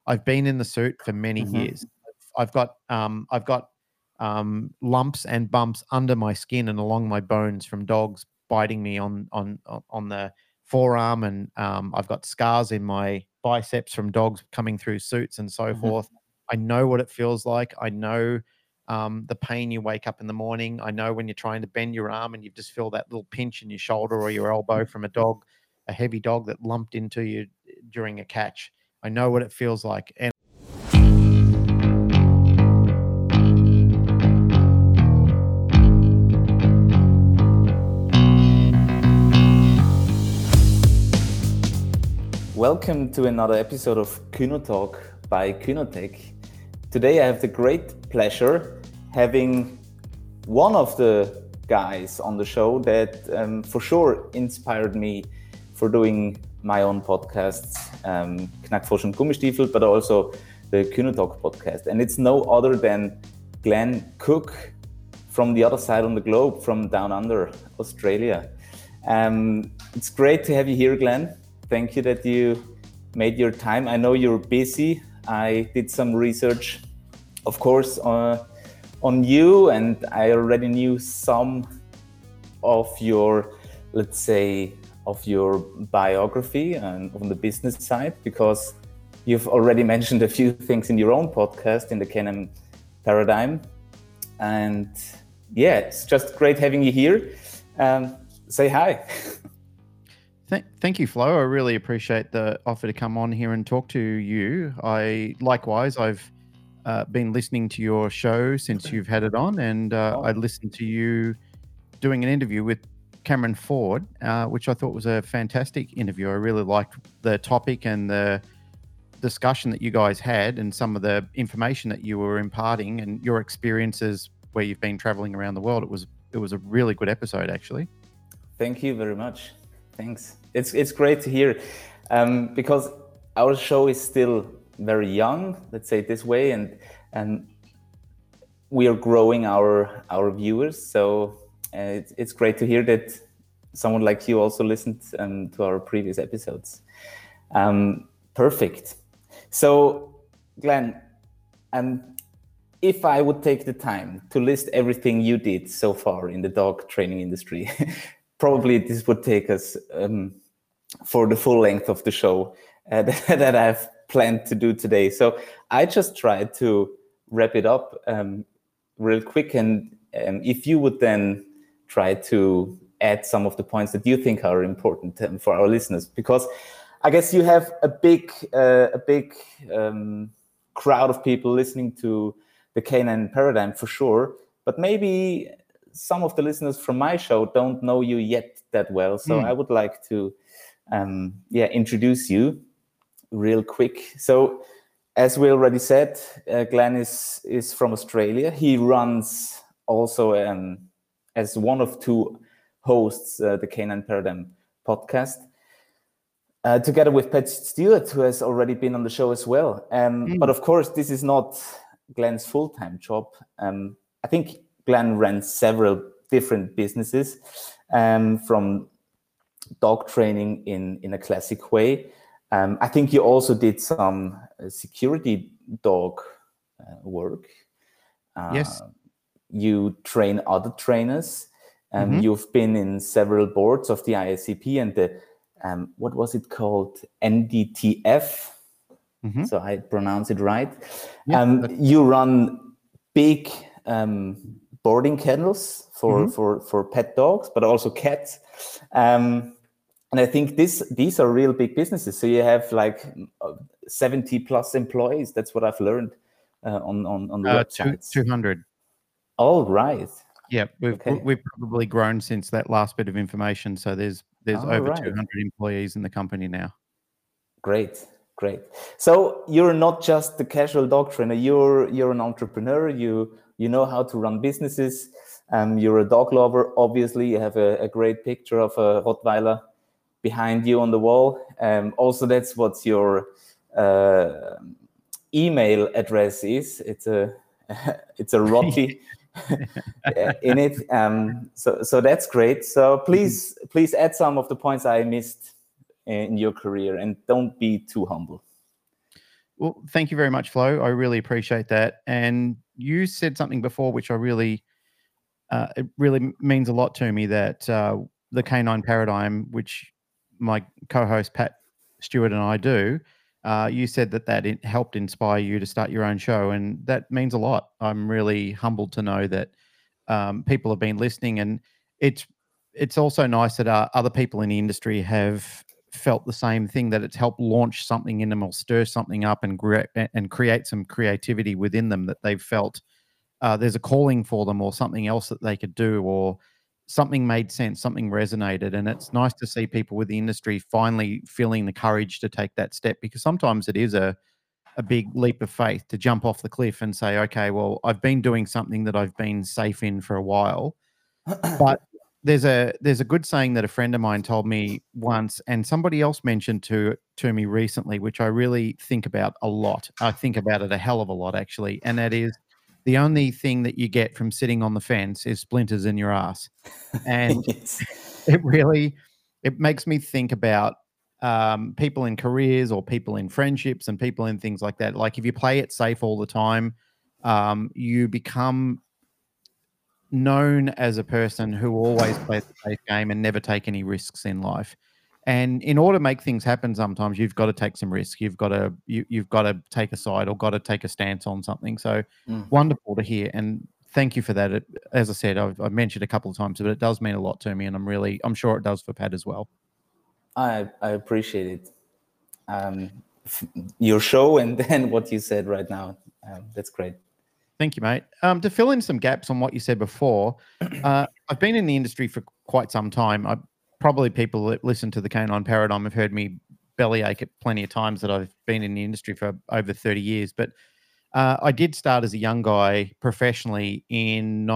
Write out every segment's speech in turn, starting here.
I've been in the suit for many years. I've got lumps and bumps under my skin and along my bones from dogs biting me on the forearm, and I've got scars in my biceps from dogs coming through suits and so forth. I know what it feels like. I know the pain you wake up in the morning. I know when you're trying to bend your arm and you just feel that little pinch in your shoulder or your elbow from a heavy dog that lumped into you during a catch. I know what it feels like. And welcome to another episode of Kynotalk by Kynotech. Today I have the great pleasure having one of the guys on the show that for sure inspired me for doing my own podcasts, Knackfrosch und Gummistiefel, but also the Kynotalk podcast. And it's no other than Glenn Cook from the other side on the globe, from down under, Australia. It's great to have you here, Glenn. Thank you that you made your time. I know you're busy. I did some research, of course, on you, and I already knew some of your, let's say, of your biography and on the business side, because you've already mentioned a few things in your own podcast, in the K&N Paradigm. And yeah, it's just great having you here. Say hi. Thank you, Flo. I really appreciate the offer to come on here and talk to you. I've been listening to your show since you've had it on, and I listened to you doing an interview with Cameron Ford, which I thought was a fantastic interview. I really liked the topic and the discussion that you guys had and some of the information that you were imparting and your experiences where you've been traveling around the world. It was a really good episode, actually. Thank you very much. Thanks. It's great to hear, because our show is still very young, let's say it this way, and we are growing our viewers. So it's great to hear that someone like you also listened to our previous episodes. Perfect. So, Glenn, if I would take the time to list everything you did so far in the dog training industry, probably this would take us for the full length of the show that I've planned to do today. So I just tried to wrap it up real quick. And if you would then try to add some of the points that you think are important for our listeners, because I guess you have a big crowd of people listening to the K&N Paradigm for sure, but maybe some of the listeners from my show don't know you yet that well. So I would like to introduce you real quick. So as we already said, Glenn is from Australia. He runs also as one of two hosts the K&N Paradigm podcast, together with Pat Stewart, who has already been on the show as well. But of course, this is not Glenn's full-time job. I think Glenn ran several different businesses, from dog training in a classic way. I think you also did some security dog work. Yes. You train other trainers. You've been in several boards of the IACP and the, what was it called? NDTF. So I pronounce it right. You run big boarding kennels for pet dogs, but also cats. And I think these are real big businesses. So you have like 70 plus employees. That's what I've learned on the websites. 200. All right. Yeah, we've probably grown since that last bit of information. So there's over 200 employees in the company now. Great. So you're not just the casual dog trainer. You're an entrepreneur. You know how to run businesses. You're a dog lover. Obviously, you have a great picture of a Rottweiler behind you on the wall. Also, that's what your email address is. It's a Rotti in it. So that's great. So please add some of the points I missed in your career, and don't be too humble. Well, thank you very much, Flo. I really appreciate that. And you said something before, which it really means a lot to me, that the canine paradigm, which my co-host Pat Stewart and I do, you said that it helped inspire you to start your own show, and that means a lot. I'm really humbled to know that people have been listening, and it's it's also nice that other people in the industry have felt the same thing, that it's helped launch something in them or stir something up and create some creativity within them, that they've felt there's a calling for them or something else that they could do, or something made sense, something resonated. And it's nice to see people with the industry finally feeling the courage to take that step, because sometimes it is a big leap of faith to jump off the cliff and say, okay, well, I've been doing something that I've been safe in for a while. But there's a good saying that a friend of mine told me once, and somebody else mentioned to me recently, which I really think about a lot. I think about it a hell of a lot, actually, and that is, the only thing that you get from sitting on the fence is splinters in your ass. And Yes. it makes me think about people in careers or people in friendships and people in things like that. Like, if you play it safe all the time, you become known as a person who always plays the safe game and never take any risks in life. And in order to make things happen, sometimes you've got to take some risks. You've got to take a side, or got to take a stance on something. So wonderful to hear, and thank you for that. As I said, I've mentioned a couple of times, but it does mean a lot to me, and I'm sure it does for Pat as well. I appreciate it. Your show and then what you said right now. That's great. Thank you, mate. To fill in some gaps on what you said before, I've been in the industry for quite some time. Probably people that listen to the Canine Paradigm have heard me bellyache it plenty of times that I've been in the industry for over 30 years. But I did start as a young guy professionally in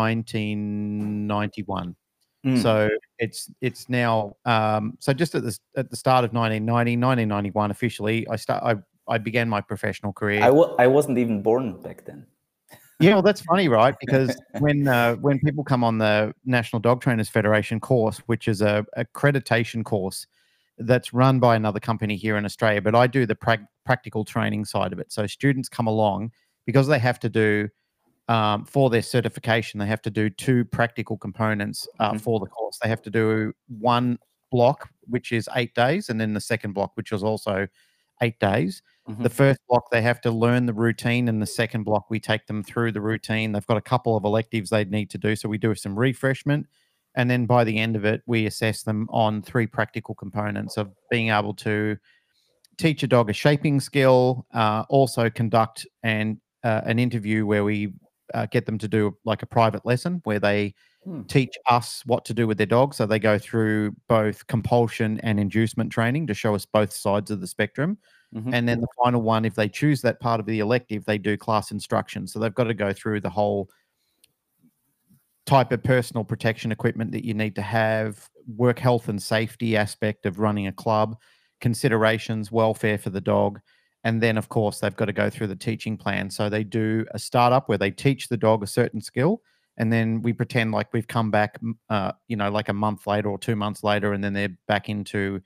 1991. So it's now so just at the start of 1991 officially, I began my professional career. I wasn't even born back then. Yeah, well, that's funny, right? Because when people come on the National Dog Trainers Federation course, which is a accreditation course that's run by another company here in Australia, but I do the practical training side of it. So students come along because they have to do for their certification, they have to do 2 practical components for the course. They have to do one block, which is 8 days, and then the second block, which is also 8 days. The first block, they have to learn the routine, and the second block, we take them through the routine. They've got a couple of electives they need to do, so we do some refreshment. And then by the end of it, we assess them on 3 practical components of being able to teach a dog a shaping skill, also conduct an interview where we get them to do like a private lesson where they teach us what to do with their dog. So they go through both compulsion and inducement training to show us both sides of the spectrum. And then the final one, if they choose that part of the elective, they do class instruction. So they've got to go through the whole type of personal protection equipment that you need to have, work health and safety aspect of running a club, considerations, welfare for the dog. And then, of course, they've got to go through the teaching plan. So they do a startup where they teach the dog a certain skill, and then we pretend like we've come back, like a month later or 2 months later, and then they're back into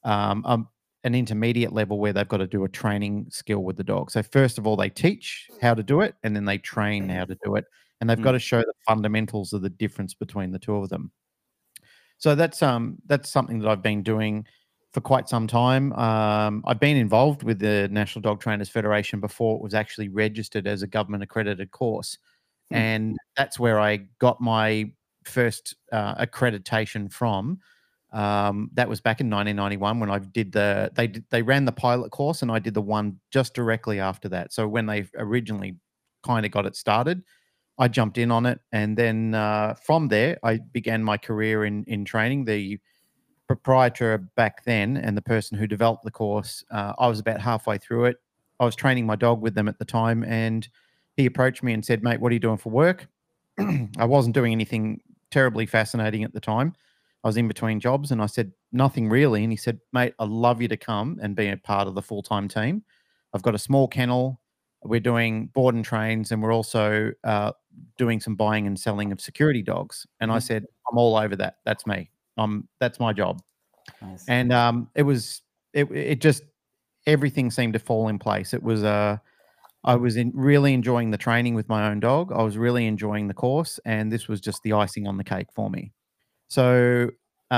an intermediate level where they've got to do a training skill with the dog. So first of all, they teach how to do it, and then they train how to do it. And they've got to show the fundamentals of the difference between the two of them. So that's something that I've been doing for quite some time. I've been involved with the National Dog Trainers Federation before it was actually registered as a government accredited course. And that's where I got my first accreditation from. That was back in 1991 when I did they ran the pilot course, and I did the one just directly after that. So when they originally kind of got it started, I jumped in on it, and then from there I began my career in training. The proprietor back then and the person who developed the course, I was about halfway through it. I was training my dog with them at the time, and he approached me and said, "Mate, what are you doing for work?" I wasn't doing anything terribly fascinating at the time. I was in between jobs, and I said, "Nothing really." And he said, "Mate, I'd love you to come and be a part of the full-time team. I've got a small kennel. We're doing board and trains, and we're also doing some buying and selling of security dogs." And I said, "I'm all over that. That's me. That's my job." Nice. And it everything seemed to fall in place. It was I was really enjoying the training with my own dog. I was really enjoying the course, and this was just the icing on the cake for me. So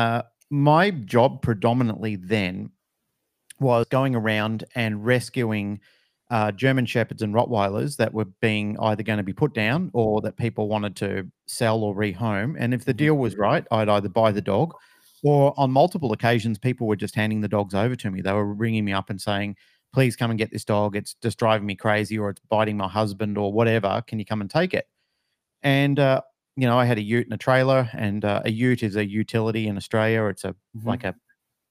my job predominantly then was going around and rescuing German Shepherds and Rottweilers that were being either going to be put down or that people wanted to sell or rehome. And if the deal was right, I'd either buy the dog, or on multiple occasions, people were just handing the dogs over to me. They were ringing me up and saying, please come and get this dog. It's just driving me crazy, or it's biting my husband, or whatever. Can you come and take it? And, I had a ute and a trailer, and a ute is a utility in Australia. It's like a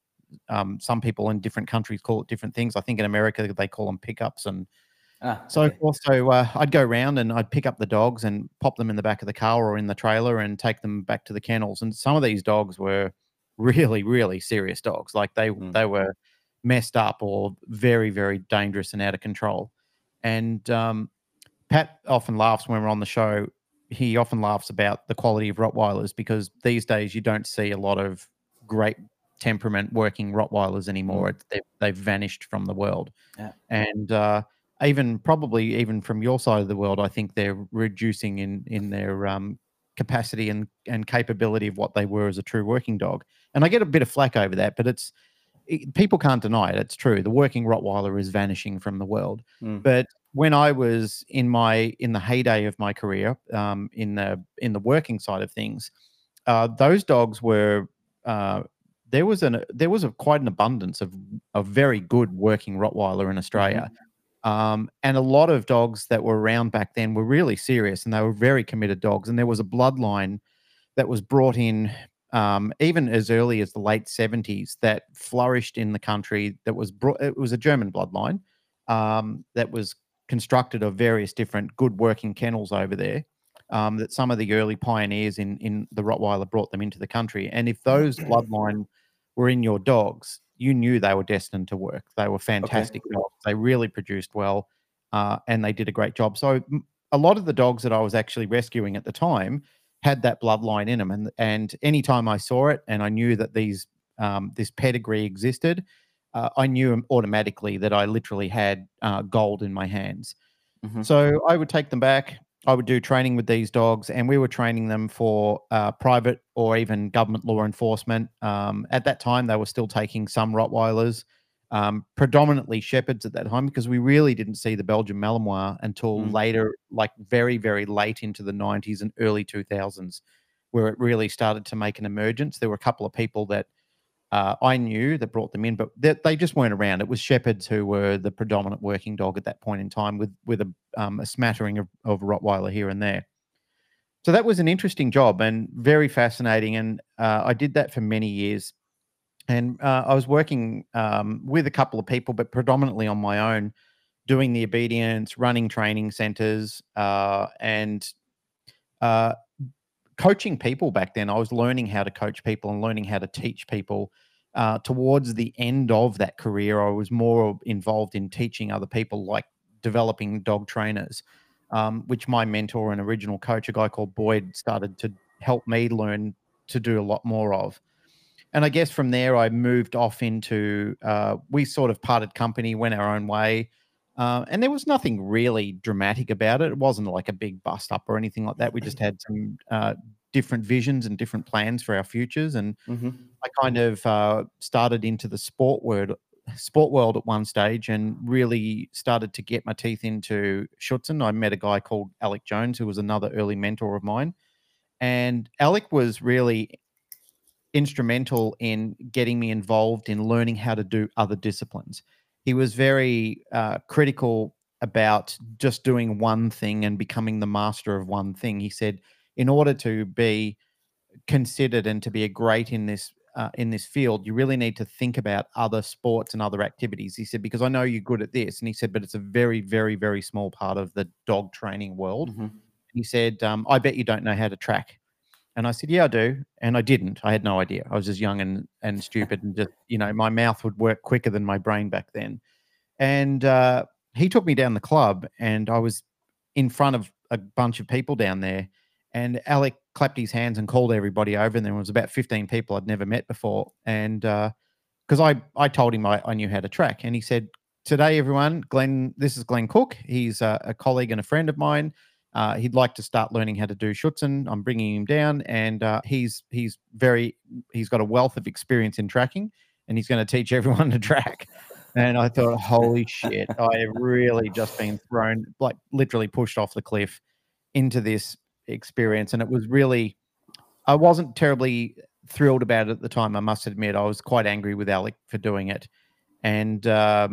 some people in different countries call it different things. I think in America they call them pickups and so forth. So I'd go around and I'd pick up the dogs and pop them in the back of the car or in the trailer and take them back to the kennels. And some of these dogs were really, really serious dogs. Like they were messed up or very, very dangerous and out of control. And Pat often laughs when we're on the show. He often laughs about the quality of Rottweilers, because these days you don't see a lot of great temperament working Rottweilers anymore. They've vanished from the world. Yeah. And even from your side of the world, I think they're reducing in their capacity and capability of what they were as a true working dog. And I get a bit of flack over that, but people can't deny it. It's true. The working Rottweiler is vanishing from the world. But when I was in the heyday of my career, in the working side of things, those dogs were there was quite an abundance of very good working Rottweiler in Australia. And a lot of dogs that were around back then were really serious, and they were very committed dogs. And there was a bloodline that was brought in even as early as the late 70s that flourished in the country. It was a German bloodline that was constructed of various different good working kennels over there. That some of the early pioneers in the Rottweiler brought them into the country. And if those bloodline were in your dogs, you knew they were destined to work. They were fantastic dogs. They really produced well, and they did a great job. So a lot of the dogs that I was actually rescuing at the time had that bloodline in them. And anytime I saw it and I knew that this pedigree existed, I knew automatically that I literally had gold in my hands. So I would take them back. I would do training with these dogs, and we were training them for private or even government law enforcement. At that time, they were still taking some Rottweilers, predominantly Shepherds at that time, because we really didn't see the Belgian Malinois until later, like very, very late into the 90s and early 2000s, where it really started to make an emergence. There were a couple of people that I knew that brought them in, but they just weren't around. It was Shepherds who were the predominant working dog at that point in time, with a smattering of Rottweiler here and there. So that was an interesting job and very fascinating. And I did that for many years. And I was working with a couple of people, but predominantly on my own, doing the obedience, running training centers, and coaching people back then. I was learning how to coach people and learning how to teach people. Towards the end of that career, I was more involved in teaching other people, like developing dog trainers, which my mentor and original coach, a guy called Boyd, started to help me learn to do a lot more of. And I guess from there, I moved off into, we sort of parted company, went our own way. And there was nothing really dramatic about it. It wasn't like a big bust up or anything like that. We just had some different visions and different plans for our futures. And I kind of started into the sport world at one stage and really started to get my teeth into Schutzhund. I met a guy called Alec Jones, who was another early mentor of mine. And Alec was really instrumental in getting me involved in learning how to do other disciplines. He was very critical about just doing one thing and becoming the master of one thing. He said, in order to be considered and to be a great in this field, you really need to think about other sports and other activities. He said, because I know you're good at this. And he said, but it's a very, very, very small part of the dog training world. He said, I bet you don't know how to track. And I said, yeah, I do. And I didn't. I had no idea. I was just young and stupid, and just, my mouth would work quicker than my brain back then. And he took me down the club, and I was in front of a bunch of people down there. And Alec clapped his hands and called everybody over. And there was about 15 people I'd never met before. And because I told him I knew how to track. And he said, today, everyone, this is Glenn Cook. He's a colleague and a friend of mine. He'd like to start learning how to do Schutzen. I'm bringing him down, and he's got a wealth of experience in tracking, and he's going to teach everyone to track. And I thought, holy shit, I have really just been thrown, like literally pushed off the cliff into this experience. And it was really, I wasn't terribly thrilled about it at the time. I must admit, I was quite angry with Alec for doing it. And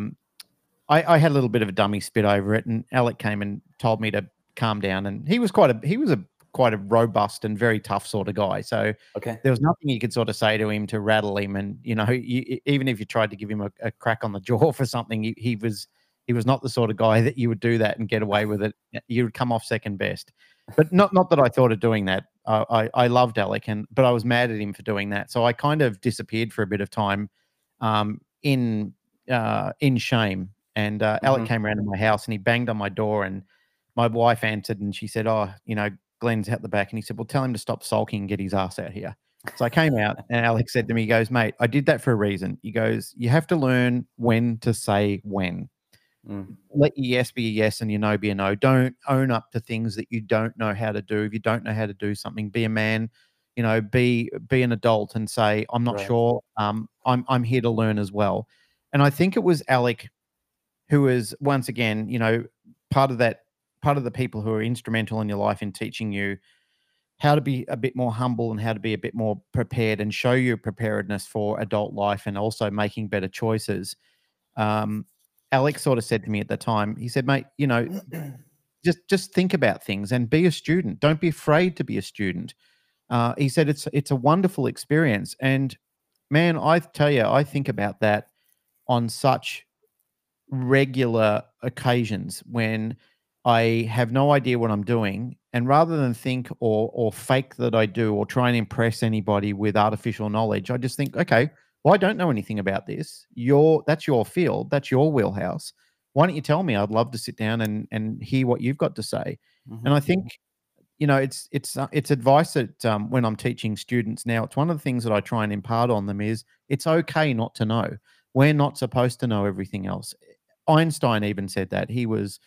I had a little bit of a dummy spit over it, and Alec came and told me to calm down. And he was quite a robust and very tough sort of guy. So there was nothing you could sort of say to him to rattle him. And even if you tried to give him a crack on the jaw for something, he was not the sort of guy that you would do that and get away with it. You would come off second best. But not that I thought of doing that. I loved Alec, but I was mad at him for doing that. So I kind of disappeared for a bit of time in shame. And Alec came around to my house and he banged on my door, and my wife answered, and she said, "Oh, Glenn's out the back." And he said, "Well, tell him to stop sulking and get his ass out here." So I came out, and Alex said to me, he goes, "Mate, I did that for a reason." He goes, "You have to learn when to say when. Let your yes be a yes and your no be a no. Don't own up to things that you don't know how to do. If you don't know how to do something, be a man, be an adult and say, I'm not sure. I'm here to learn as well." And I think it was Alec who was, once again, part of the people who are instrumental in your life in teaching you how to be a bit more humble and how to be a bit more prepared and show your preparedness for adult life and also making better choices. Alex sort of said to me at the time, he said, "Mate, just think about things and be a student. Don't be afraid to be a student." He said, it's a wonderful experience. And man, I tell you, I think about that on such regular occasions when I have no idea what I'm doing, and rather than think or fake that I do or try and impress anybody with artificial knowledge, I just think, okay, well, I don't know anything about this. That's your field, that's your wheelhouse. Why don't you tell me? I'd love to sit down and hear what you've got to say. And I think it's advice that when I'm teaching students now, it's one of the things that I try and impart on them is it's okay not to know. We're not supposed to know everything else. Einstein even said that. He was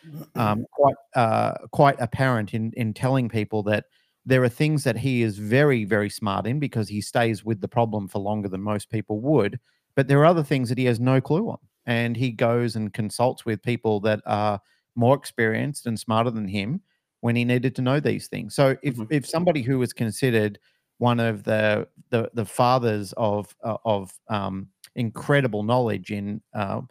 quite apparent in telling people that there are things that he is very, very smart in because he stays with the problem for longer than most people would, but there are other things that he has no clue on. And he goes and consults with people that are more experienced and smarter than him when he needed to know these things. So if somebody who was considered one of the fathers of incredible knowledge in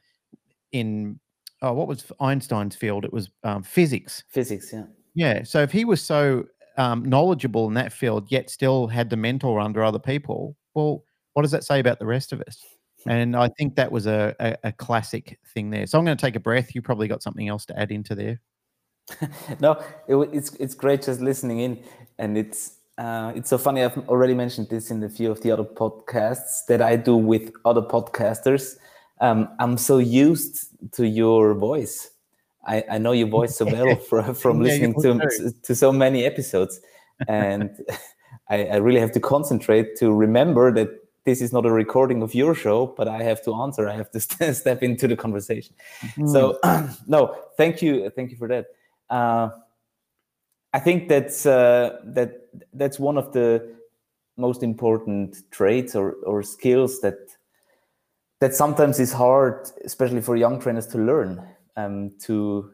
what was Einstein's field? It was physics. Physics, yeah. Yeah. So if he was so knowledgeable in that field, yet still had to mentor under other people, well, what does that say about the rest of us? And I think that was a classic thing there. So I'm going to take a breath. You probably got something else to add into there. No, it's great just listening in, and it's so funny. I've already mentioned this in a few of the other podcasts that I do with other podcasters. I'm so used to your voice. I know your voice so well from listening to so many episodes, and I really have to concentrate to remember that this is not a recording of your show, but I have to answer. I have to step into the conversation. So no, thank you for that. I think that's one of the most important traits or skills that sometimes is hard, especially for young trainers, to learn, to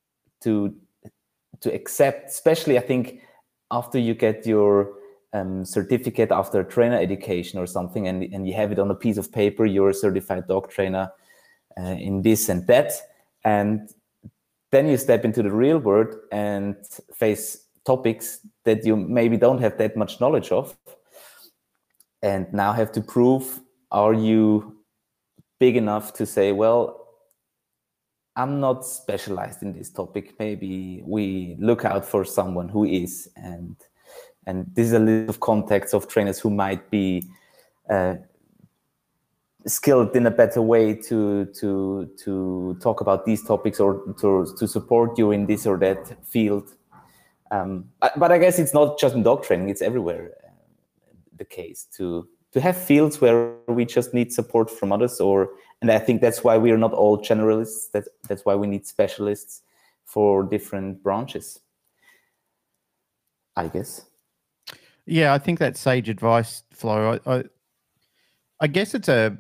accept. Especially, I think after you get your certificate after trainer education or something, and you have it on a piece of paper, you're a certified dog trainer in this and that, and then you step into the real world and face topics that you maybe don't have that much knowledge of, and now have to prove, are you big enough to say, well, I'm not specialized in this topic. Maybe we look out for someone who is, and this is a list of contacts of trainers who might be skilled in a better way to talk about these topics or to support you in this or that field. But I guess it's not just in dog training; it's everywhere the case to have fields where we just need support from others, or And I think that's why we are not all generalists. That's why we need specialists for different branches, I guess. Yeah, I think that's sage advice, Flo. I guess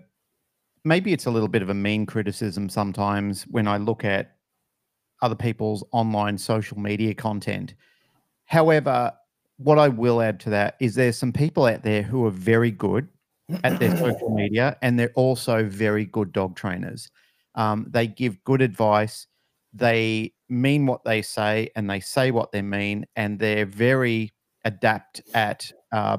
maybe it's a little bit of a mean criticism sometimes when I look at other people's online social media content. However, what I will add to that is there's some people out there who are very good at their social media, and they're also very good dog trainers. They give good advice. They mean what they say, and they say what they mean, and they're very adept at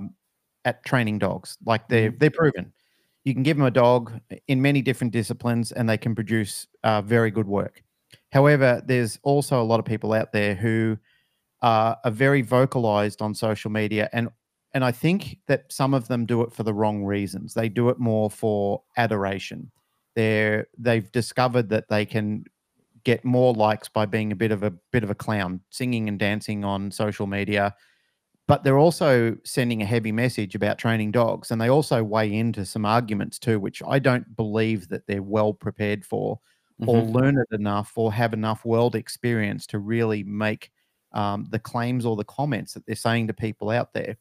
training dogs. Like they're proven. You can give them a dog in many different disciplines, and they can produce very good work. However, there's also a lot of people out there who are very vocalized on social media, and I think that some of them do it for the wrong reasons. They do it more for adoration. They've discovered that they can get more likes by being a bit of a clown, singing and dancing on social media, but they're also sending a heavy message about training dogs, and they also weigh into some arguments too, which I don't believe that they're well prepared for, or learned enough, or have enough world experience to really make the claims or the comments that they're saying to people out there.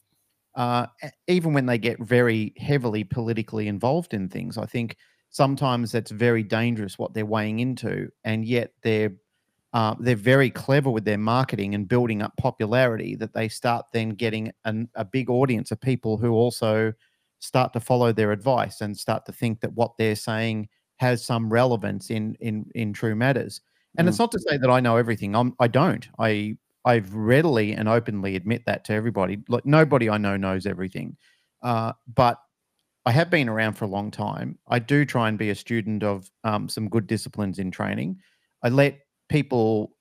Even when they get very heavily politically involved in things, I think sometimes that's very dangerous what they're weighing into, and yet they're very clever with their marketing and building up popularity, that they start then getting a big audience of people who also start to follow their advice and start to think that what they're saying has some relevance in true matters. And it's not to say that I know everything. I don't. I've readily and openly admit that to everybody. Like, nobody I know knows everything. But I have been around for a long time. I do try and be a student of some good disciplines in training. I let people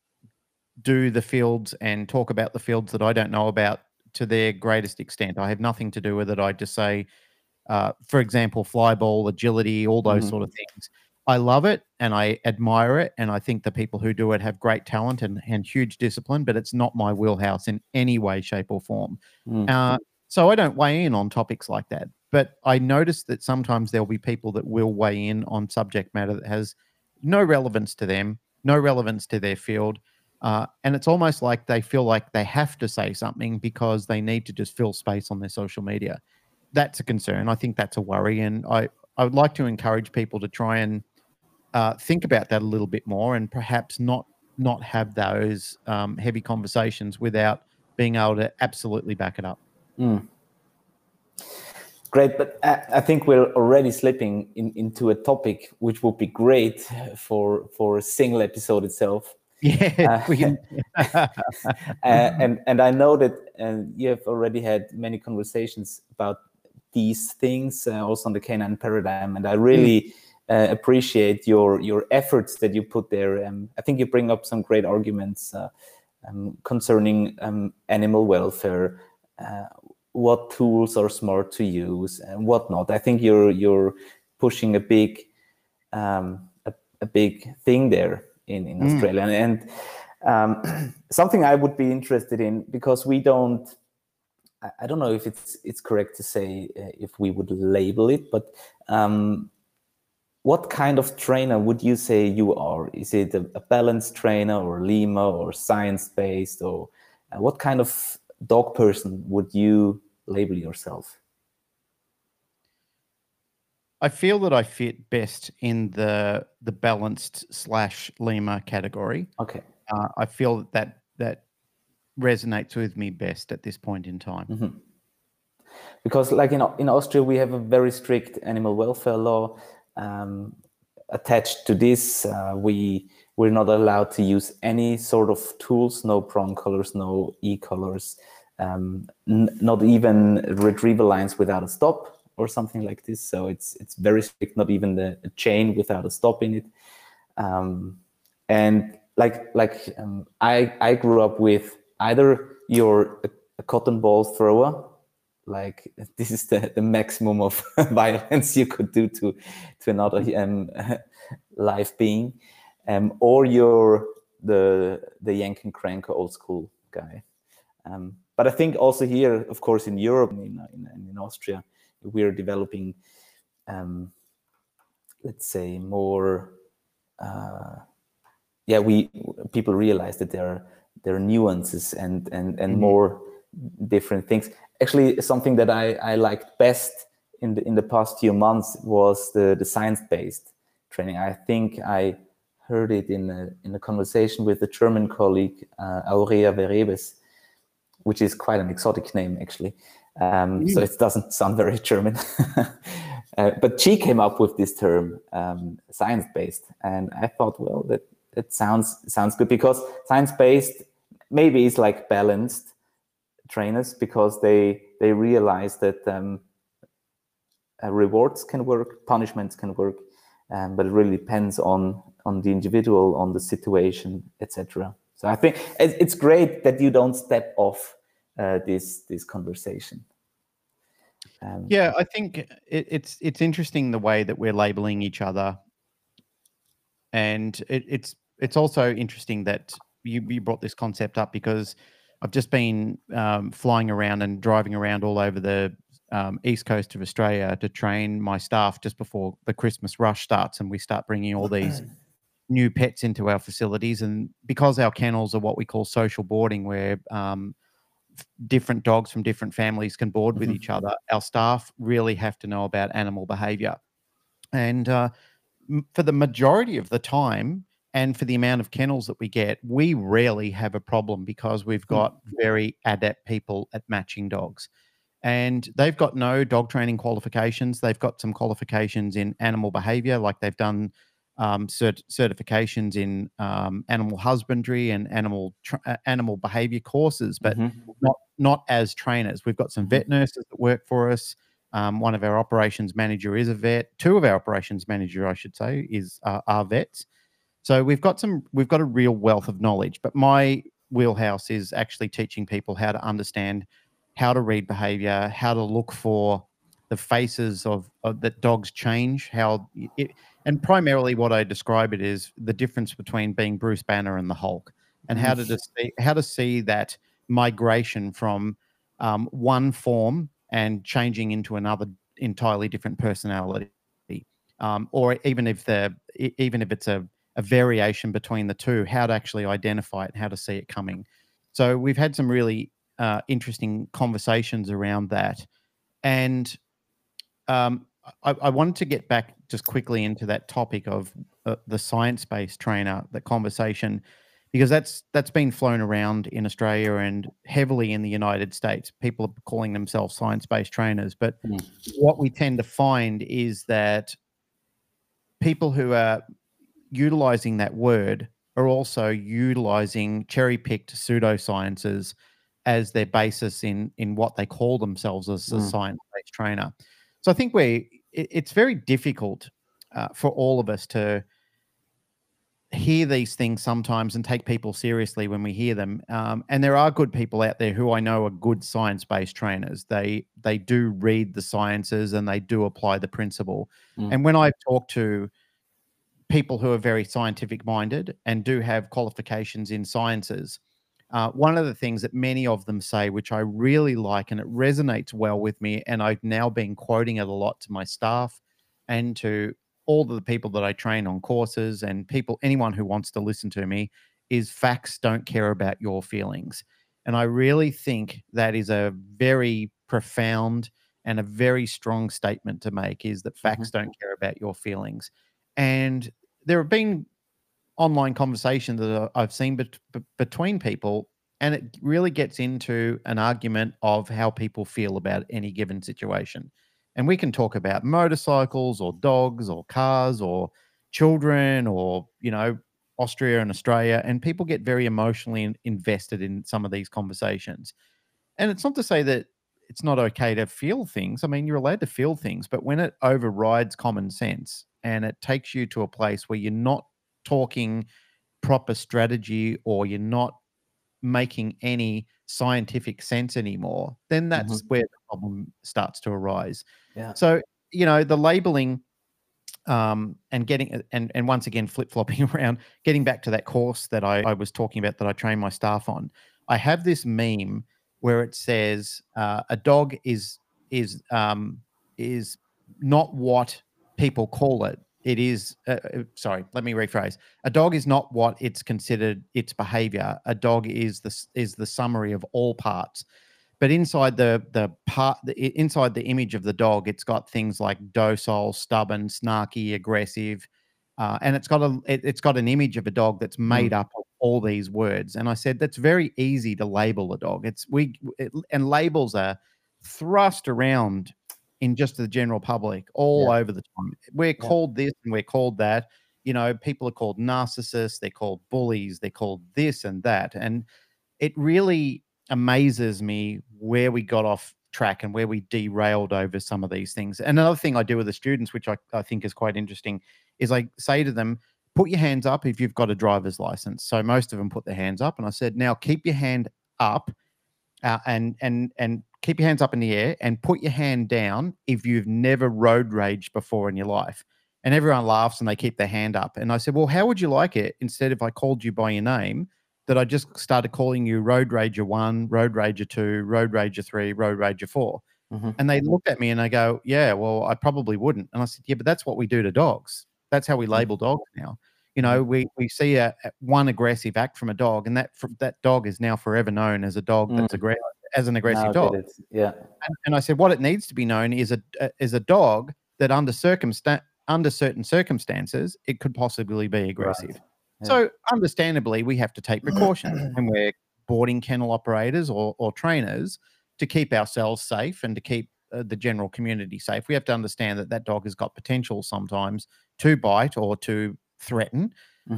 do the fields and talk about the fields that I don't know about to their greatest extent. I have nothing to do with it. I just say, for example, fly ball, agility, all those sort of things. I love it and I admire it. And I think the people who do it have great talent and huge discipline, but it's not my wheelhouse in any way, shape, or form. So I don't weigh in on topics like that. But I notice that sometimes there'll be people that will weigh in on subject matter that has no relevance to them, no relevance to their field. And it's almost like they feel like they have to say something because they need to just fill space on their social media. That's a concern. I think that's a worry. And I would like to encourage people to try and think about that a little bit more, and perhaps not have those heavy conversations without being able to absolutely back it up. Great, but I think we're already slipping into a topic which would be great for a single episode itself. Yeah, we can. And I know that you have already had many conversations about these things, also on the canine paradigm, and I really appreciate your efforts that you put there. I think you bring up some great arguments concerning animal welfare. What tools are smart to use and whatnot. I think you're pushing a big thing there in Australia, and something I would be interested in, because we don't. I don't know if it's correct to say if we would label it, but what kind of trainer would you say you are? Is it a balanced trainer, or Lima, or science-based, or what kind of dog person would you label yourself? I feel that I fit best in the balanced / Lima category. Okay. I feel that resonates with me best at this point in time. Because, like in Austria, we have a very strict animal welfare law. Attached to this, we're not allowed to use any sort of tools, no prong collars, no e-collars, not even retrieval lines without a stop or something like this. So it's very strict, not even the chain without a stop in it. And I grew up with either you're a cotton ball thrower, like this is the maximum of violence you could do to another live being, or you're the yank and crank old school guy. But I think also here, of course, in Europe, in Austria, we're developing let's say, more. People realize that there are nuances and more different things. Actually, something that I liked best in the past few months was the science-based training. I think I heard it in a conversation with a German colleague, Aurea Verebes, which is quite an exotic name, actually. So it doesn't sound very German. But she came up with this term, science-based, and I thought, well, that sounds good, because science-based maybe is like balanced trainers, because they realize that rewards can work, punishments can work, but it really depends on the individual, on the situation, etc. So I think it's great that you don't step off this conversation. Yeah, I think it's interesting the way that we're labeling each other, and it's also interesting that you brought this concept up, because I've just been flying around and driving around all over the east coast of Australia to train my staff just before the Christmas rush starts, and we start bringing all these new pets into our facilities. And because our kennels are what we call social boarding, where different dogs from different families can board with each other, our staff really have to know about animal behavior. And for the majority of the time, and for the amount of kennels that we get, we rarely have a problem, because we've got very adept people at matching dogs. And they've got no dog training qualifications. They've got some qualifications in animal behavior, like they've done certifications in animal husbandry and animal behavior courses, but not as trainers. We've got some vet nurses that work for us. One of our operations manager is a vet. Two of our operations manager, I should say, are vets. So we've got a real wealth of knowledge. But my wheelhouse is actually teaching people how to understand how to read behavior, how to look for the faces of that dogs change, and primarily what I describe it is the difference between being Bruce Banner and the Hulk, and how to see that migration from one form and changing into another entirely different personality, or even if it's a variation between the two, how to actually identify it and how to see it coming. So we've had some really interesting conversations around that, and I wanted to get back just quickly into that topic of the science-based trainer, that conversation, because that's been flown around in Australia and heavily in the United States. People are calling themselves science-based trainers, but what we tend to find is that people who are utilizing that word are also utilizing cherry-picked pseudosciences as their basis in what they call themselves as a science-based trainer. So I think it's very difficult for all of us to hear these things sometimes and take people seriously when we hear them. And there are good people out there who I know are good science-based trainers. They do read the sciences and they do apply the principle. And when I've talked to people who are very scientific minded and do have qualifications in sciences, one of the things that many of them say, which I really like, and it resonates well with me, and I've now been quoting it a lot to my staff and to all of the people that I train on courses and anyone who wants to listen to me, is facts don't care about your feelings. And I really think that is a very profound and a very strong statement to make, is that facts don't care about your feelings. And there have been online conversations that I've seen between people, and it really gets into an argument of how people feel about any given situation. And we can talk about motorcycles or dogs or cars or children or, Austria and Australia, and people get very emotionally invested in some of these conversations. And it's not to say that it's not okay to feel things. I mean, you're allowed to feel things, but when it overrides common sense and it takes you to a place where you're not talking proper strategy or you're not making any scientific sense anymore, then that's where the problem starts to arise. Yeah. So, the labeling and getting and once again flip-flopping around, getting back to that course that I was talking about that I train my staff on. I have this meme where it says a dog is not what people call it. it is. Sorry, let me rephrase. A dog is not what it's considered its behavior. A dog is the summary of all parts. But inside inside the image of the dog, it's got things like docile, stubborn, snarky, aggressive, and it's got an image of a dog that's made up of all these words. And I said that's very easy to label a dog. And labels are thrust around in just the general public all over the time. We're called this and we're called that. You know, people are called narcissists, they're called bullies, they're called this and that. And it really amazes me where we got off track and where we derailed over some of these things. And another thing I do with the students, which I think is quite interesting, is I say to them, put your hands up if you've got a driver's license. So most of them put their hands up. And I said, now keep your hand up and keep your hands up in the air and put your hand down if you've never road raged before in your life. And everyone laughs and they keep their hand up. And I said, well, how would you like it instead if I called you by your name, that I just started calling you Road Rager 1, Road Rager 2, Road Rager 3, Road Rager 4. And they looked at me and they go, yeah, well, I probably wouldn't. And I said, yeah, but that's what we do to dogs. That's how we label dogs now. You know, we see one aggressive act from a dog, and that dog is now forever known as a dog that's as an aggressive dog. Yeah. And I said, what it needs to be known is a dog that under certain circumstances, it could possibly be aggressive. Right. Yeah. So understandably, we have to take precautions when we're boarding kennel operators or trainers to keep ourselves safe and to keep the general community safe. We have to understand that dog has got potential sometimes to bite or to threaten.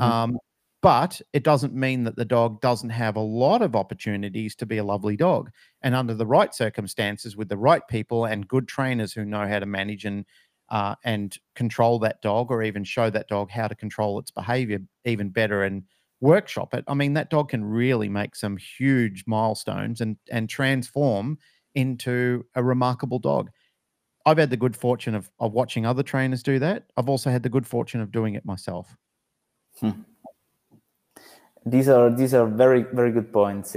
But it doesn't mean that the dog doesn't have a lot of opportunities to be a lovely dog. And under the right circumstances, with the right people and good trainers who know how to manage and control that dog, or even show that dog how to control its behavior even better and workshop it. I mean, that dog can really make some huge milestones and transform into a remarkable dog. I've had the good fortune of watching other trainers do that. I've also had the good fortune of doing it myself. These are very, very good points.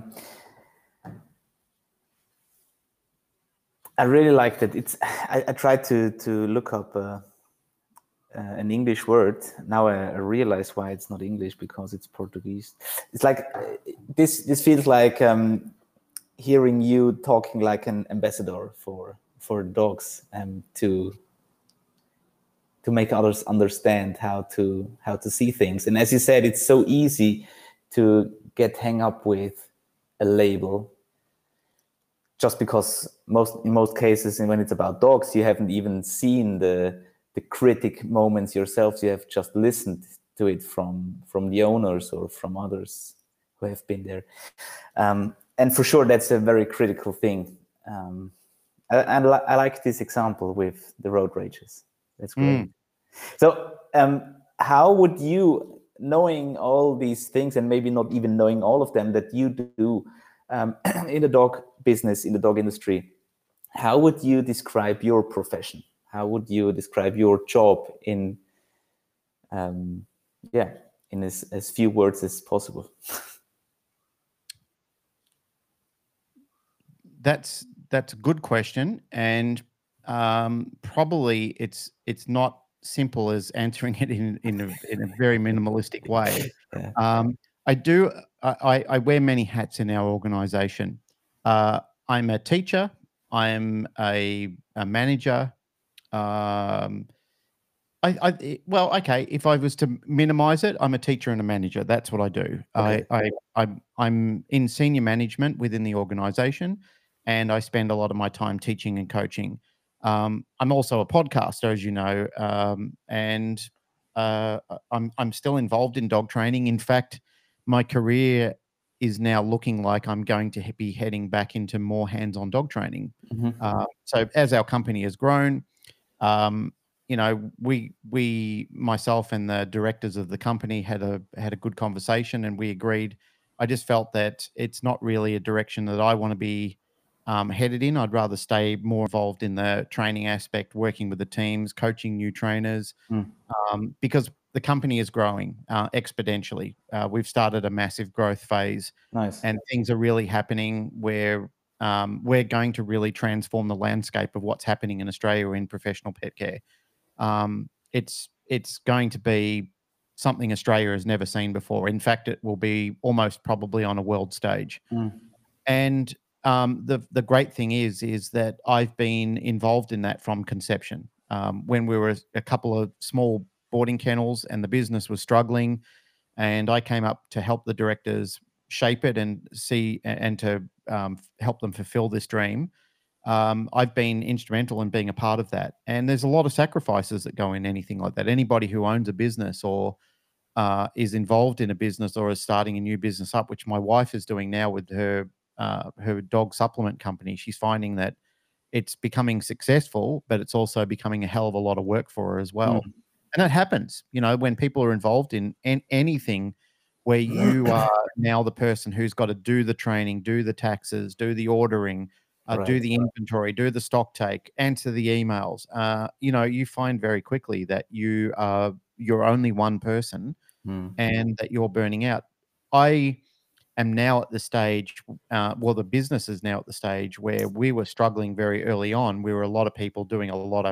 I really like that. I tried to look up an English word. Now I realize why it's not English, because it's Portuguese. It's like this feels like hearing you talking like an ambassador for dogs, to make others understand how to see things. And as you said, it's so easy to get hung up with a label, just because in most cases, and when it's about dogs, you haven't even seen the critic moments yourself. You have just listened to it from the owners or from others who have been there. And for sure, that's a very critical thing. I like this example with the road rages. That's great. So how would you, knowing all these things and maybe not even knowing all of them that you do in the dog business, in the dog industry, how would you describe your profession? How would you describe your job in as few words as possible? That's a good question, and probably it's not simple as answering it in a very minimalistic way. I wear many hats in our organization. I'm a teacher. I'm a manager. If I was to minimize it, I'm a teacher and a manager. That's what I do. Okay. I'm in senior management within the organization, and I spend a lot of my time teaching and coaching. I'm also a podcaster, as you know, and I'm still involved in dog training. In fact, my career is now looking like I'm going to be heading back into more hands-on dog training. So as our company has grown, we myself and the directors of the company had a good conversation, and we agreed. I just felt that it's not really a direction that I want to be headed in. I'd rather stay more involved in the training aspect, working with the teams, coaching new trainers, because the company is growing exponentially. We've started a massive growth phase. Nice. And things are really happening where we're going to really transform the landscape of what's happening in Australia in professional pet care. it's going to be something Australia has never seen before. In fact, it will be almost probably on a world stage. And the great thing is that I've been involved in that from conception. When we were a couple of small boarding kennels and the business was struggling, and I came up to help the directors shape it and see and to help them fulfill this dream. I've been instrumental in being a part of that. And there's a lot of sacrifices that go in anything like that. Anybody who owns a business or is involved in a business or is starting a new business up, which my wife is doing now with her dog supplement company, she's finding that it's becoming successful, but it's also becoming a hell of a lot of work for her as well. And that happens, when people are involved in anything where you are now the person who's got to do the training, do the taxes, do the ordering, do the inventory, do the stock take, answer the emails. You find very quickly that you're only one person and that you're burning out. I am now at the stage, the business is now at the stage where we were struggling very early on. We were a lot of people wearing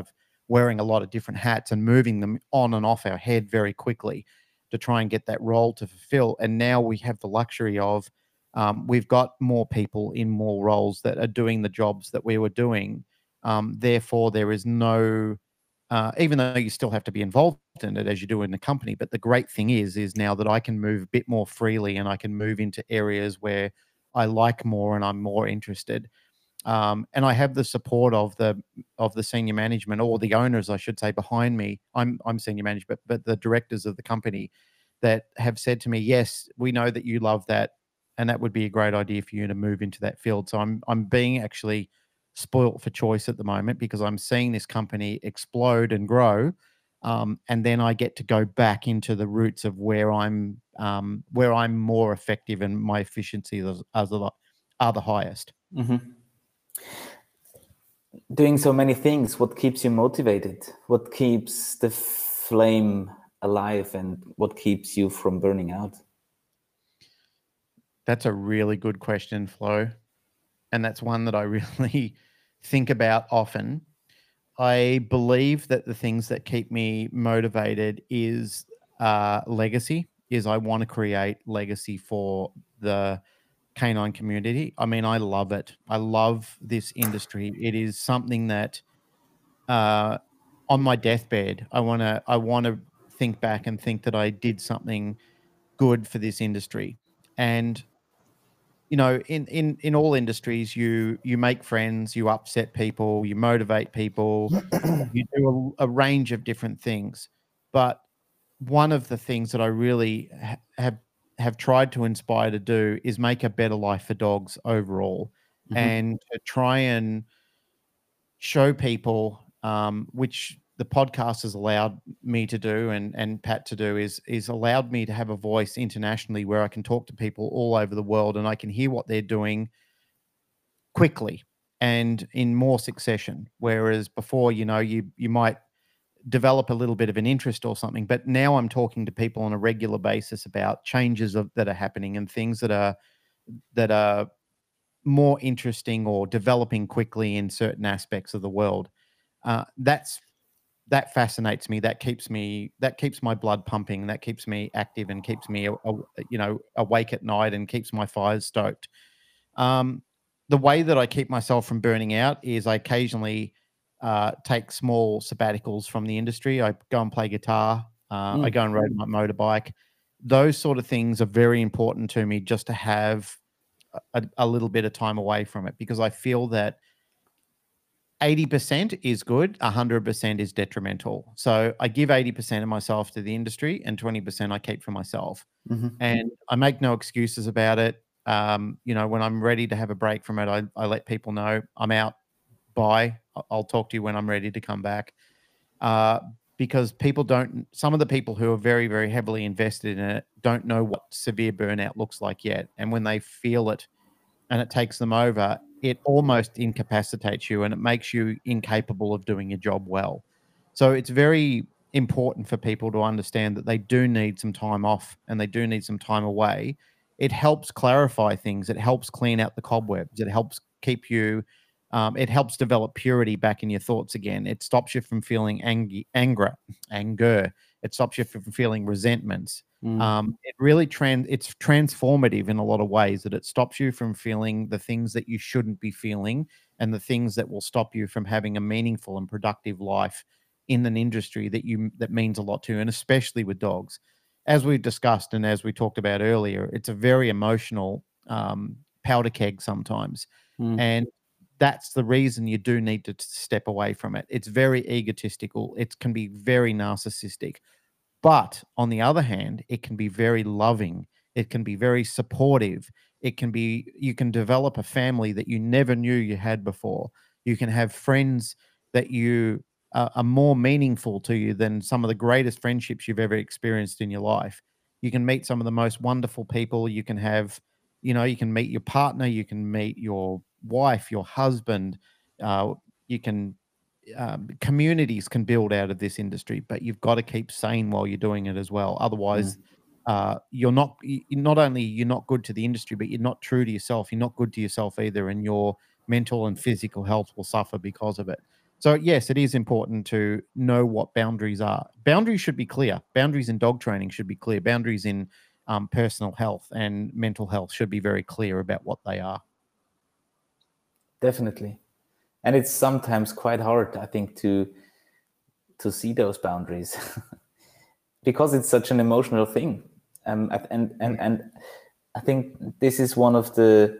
a lot of different hats and moving them on and off our head very quickly to try and get that role to fulfill. And now we have the luxury of we've got more people in more roles that are doing the jobs that we were doing. Therefore, there is no, even though you still have to be involved in it as you do in the company, but the great thing is now that I can move a bit more freely and I can move into areas where I like more and I'm more interested. And I have the support of the senior management, or the owners, I should say, behind me. I'm senior management, but the directors of the company that have said to me, "Yes, we know that you love that, and that would be a great idea for you to move into that field." So I'm being actually spoilt for choice at the moment because I'm seeing this company explode and grow, and then I get to go back into the roots of where I'm more effective and my efficiency are the highest. Doing so many things, what keeps you motivated? What keeps the flame alive, and what keeps you from burning out? That's a really good question, Flo. And that's one that I really think about often. I believe that the things that keep me motivated is legacy, is I want to create legacy for the canine community. I mean, I love it. I love this industry. It is something that on my deathbed, I want to think back and think that I did something good for this industry. And in all industries, you make friends, you upset people, you motivate people, you do a range of different things. But one of the things that I really have tried to inspire to do is make a better life for dogs overall, and to try and show people, which the podcast has allowed me to do and Pat to do, is allowed me to have a voice internationally where I can talk to people all over the world and I can hear what they're doing quickly and in more succession. Whereas before, you might develop a little bit of an interest or something, but now I'm talking to people on a regular basis about changes that are happening and things that are more interesting or developing quickly in certain aspects of the world. That fascinates me. That keeps my blood pumping. That keeps me active and keeps me, awake at night and keeps my fires stoked. The way that I keep myself from burning out is I occasionally take small sabbaticals from the industry. I go and play guitar. I go and ride my motorbike. Those sort of things are very important to me, just to have a little bit of time away from it, because I feel that 80% is good, 100% is detrimental. So I give 80% of myself to the industry and 20% I keep for myself. And I make no excuses about it. When I'm ready to have a break from it, I let people know I'm out. Bye. I'll talk to you when I'm ready to come back. Because some of the people who are very, very heavily invested in it don't know what severe burnout looks like yet. And when they feel it and it takes them over, it almost incapacitates you and it makes you incapable of doing your job well. So it's very important for people to understand that they do need some time off and they do need some time away. It helps clarify things. It helps clean out the cobwebs. It helps keep you It helps develop purity back in your thoughts again. It stops you from feeling anger. It stops you from feeling resentments. It really it's transformative in a lot of ways, that it stops you from feeling the things that you shouldn't be feeling, and the things that will stop you from having a meaningful and productive life in an industry that means a lot to you, and especially with dogs. As we've discussed and as we talked about earlier, it's a very emotional powder keg sometimes. And that's the reason you do need to step away from it. It's very egotistical. It can be very narcissistic. But on the other hand, it can be very loving. It can be very supportive. You can develop a family that you never knew you had before. You can have friends that are more meaningful to you than some of the greatest friendships you've ever experienced in your life. You can meet some of the most wonderful people. You can meet your partner. You can meet your wife, your husband. You can Communities can build out of this industry, but you've got to keep sane while you're doing it as well. Otherwise, not only you're not good to the industry, but you're not true to yourself. You're not good to yourself either, and your mental and physical health will suffer because of it. So yes, it is important to know what boundaries are. Boundaries should be clear. Boundaries in dog training should be clear. Boundaries in personal health and mental health should be very clear about what they are. Definitely. And it's sometimes quite hard, I think, to see those boundaries because it's such an emotional thing. And I think this is one of the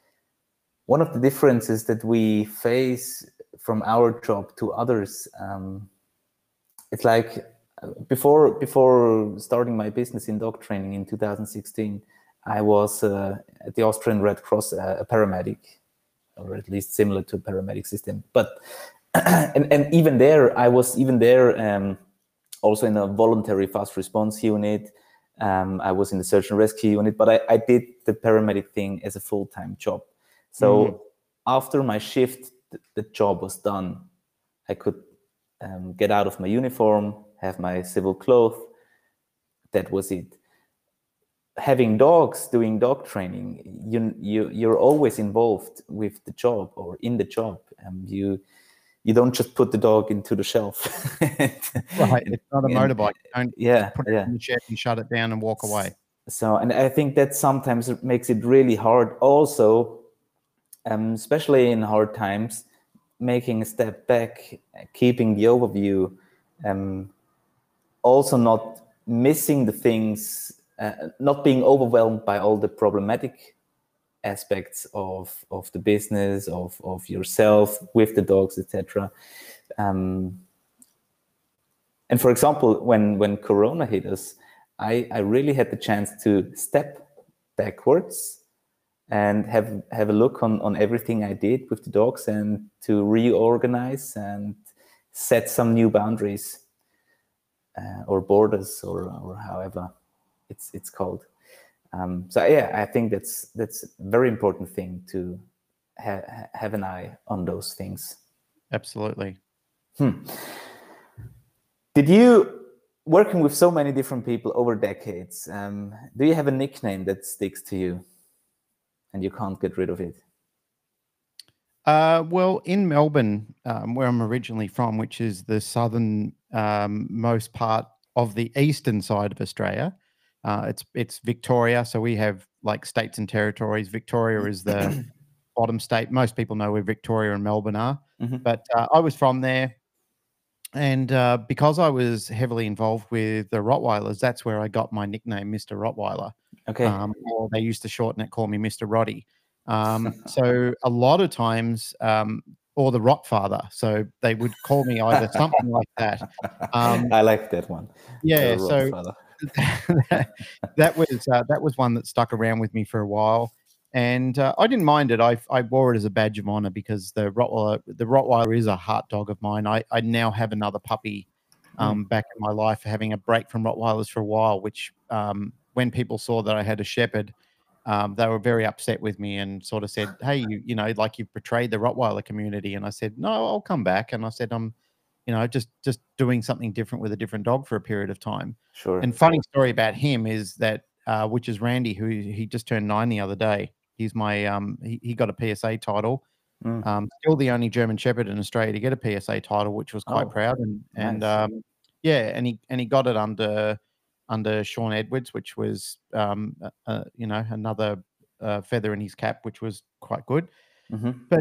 differences that we face from our job to others. It's like before starting my business in dog training in 2016, I was at the Austrian Red Cross, a paramedic, or at least similar to a paramedic system. But and even there, I was also in a voluntary fast response unit. I was in the search and rescue unit, but I did the paramedic thing as a full-time job. So after my shift, the job was done. I could get out of my uniform, have my civil clothes. That was it. Having dogs, doing dog training, you're always involved with the job or in the job. You don't just put the dog into the shelf. Right, it's not a motorbike. You don't put it in the shed, you shut it down and walk away. So, and I think that sometimes it makes it really hard also, especially in hard times, making a step back, keeping the overview, also not missing the things, not being overwhelmed by all the problematic aspects of the business, of yourself with the dogs, etc. And for example, when Corona hit us, I really had the chance to step backwards and have a look on everything I did with the dogs, and to reorganize and set some new boundaries or borders, or however it's called. So yeah, I think that's a very important thing, to have an eye on those things. Absolutely. Did you, working with so many different people over decades, do you have a nickname that sticks to you and you can't get rid of it? Well, in Melbourne, where I'm originally from, which is the southern most part of the eastern side of Australia, it's Victoria. So we have like states and territories. Victoria is the bottom state. Most people know where Victoria and Melbourne are. But I was from there. And because I was heavily involved with the Rottweilers, that's where I got my nickname, Mr. Rottweiler. Okay. Or they used to shorten it, call me Mr. Roddy. So a lot of times, or the Rottfather. So they would call me either something like that. I like that one. Yeah. So that was one that stuck around with me for a while. And I didn't mind it. I wore it as a badge of honor, because the Rottweiler is a heart dog of mine. I now have another puppy back in my life, having a break from Rottweilers for a while, which when people saw that I had a shepherd, they were very upset with me and sort of said, hey, you know, like, you've betrayed the Rottweiler community. And I said, no, I'll come back. And I said, I'm, you know, just doing something different with a different dog for a period of time. Sure. And funny story about him is that, which is Randy, who he just turned 9 the other day. He's my, he got a PSA title. Still the only German Shepherd in Australia to get a PSA title, which was quite proud. And nice. yeah, and he got it under Sean Edwards, which was another feather in his cap, which was quite good. But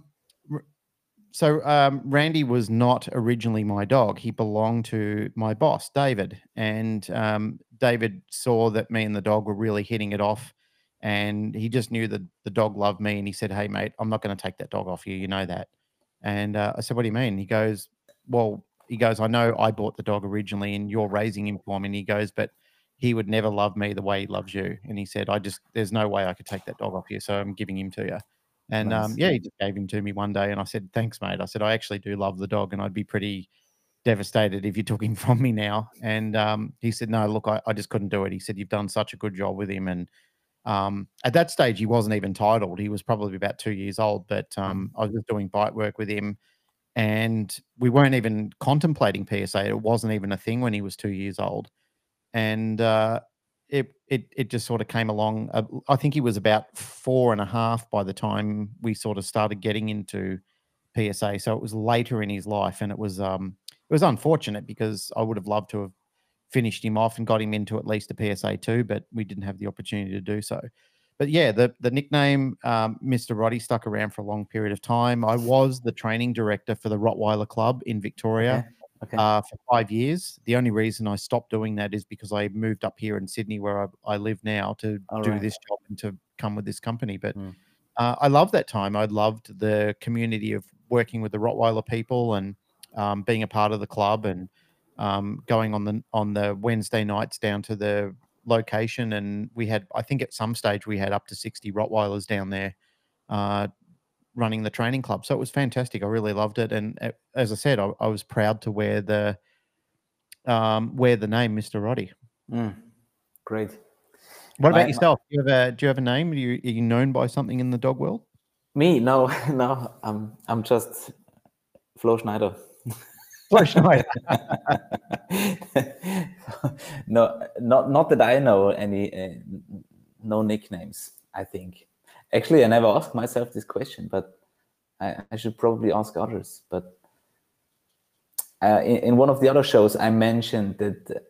Randy was not originally my dog. He belonged to my boss, David. And David saw that me and the dog were really hitting it off. And he just knew that the dog loved me. And he said, "Hey, mate, I'm not going to take that dog off you. You know that." And I said, "What do you mean?" He goes, I know I bought the dog originally and you're raising him for me. And he goes, "But he would never love me the way he loves you." And he said, there's no way I could take that dog off you. So I'm giving him to you. And Nice. he just gave him to me one day, and I said, "Thanks, mate." I said, "I actually do love the dog, and I'd be pretty devastated if you took him from me now." And he said, "No, look, I just couldn't do it." He said, "You've done such a good job with him." And at that stage, he wasn't even titled. He was probably about 2 years old, but I was just doing bite work with him, and we weren't even contemplating PSA. It wasn't even a thing when he was 2 years old. And it just sort of came along. I think he was about 4.5 by the time we sort of started getting into PSA. So it was later in his life, and it was unfortunate because I would have loved to have finished him off and got him into at least a PSA 2, but we didn't have the opportunity to do so. But yeah, the nickname Mr. Roddy stuck around for a long period of time. I was the training director for the Rottweiler Club in Victoria. Okay. For 5 years. The only reason I stopped doing that is because I moved up here in Sydney, where I live now, to do this job and to come with this company. But I loved that time. I loved the community of working with the Rottweiler people and being a part of the club and going on the Wednesday nights down to the location. And we had, I think at some stage, we had up to 60 Rottweilers down there running the training club. So it was fantastic. I really loved it. And as I said, I was proud to wear the name Mr. Roddy. Great. What about yourself? Do you have a name? Are you known by something in the dog world? Me? No. I'm just Flo Schneider. Flo Schneider. No, not that I know any, no nicknames, I think. Actually, I never asked myself this question, but I should probably ask others. But in one of the other shows, I mentioned that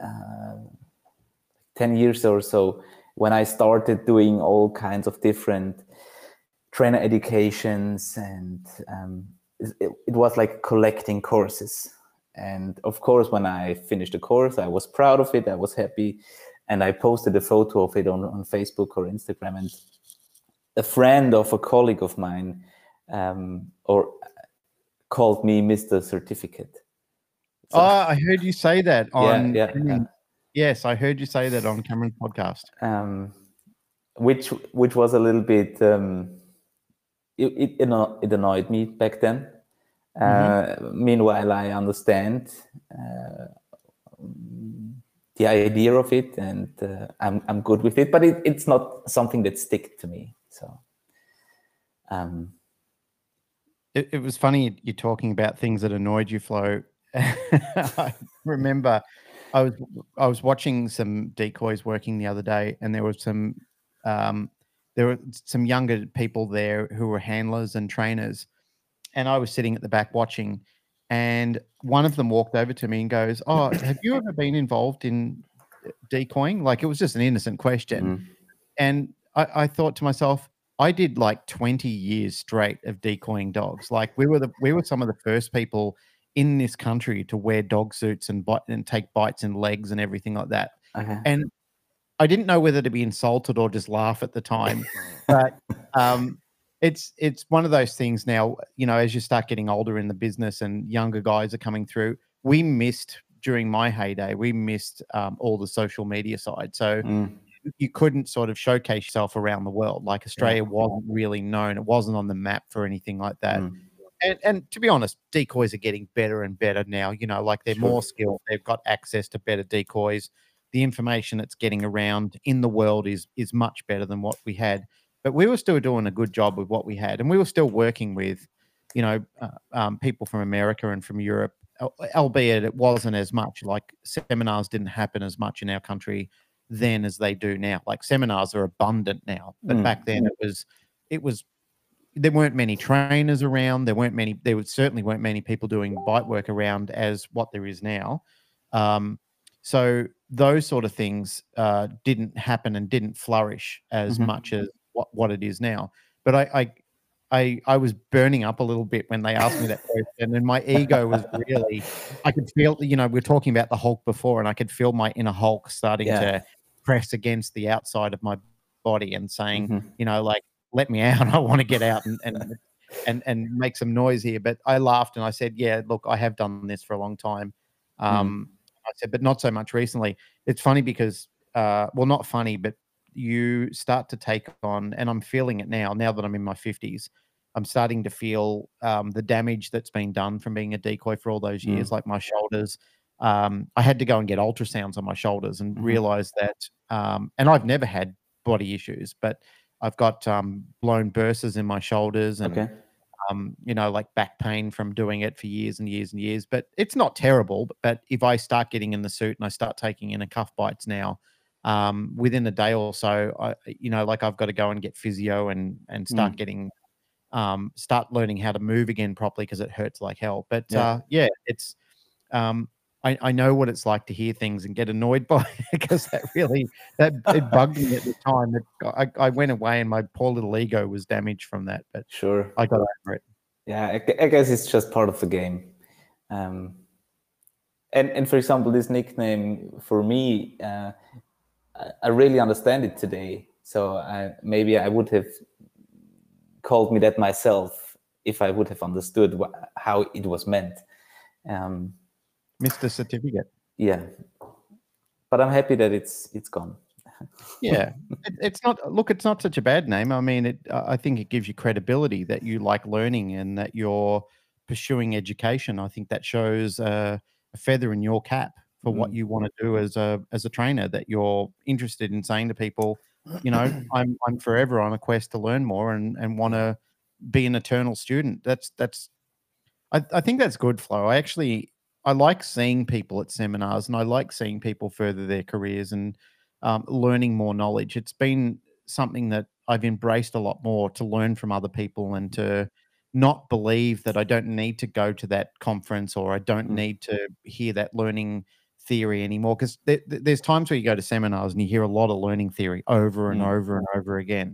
10 years or so, when I started doing all kinds of different trainer educations, and it was like collecting courses. And of course, when I finished the course, I was proud of it. I was happy. And I posted a photo of it on Facebook or Instagram. And a friend of a colleague of mine called me Mr. Certificate. So, I heard you say that on yeah. Yes, I heard you say that on Cameron's podcast. Which was a little bit it annoyed me back then. Meanwhile, I understand the idea of it, and I'm good with it. But it's not something that sticks to me. So it was funny you talking about things that annoyed you, Flo. I remember I was watching some decoys working the other day, and there were some younger people there who were handlers and trainers, and I was sitting at the back watching, and one of them walked over to me and goes, "Oh, have you ever been involved in decoying?" Like, it was just an innocent question. And I thought to myself, I did like 20 years straight of decoying dogs. Like, we were some of the first people in this country to wear dog suits and take bites in legs and everything like that. And I didn't know whether to be insulted or just laugh at the time. But it's one of those things now, as you start getting older in the business and younger guys are coming through, we missed, during my heyday, all the social media side. So you couldn't sort of showcase yourself around the world. Like, Australia wasn't really known. It wasn't on the map for anything like that. And to be honest, decoys are getting better and better now. Like, they're more skilled. They've got access to better decoys. The information that's getting around in the world is much better than what we had. But we were still doing a good job with what we had. And we were still working with, people from America and from Europe, albeit it wasn't as much. Like, seminars didn't happen as much in our country then as they do now. Like, seminars are abundant now. But back then it was there weren't many trainers around. There certainly weren't many people doing bite work around as what there is now. So those sort of things didn't happen and didn't flourish as much as what it is now. But I was burning up a little bit when they asked me that question, and my ego was really, I could feel, we were talking about the Hulk before, and I could feel my inner Hulk starting to press against the outside of my body and saying, like, let me out. I want to get out and make some noise here. But I laughed and I said, yeah, look, I have done this for a long time. I said, but not so much recently. It's funny because, well, not funny, but you start to take on, and I'm feeling it now that I'm in my 50s, I'm starting to feel the damage that's been done from being a decoy for all those years, like my shoulders. I had to go and get ultrasounds on my shoulders and realize that, and I've never had body issues, but I've got blown burses in my shoulders and, like back pain from doing it for years and years and years. But it's not terrible. But if I start getting in the suit and I start taking in a cuff bites now, within a day or so, I've got to go and get physio and start getting, start learning how to move again properly because it hurts like hell. But it's, I know what it's like to hear things and get annoyed by it because it bugged me at the time. I went away and my poor little ego was damaged from that. But sure, I got over it. Yeah, I guess it's just part of the game. And for example, this nickname for me, I really understand it today. So maybe I would have called me that myself if I would have understood how it was meant. Mr. Certificate. Yeah, but I'm happy that it's gone. Yeah, it's not such a bad name. I mean, I think it gives you credibility that you like learning and that you're pursuing education. I think that shows a feather in your cap for what you want to do as a trainer. That you're interested in saying to people, I'm forever on a quest to learn more and want to be an eternal student. I think that's good, Flo. I like seeing people at seminars and I like seeing people further their careers and learning more knowledge. It's been something that I've embraced a lot more, to learn from other people and to not believe that I don't need to go to that conference or I don't need to hear that learning theory anymore. Because there's times where you go to seminars and you hear a lot of learning theory over and over and over again.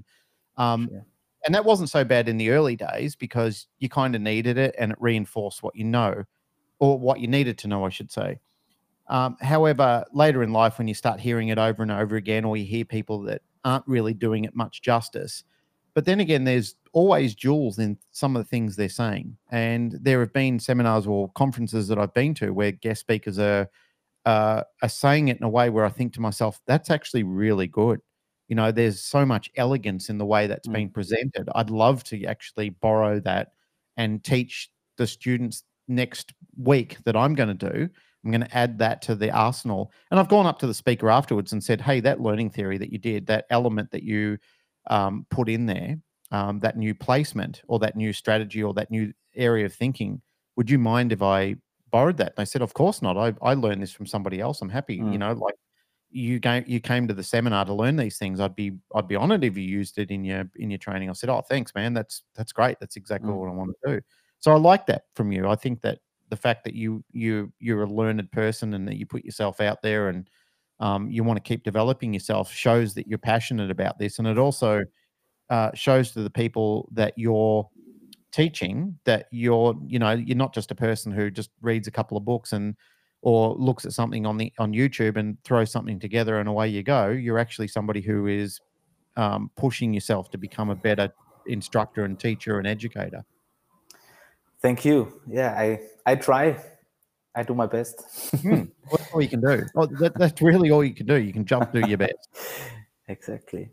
And that wasn't so bad in the early days because you kind of needed it and it reinforced what you know, or what you needed to know, I should say. However, later in life, when you start hearing it over and over again, or you hear people that aren't really doing it much justice, but then again, there's always jewels in some of the things they're saying. And there have been seminars or conferences that I've been to where guest speakers are saying it in a way where I think to myself, that's actually really good. There's so much elegance in the way that's being presented. I'd love to actually borrow that and teach the students next week that I'm going to do. I'm going to add that to the arsenal. And I've gone up to the speaker afterwards and said, hey, that learning theory that you did, that element that you put in there, that new placement or that new strategy or that new area of thinking, would you mind if I borrowed that? And I said, of course not. I learned this from somebody else. I'm happy, like you came to the seminar to learn these things. I'd be honored if you used it in your training. I said, oh, thanks, man. That's great. That's exactly what I want to do. So I like that from you. I think that the fact that you're a learned person and that you put yourself out there and you want to keep developing yourself shows that you're passionate about this. And it also shows to the people that you're teaching that you're not just a person who just reads a couple of books or looks at something on YouTube and throws something together and away you go. You're actually somebody who is pushing yourself to become a better instructor and teacher and educator. Thank you. Yeah, I try. I do my best. That's all you can do. Oh, that's really all you can do. You can do your best. Exactly.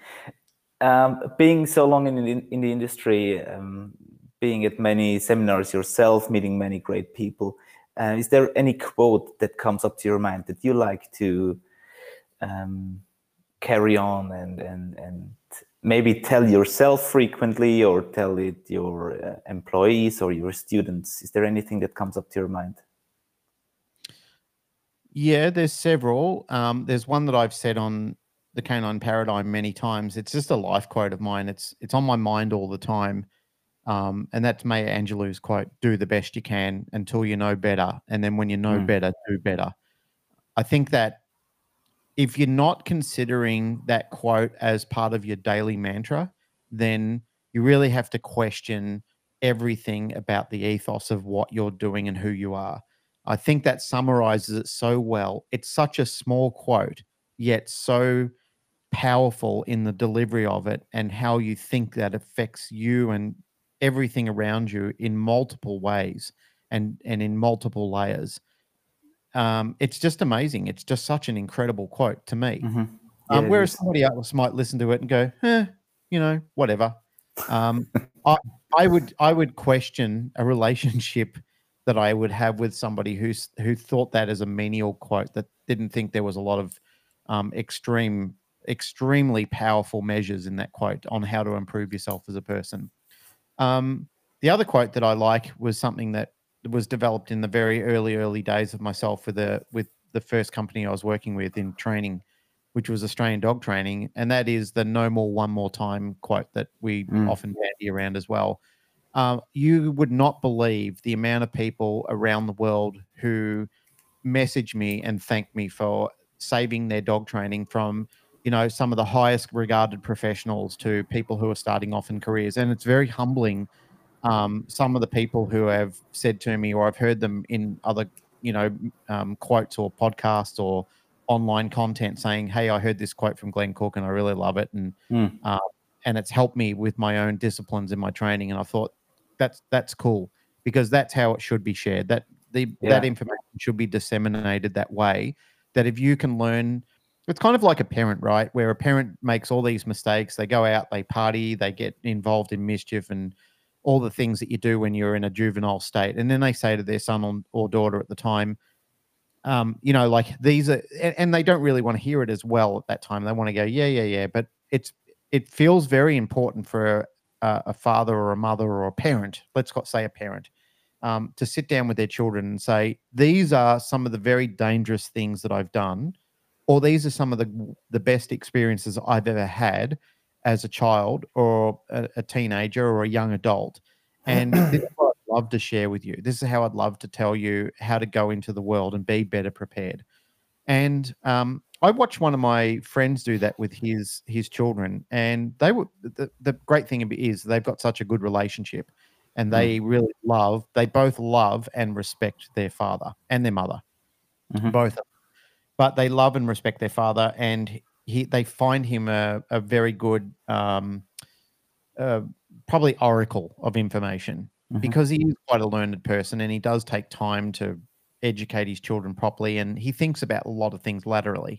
Being so long in the industry, being at many seminars yourself, meeting many great people, is there any quote that comes up to your mind that you like to carry on and maybe tell yourself frequently or tell it your employees or your students? Is there anything that comes up to your mind? Yeah, there's several. There's one that I've said on the Canine Paradigm many times. It's just a life quote of mine. It's on my mind all the time. And that's Maya Angelou's quote, do the best you can until you know better. And then when you know better, do better. I think that if you're not considering that quote as part of your daily mantra, then you really have to question everything about the ethos of what you're doing and who you are. I think that summarizes it so well. It's such a small quote, yet so powerful in the delivery of it and how you think that affects you and everything around you in multiple ways and in multiple layers. It's just amazing. It's just such an incredible quote to me. Yeah, it Whereas is. somebody else might listen to it and go, whatever. Um, I, I would question a relationship that I would have with somebody who thought that as a menial quote, that didn't think there was a lot of extremely powerful measures in that quote on how to improve yourself as a person. The other quote that I like was something that was developed in the very early days of myself with the first company I was working with in training, which was Australian Dog Training, and that is the "No more, one more time" quote that we often bandy around as well. You would not believe the amount of people around the world who message me and thank me for saving their dog training from some of the highest regarded professionals to people who are starting off in careers, and it's very humbling. Some of the people who have said to me, or I've heard them in other quotes or podcasts or online content saying, hey, I heard this quote from Glenn Cook and I really love it, and it's helped me with my own disciplines in my training. And I thought that's cool, because that's how it should be shared. That information should be disseminated that way, that if you can learn, it's kind of like a parent, right? Where a parent makes all these mistakes, they go out, they party, they get involved in mischief and all the things that you do when you're in a juvenile state. And then they say to their son or daughter at the time, like these are, and they don't really want to hear it as well at that time. They want to go, yeah. But it feels very important for a father or a mother or a parent, let's say a parent, to sit down with their children and say, these are some of the very dangerous things that I've done, or these are some of the best experiences I've ever had as a child or a teenager or a young adult. And this is what I'd love to share with you. This is how I'd love to tell you how to go into the world and be better prepared. And I watched one of my friends do that with his children, and they were the great thing is they've got such a good relationship, and they both love and respect their father and their mother, both. But they love and respect their father, and they find him a very good, probably oracle of information, because he is quite a learned person, and he does take time to educate his children properly, and he thinks about a lot of things laterally.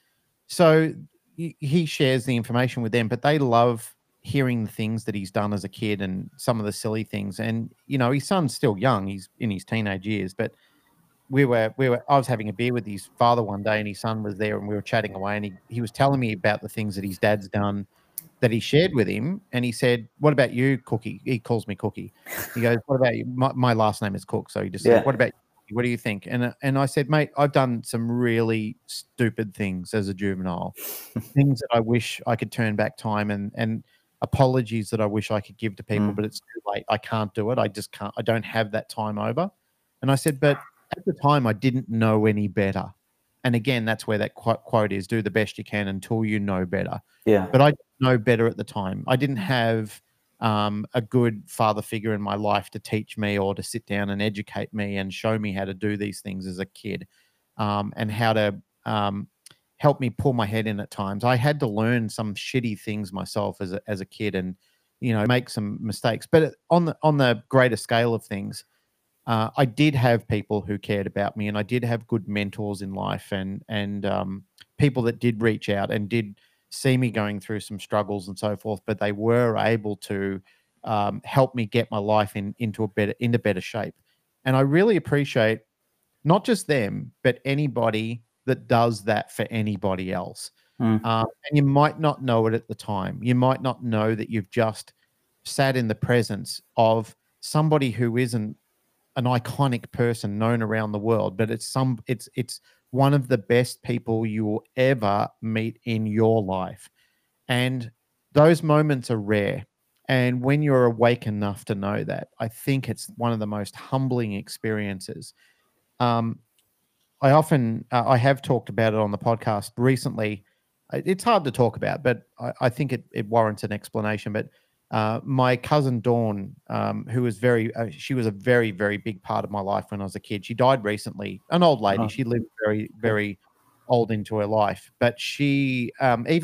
So he shares the information with them, but they love hearing the things that he's done as a kid and some of the silly things. And his son's still young; he's in his teenage years, but I was having a beer with his father one day, and his son was there, and we were chatting away, and he was telling me about the things that his dad's done that he shared with him. And he said, what about you, Cookie? He calls me Cookie. He goes, what about you? My last name is Cook. So he just said, what about you? What do you think? And I said, mate, I've done some really stupid things as a juvenile, things that I wish I could turn back time, and apologies that I wish I could give to people, but it's too late. I can't do it. I just can't. I don't have that time over. And I said, but at the time, I didn't know any better. And again, that's where that quote is: do the best you can until you know better. Yeah. But I didn't know better at the time. I didn't have a good father figure in my life to teach me or to sit down and educate me and show me how to do these things as a kid, and how to help me pull my head in at times. I had to learn some shitty things myself as a kid, and make some mistakes. But on the greater scale of things, I did have people who cared about me, and I did have good mentors in life, and people that did reach out and did see me going through some struggles and so forth. But they were able to help me get my life into better shape. And I really appreciate not just them, but anybody that does that for anybody else. And you might not know it at the time. You might not know that you've just sat in the presence of somebody who isn't an iconic person known around the world, but it's one of the best people you will ever meet in your life. And those moments are rare. And when you're awake enough to know that, I think it's one of the most humbling experiences. Um, I often, I have talked about it on the podcast recently. It's hard to talk about, but I think it warrants an explanation. But my cousin Dawn, who was she was a very, very big part of my life when I was a kid. She died recently, an old lady. Oh, She lived very, okay. very old into her life. But she,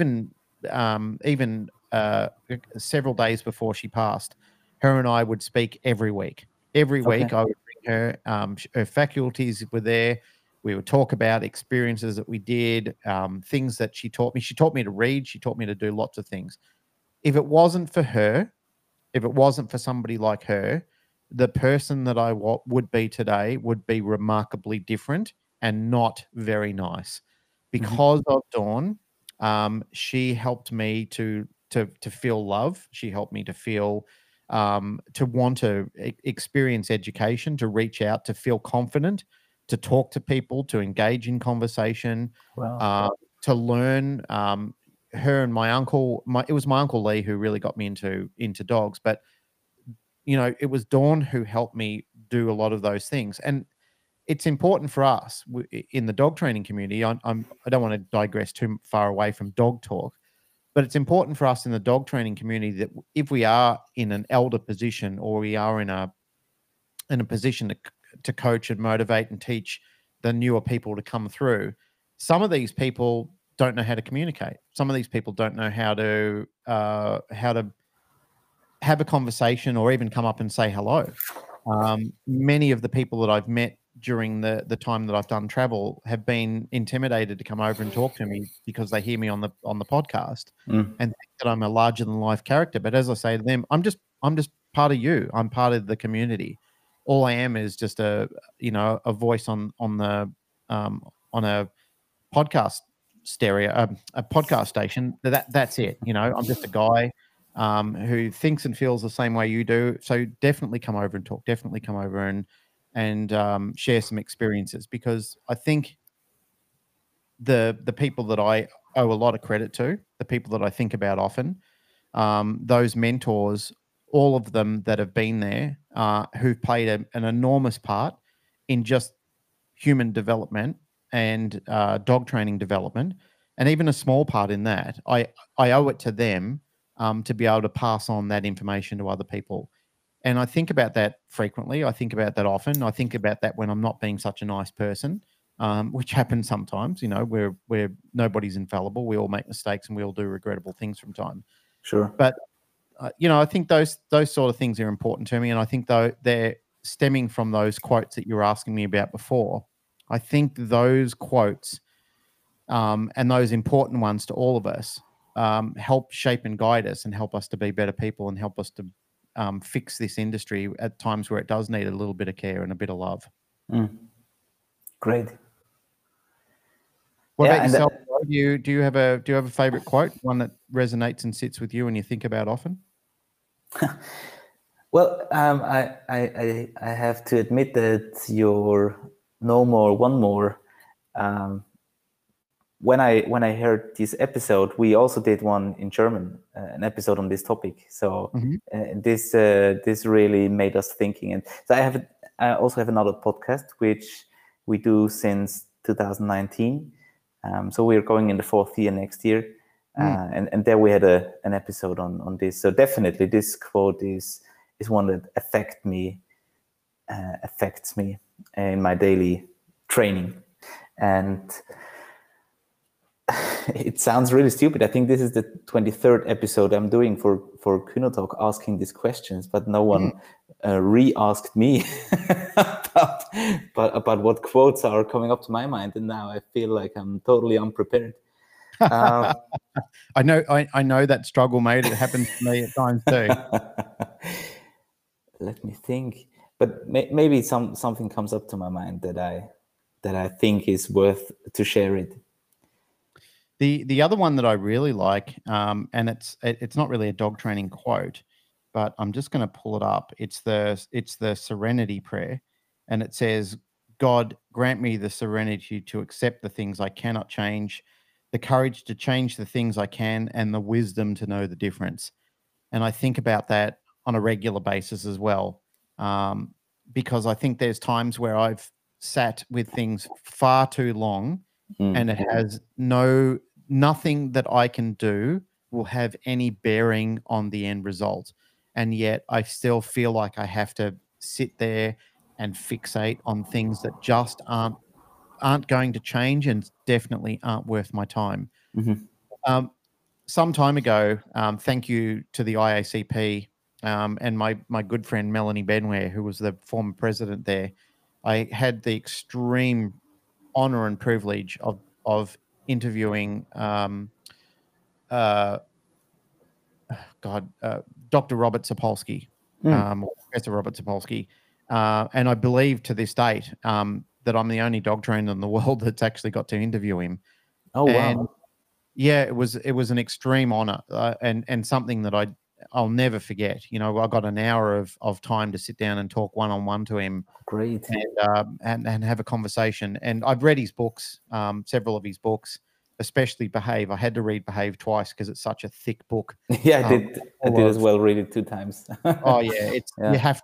even several days before she passed, her and I would speak every week. Every Okay. week, I would bring her. Her faculties were there. We would talk about experiences that we did, things that she taught me. She taught me to read. She taught me to do lots of things. If it wasn't for her, if it wasn't for somebody like her, the person that I would be today would be remarkably different and not very nice. Because of Dawn, she helped me to feel love. She helped me to feel to want to experience education, to reach out, to feel confident, to talk to people, to engage in conversation, Wow. to learn. Her and my uncle, it was my uncle Lee who really got me into dogs, but it was Dawn who helped me do a lot of those things. And it's important for us in the dog training community. I don't want to digress too far away from dog talk, but it's important for us in the dog training community that if we are in an elder position or we are in a position to coach and motivate and teach the newer people to come through, some of these people don't know how to communicate. Some of these people don't know how to have a conversation or even come up and say hello. Many of the people that I've met during the time that I've done travel have been intimidated to come over and talk to me because they hear me on the podcast and think that I'm a larger than life character. But as I say to them, I'm just part of you. I'm part of the community. All I am is just a voice on a podcast a podcast station. That's it. I'm just a guy who thinks and feels the same way you do. So definitely come over and talk. Definitely come over and share some experiences, because I think the people that I owe a lot of credit to, the people that I think about often, those mentors, all of them that have been there, who've played an enormous part in just human development and dog training development, and even a small part in that. I owe it to them to be able to pass on that information to other people. And I think about that frequently. I think about that often. I think about that when I'm not being such a nice person, which happens sometimes. Where nobody's infallible. We all make mistakes and we all do regrettable things from time. Sure. But I think those sort of things are important to me, and I think though they're stemming from those quotes that you were asking me about before. I think those quotes and those important ones to all of us help shape and guide us and help us to be better people and help us to fix this industry at times where it does need a little bit of care and a bit of love. Great. What about yourself? Do you have a favorite quote, one that resonates and sits with you and you think about often? Well, I have to admit that your no more, one more. When I heard this episode, we also did one in German, an episode on this topic. So this really made us thinking. And so I also have another podcast which we do since 2019. So we're going in the 4th year next year, and there we had an episode on this. So definitely, this quote is one that affects me in my daily training. And it sounds really stupid. I think this is the 23rd episode I'm doing for Kynotalk, asking these questions, but no one re-asked me about what quotes are coming up to my mind, and now I feel like I'm totally unprepared. I know that struggle, mate. It happens to me at times too. Let me think, but maybe something comes up to my mind that I think is worth to share it. The other one that I really like, and it's not really a dog training quote, but I'm just going to pull it up. It's the Serenity Prayer, and it says, "God, grant me the serenity to accept the things I cannot change, the courage to change the things I can, and the wisdom to know the difference." And I think about that on a regular basis as well, because I think there's times where I've sat with things far too long, and it has nothing that I can do will have any bearing on the end result. And yet I still feel like I have to sit there and fixate on things that just aren't going to change and definitely aren't worth my time. Some time ago, thank you to the IACP and my good friend Melanie Benware, who was the former president there, I had the extreme honor and privilege of interviewing Dr. Robert Sapolsky, Professor Robert Sapolsky, and I believe to this date that I'm the only dog trainer in the world that's actually got to interview him. Oh, and wow. yeah, it was an extreme honor and something that I'll never forget. You know, I got an hour of time to sit down and talk one-on-one to him. Great. And have a conversation. And I've read his books, several of his books, especially Behave. I had to read Behave twice because it's such a thick book. Yeah, I did as well. Read it 2 times. Oh yeah, you have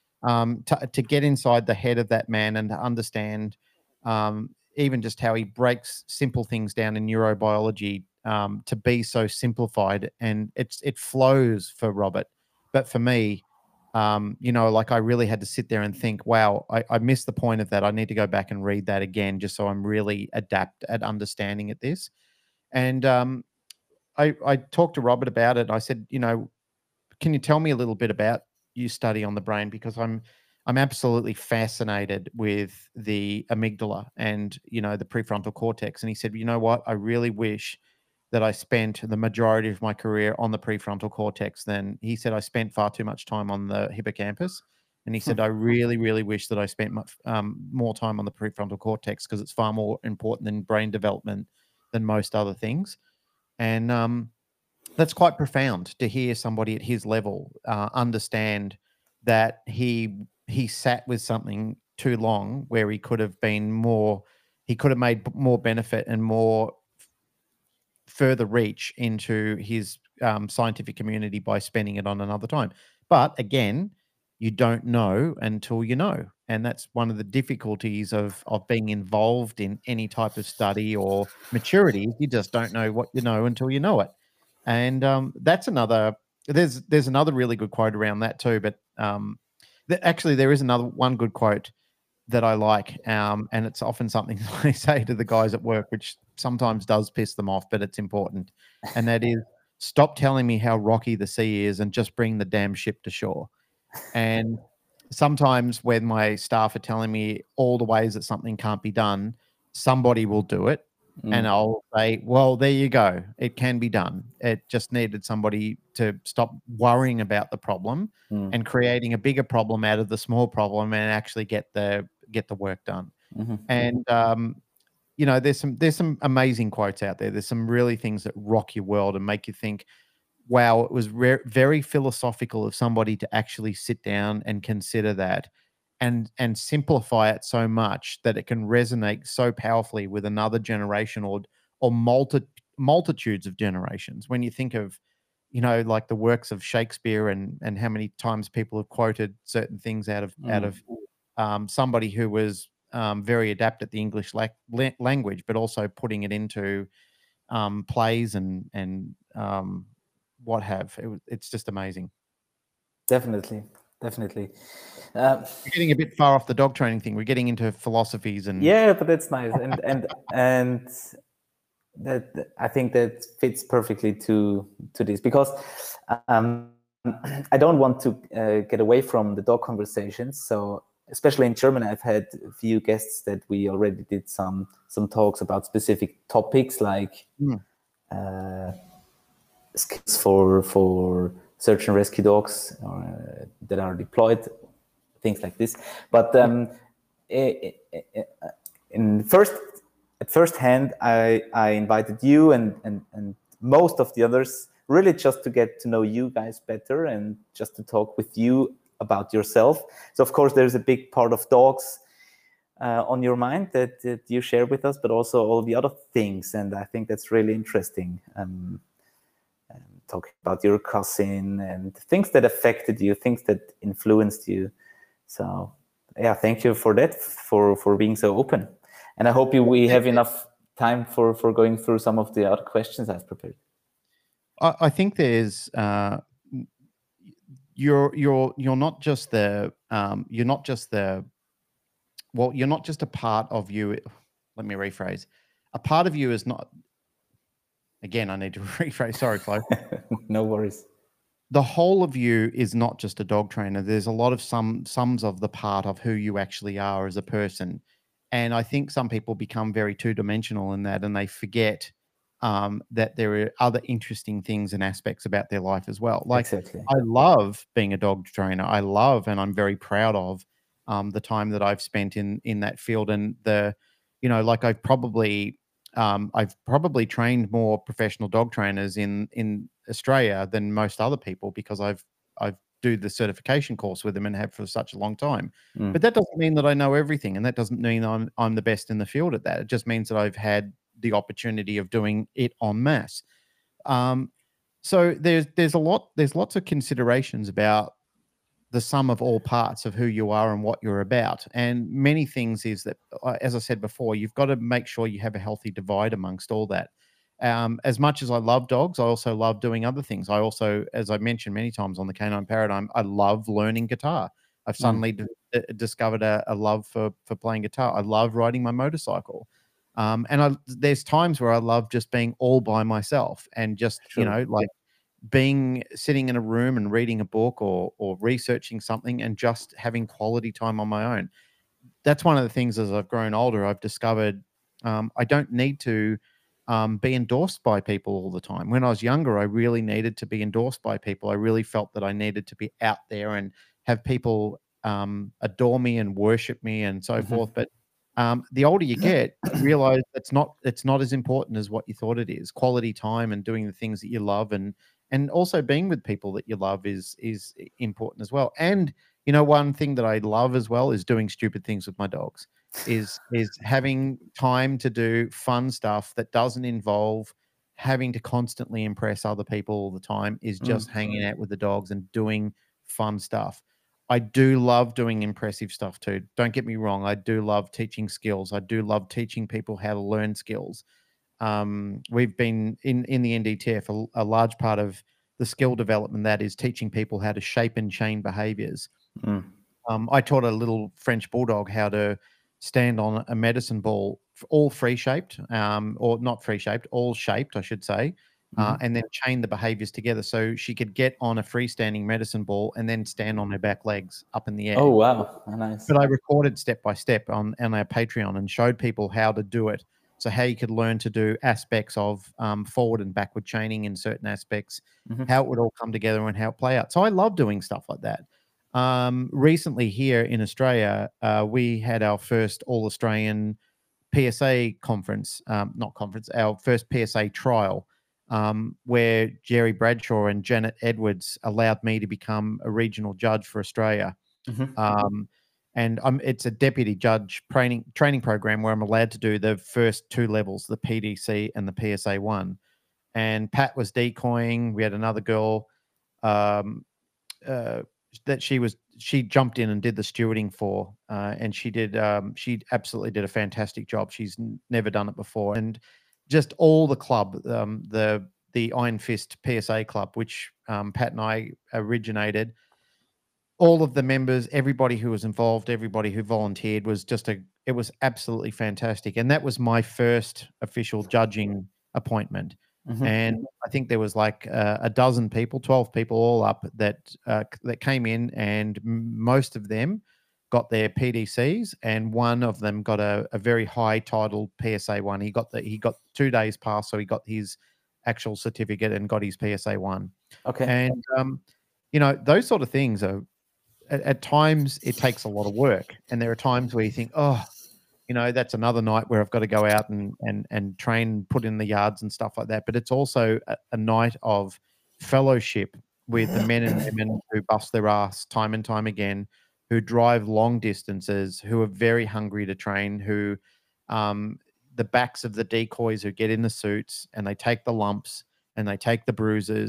to get inside the head of that man and to understand even just how he breaks simple things down in neurobiology to be so simplified, and it flows for Robert. But for me, you know, like I really had to sit there and think, wow, I missed the point of that. I need to go back and read that again just so I'm really adept at understanding at this. And I talked to Robert about it. I said, you know, can you tell me a little bit about your study on the brain? Because I'm absolutely fascinated with the amygdala and, you know, the prefrontal cortex. And he said, you know what? I really wish that I spent the majority of my career on the prefrontal cortex. Then he said, I spent far too much time on the hippocampus. And he said, I really, really wish that I spent more time on the prefrontal cortex because it's far more important in brain development than most other things. And that's quite profound to hear somebody at his level understand that he sat with something too long where he could have made more benefit and more further reach into his scientific community by spending it on another time. But again, you don't know until you know. And that's one of the difficulties of being involved in any type of study or maturity. You just don't know what you know until you know it. And that's there's another really good quote around that too. But actually, there is one good quote that I like, and it's often something I say to the guys at work, which sometimes does piss them off, but it's important. And that is, stop telling me how rocky the sea is and just bring the damn ship to shore. And sometimes when my staff are telling me all the ways that something can't be done, somebody will do it. And I'll say, well, there you go. It can be done. It just needed somebody to stop worrying about the problem and creating a bigger problem out of the small problem and actually get the work done. And you know, there's some amazing quotes out there. There's some really things that rock your world and make you think, wow, it was very philosophical of somebody to actually sit down and consider that and simplify it so much that it can resonate so powerfully with another generation or multitudes of generations. When you think of, you know, like the works of Shakespeare and how many times people have quoted certain things out of somebody who was very adept at the English language, but also putting it into plays and what have. It's just amazing. Definitely. We're getting a bit far off the dog training thing. We're getting into philosophies and yeah, but that's nice, and that I think that fits perfectly to this, because I don't want to get away from the dog conversations. So especially in German, I've had a few guests that we already did some talks about specific topics like skills for search and rescue dogs that are deployed, things like this. But at first hand, I invited you and most of the others really just to get to know you guys better and just to talk with you about yourself. So of course there's a big part of dogs on your mind that you share with us, but also all the other things. And I think that's really interesting talking about your cousin and things that affected you, things that influenced you. So yeah, thank you for that, for being so open. And I hope we have enough time for going through some of the other questions I've prepared. I think there's you're not just the you're not just the well, you're not just a part of you. Let me rephrase. A part of you is not. Again, I need to rephrase. Sorry, Flo. No worries. The whole of you is not just a dog trainer. There's a lot of sums of the part of who you actually are as a person. And I think some people become very two-dimensional in that, and they forget that there are other interesting things and aspects about their life as well. Like, Exactly. I love being a dog trainer. I love, and I'm very proud of the time that I've spent in that field. And like I've probably trained more professional dog trainers in Australia than most other people, because I've do the certification course with them and have for such a long time. But that doesn't mean that I know everything, and that doesn't mean I'm the best in the field at that. It just means that I've had the opportunity of doing it en masse. So there's lots of considerations about the sum of all parts of who you are and what you're about. And many things is that, as I said before, you've got to make sure you have a healthy divide amongst all that. As much as I love dogs, I also love doing other things. I also, as I mentioned many times on the Canine Paradigm, I love learning guitar. I've suddenly discovered a love for playing guitar. I love riding my motorcycle. And there's times where I love just being all by myself and just, like sitting in a room and reading a book or researching something and just having quality time on my own. That's one of the things as I've grown older, I've discovered I don't need to be endorsed by people all the time. When I was younger, I really needed to be endorsed by people. I really felt that I needed to be out there and have people adore me and worship me and so forth. But the older you get, you realize it's not as important as what you thought it is. Quality time and doing the things that you love, and also being with people that you love is important as well. And one thing that I love as well is doing stupid things with my dogs. Is having time to do fun stuff that doesn't involve having to constantly impress other people all the time. Is just hanging out with the dogs and doing fun stuff. I do love doing impressive stuff too. Don't get me wrong. I do love teaching skills. I do love teaching people how to learn skills. We've been in the NDTF, a large part of the skill development that is teaching people how to shape and chain behaviors. I taught a little French bulldog how to stand on a medicine ball, all free shaped, or not free shaped, all shaped, I should say, and then chain the behaviors together so she could get on a freestanding medicine ball and then stand on her back legs up in the air. Oh, wow. Nice. But I recorded step by step on our Patreon and showed people how to do it. So how you could learn to do aspects of forward and backward chaining in certain aspects, how it would all come together and how it play out. So I love doing stuff like that. Recently here in Australia, we had our first All-Australian PSA conference, our first PSA trial, where Jerry Bradshaw and Janet Edwards allowed me to become a regional judge for Australia. And it's a deputy judge training program where I'm allowed to do the first two levels, the PDC and the PSA 1. And Pat was decoying. We had another girl that she jumped in and did the stewarding for, and she absolutely did a fantastic job. She's never done it before. And just all the club, the Iron Fist PSA club, which Pat and I originated, all of the members, everybody who was involved, everybody who volunteered it was absolutely fantastic. And that was my first official judging appointment. And I think there was like a dozen people, 12 people all up that came in, and most of them got their PDCs, and one of them got a very high titled PSA 1. He got 2 days past, so he got his actual certificate and got his PSA 1. Okay. And those sort of things are, at times it takes a lot of work, and there are times where you think, that's another night where I've got to go out and train, put in the yards and stuff like that. But it's also a night of fellowship with the men and women who bust their ass time and time again, who drive long distances, who are very hungry to train, who the backs of the decoys who get in the suits and they take the lumps and they take the bruises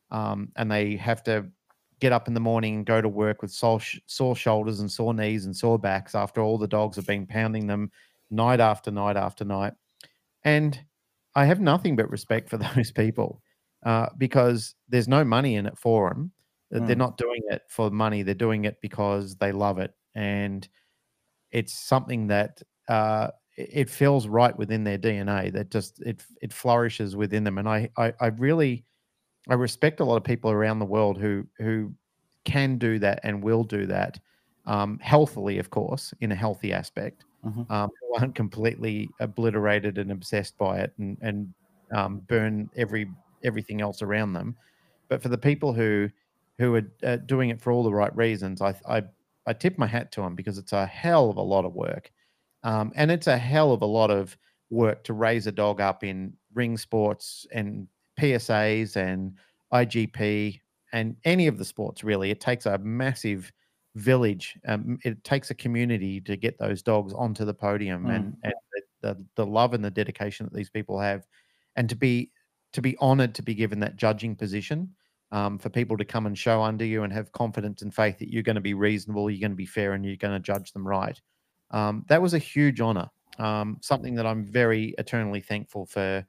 and they have to get up in the morning and go to work with sore shoulders and sore knees and sore backs after all the dogs have been pounding them night after night after night. And I have nothing but respect for those people because there's no money in it for them. They're not doing it for money. They're doing it because they love it. And it's something that it feels right within their DNA, that just it flourishes within them. And I really respect a lot of people around the world who can do that and will do that healthily, of course, in a healthy aspect, who aren't completely obliterated and obsessed by it and burn everything else around them. But for the people who are doing it for all the right reasons, I tip my hat to them, because it's a hell of a lot of work. And it's a hell of a lot of work to raise a dog up in ring sports and PSAs and IGP and any of the sports, really. It takes a massive village. It takes a community to get those dogs onto the podium, and the love and the dedication that these people have, and to be honored to be given that judging position, for people to come and show under you and have confidence and faith that you're going to be reasonable, you're going to be fair, and you're going to judge them right. That was a huge honor. Something that I'm very eternally thankful for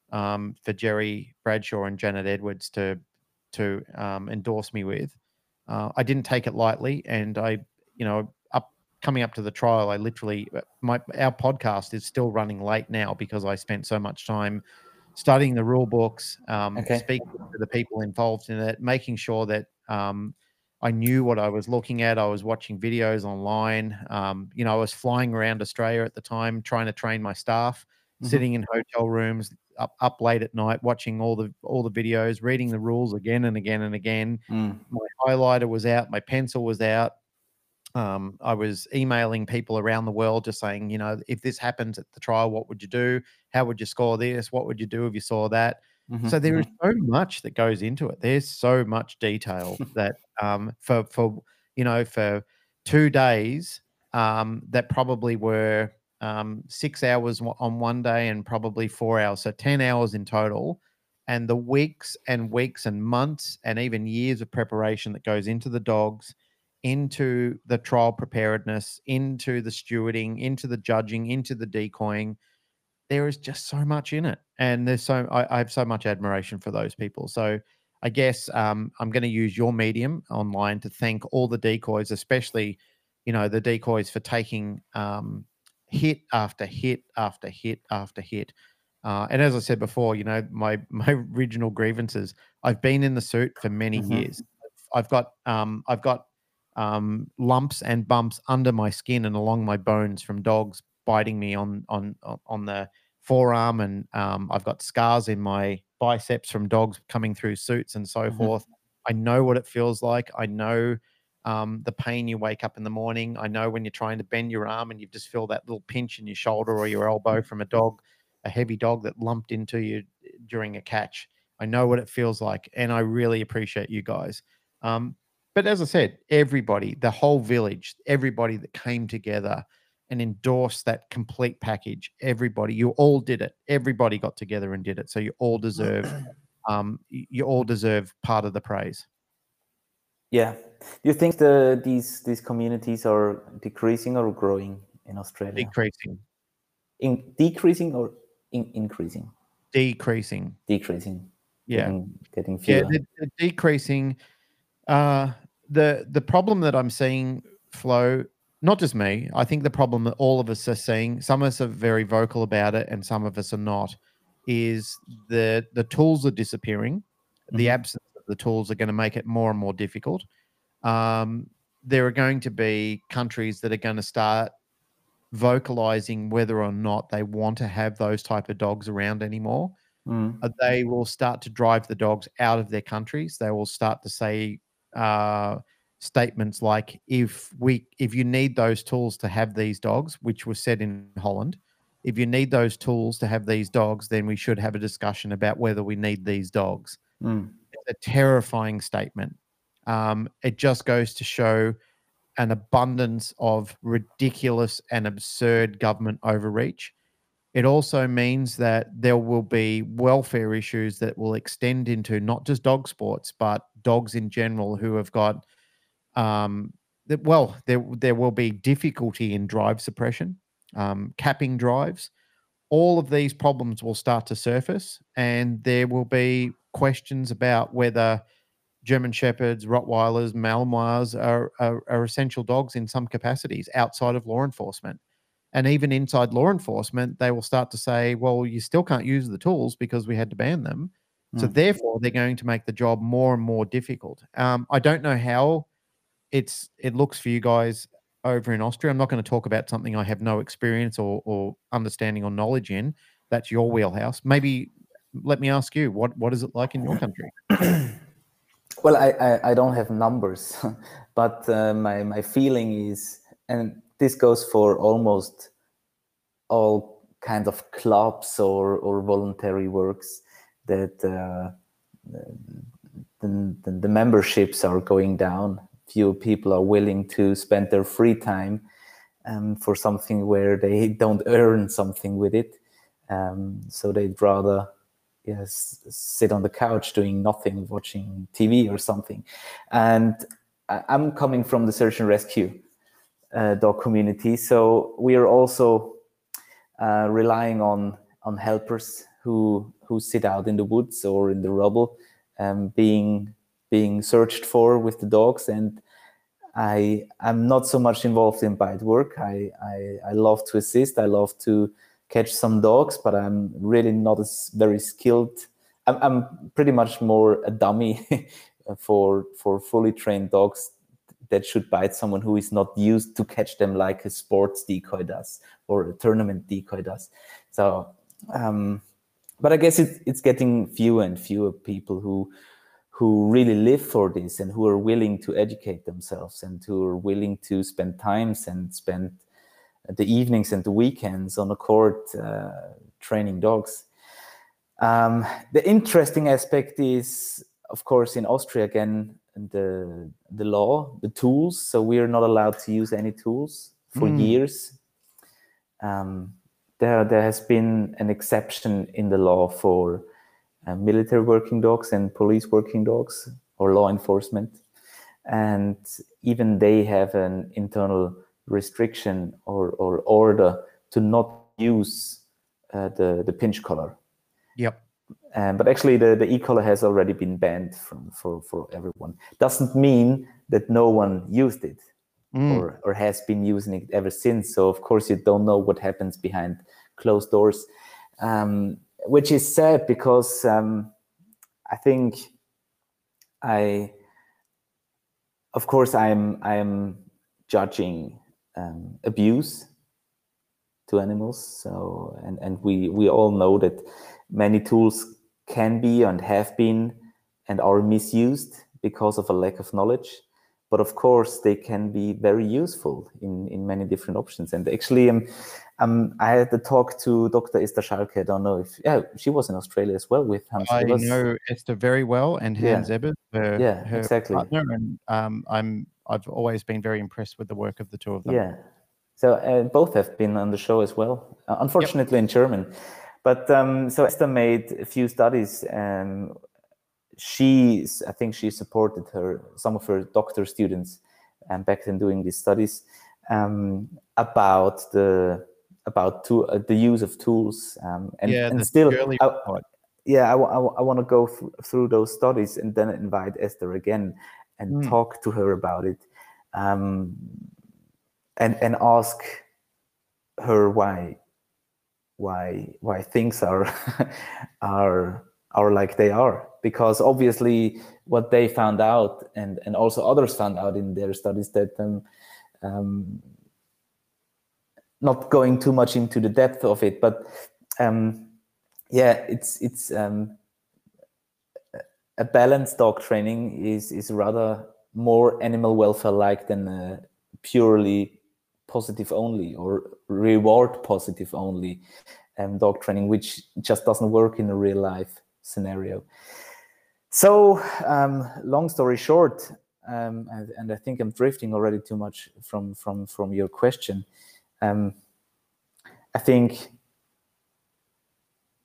Jerry Bradshaw and Janet Edwards to endorse me with. I didn't take it lightly, and coming up to the trial, I literally our podcast is still running late now because I spent so much time studying the rule books, speaking to the people involved in it, making sure that I knew what I was looking at. I was watching videos online. I was flying around Australia at the time, trying to train my staff, sitting in hotel rooms up late at night, watching all the videos, reading the rules again and again and again. My highlighter was out, my pencil was out. I was emailing people around the world, just saying, if this happens at the trial, what would you do? How would you score this? What would you do if you saw that? So there is so much that goes into it. There's so much detail that for 2 days that probably were 6 hours on one day and probably 4 hours, so 10 hours in total, and the weeks and weeks and months and even years of preparation that goes into the dogs, into the trial preparedness, into the stewarding, into the judging, into the decoying. There is just so much in it, and I have so much admiration for those people. So I guess I'm going to use your medium online to thank all the decoys, especially the decoys, for taking hit after hit after hit after hit. And as I said before, my original grievances, I've been in the suit for many years. I've got lumps and bumps under my skin and along my bones from dogs biting me on the forearm, and I've got scars in my biceps from dogs coming through suits and so forth. I know what it feels like. I know the pain you wake up in the morning. I know when you're trying to bend your arm and you just feel that little pinch in your shoulder or your elbow from a heavy dog that lumped into you during a catch. I know what it feels like, and I really appreciate you guys. But as I said, everybody, the whole village, everybody that came together and endorsed that complete package, everybody, you all did it. Everybody got together and did it. So you all deserve part of the praise. Yeah. Do you think these communities are decreasing or growing in Australia? Decreasing. Decreasing or increasing? Decreasing. Decreasing. Yeah. Getting fewer. Yeah, they're decreasing. The problem that I'm seeing, Flo, not just me, I think the problem that all of us are seeing, some of us are very vocal about it and some of us are not, is the tools are disappearing. The absence of the tools are going to make it more and more difficult. There are going to be countries that are going to start vocalizing whether or not they want to have those type of dogs around anymore. They will start to drive the dogs out of their countries. They will start to say statements like, if you need those tools to have these dogs, which was said in Holland, if you need those tools to have these dogs, then we should have a discussion about whether we need these dogs. It's a terrifying statement. It just goes to show an abundance of ridiculous and absurd government overreach. it also means that there will be welfare issues that will extend into not just dog sports, but dogs in general who have got, there will be difficulty in drive suppression, capping drives. All of these problems will start to surface, and there will be questions about whether German Shepherds, Rottweilers, Malinois are essential dogs in some capacities outside of law enforcement. And even inside law enforcement, they will start to say, well, you still can't use the tools because we had to ban them. So therefore, they're going to make the job more and more difficult. I don't know how it looks for you guys over in Austria. I'm not going to talk about something I have no experience or understanding or knowledge in. That's your wheelhouse. Maybe let me ask you, what is it like in your country? Well, I don't have numbers, but my feeling is, and this goes for almost all kinds of clubs or voluntary works, that the memberships are going down. Few people are willing to spend their free time for something where they don't earn something with it. So they'd rather sit on the couch doing nothing, watching TV or something. And I'm coming from the search and rescue dog community, so we are also relying on helpers who sit out in the woods or in the rubble, being searched for with the dogs. And I'm not so much involved in bite work. I love to assist. I love to catch some dogs, but I'm really not as very skilled. I'm pretty much more a dummy for fully trained dogs that should bite someone who is not used to catch them like a sports decoy does or a tournament decoy does. So, but I guess it's getting fewer and fewer people who really live for this and who are willing to educate themselves and who are willing to spend times and spend the evenings and the weekends on a court training dogs. The interesting aspect is, of course, in Austria again, the law, the tools. So we are not allowed to use any tools for years. There has been an exception in the law for military working dogs and police working dogs or law enforcement, and even they have an internal restriction or order to not use the pinch collar. Yep. But actually the e-collar has already been banned for everyone. Doesn't mean that no one used it or has been using it ever since. So of course you don't know what happens behind closed doors, which is sad because I think of course I'm judging abuse to animals. So and we all know that many tools can be and have been and are misused because of a lack of knowledge. But of course, they can be very useful in many different options. And actually, I had the talk to Dr. Esther Schalke. I don't know if she was in Australia as well with Hans Ebers. I know Esther very well, and Hans Ebers, her exactly. partner, and I've always been very impressed with the work of the two of them. Yeah, so both have been on the show as well. Unfortunately, in German. But so Esther made a few studies, and I think she supported some of her doctor students back then doing these studies about the use of tools, and still I want to go through those studies and then invite Esther again and talk to her about it, and ask her why things are like they are, because obviously what they found out and also others found out in their studies that not going too much into the depth of it, but it's a balanced dog training is rather more animal welfare like than purely positive only or reward positive only dog training, which just doesn't work in a real life scenario. So long story short, and I think I'm drifting already too much from your question. I think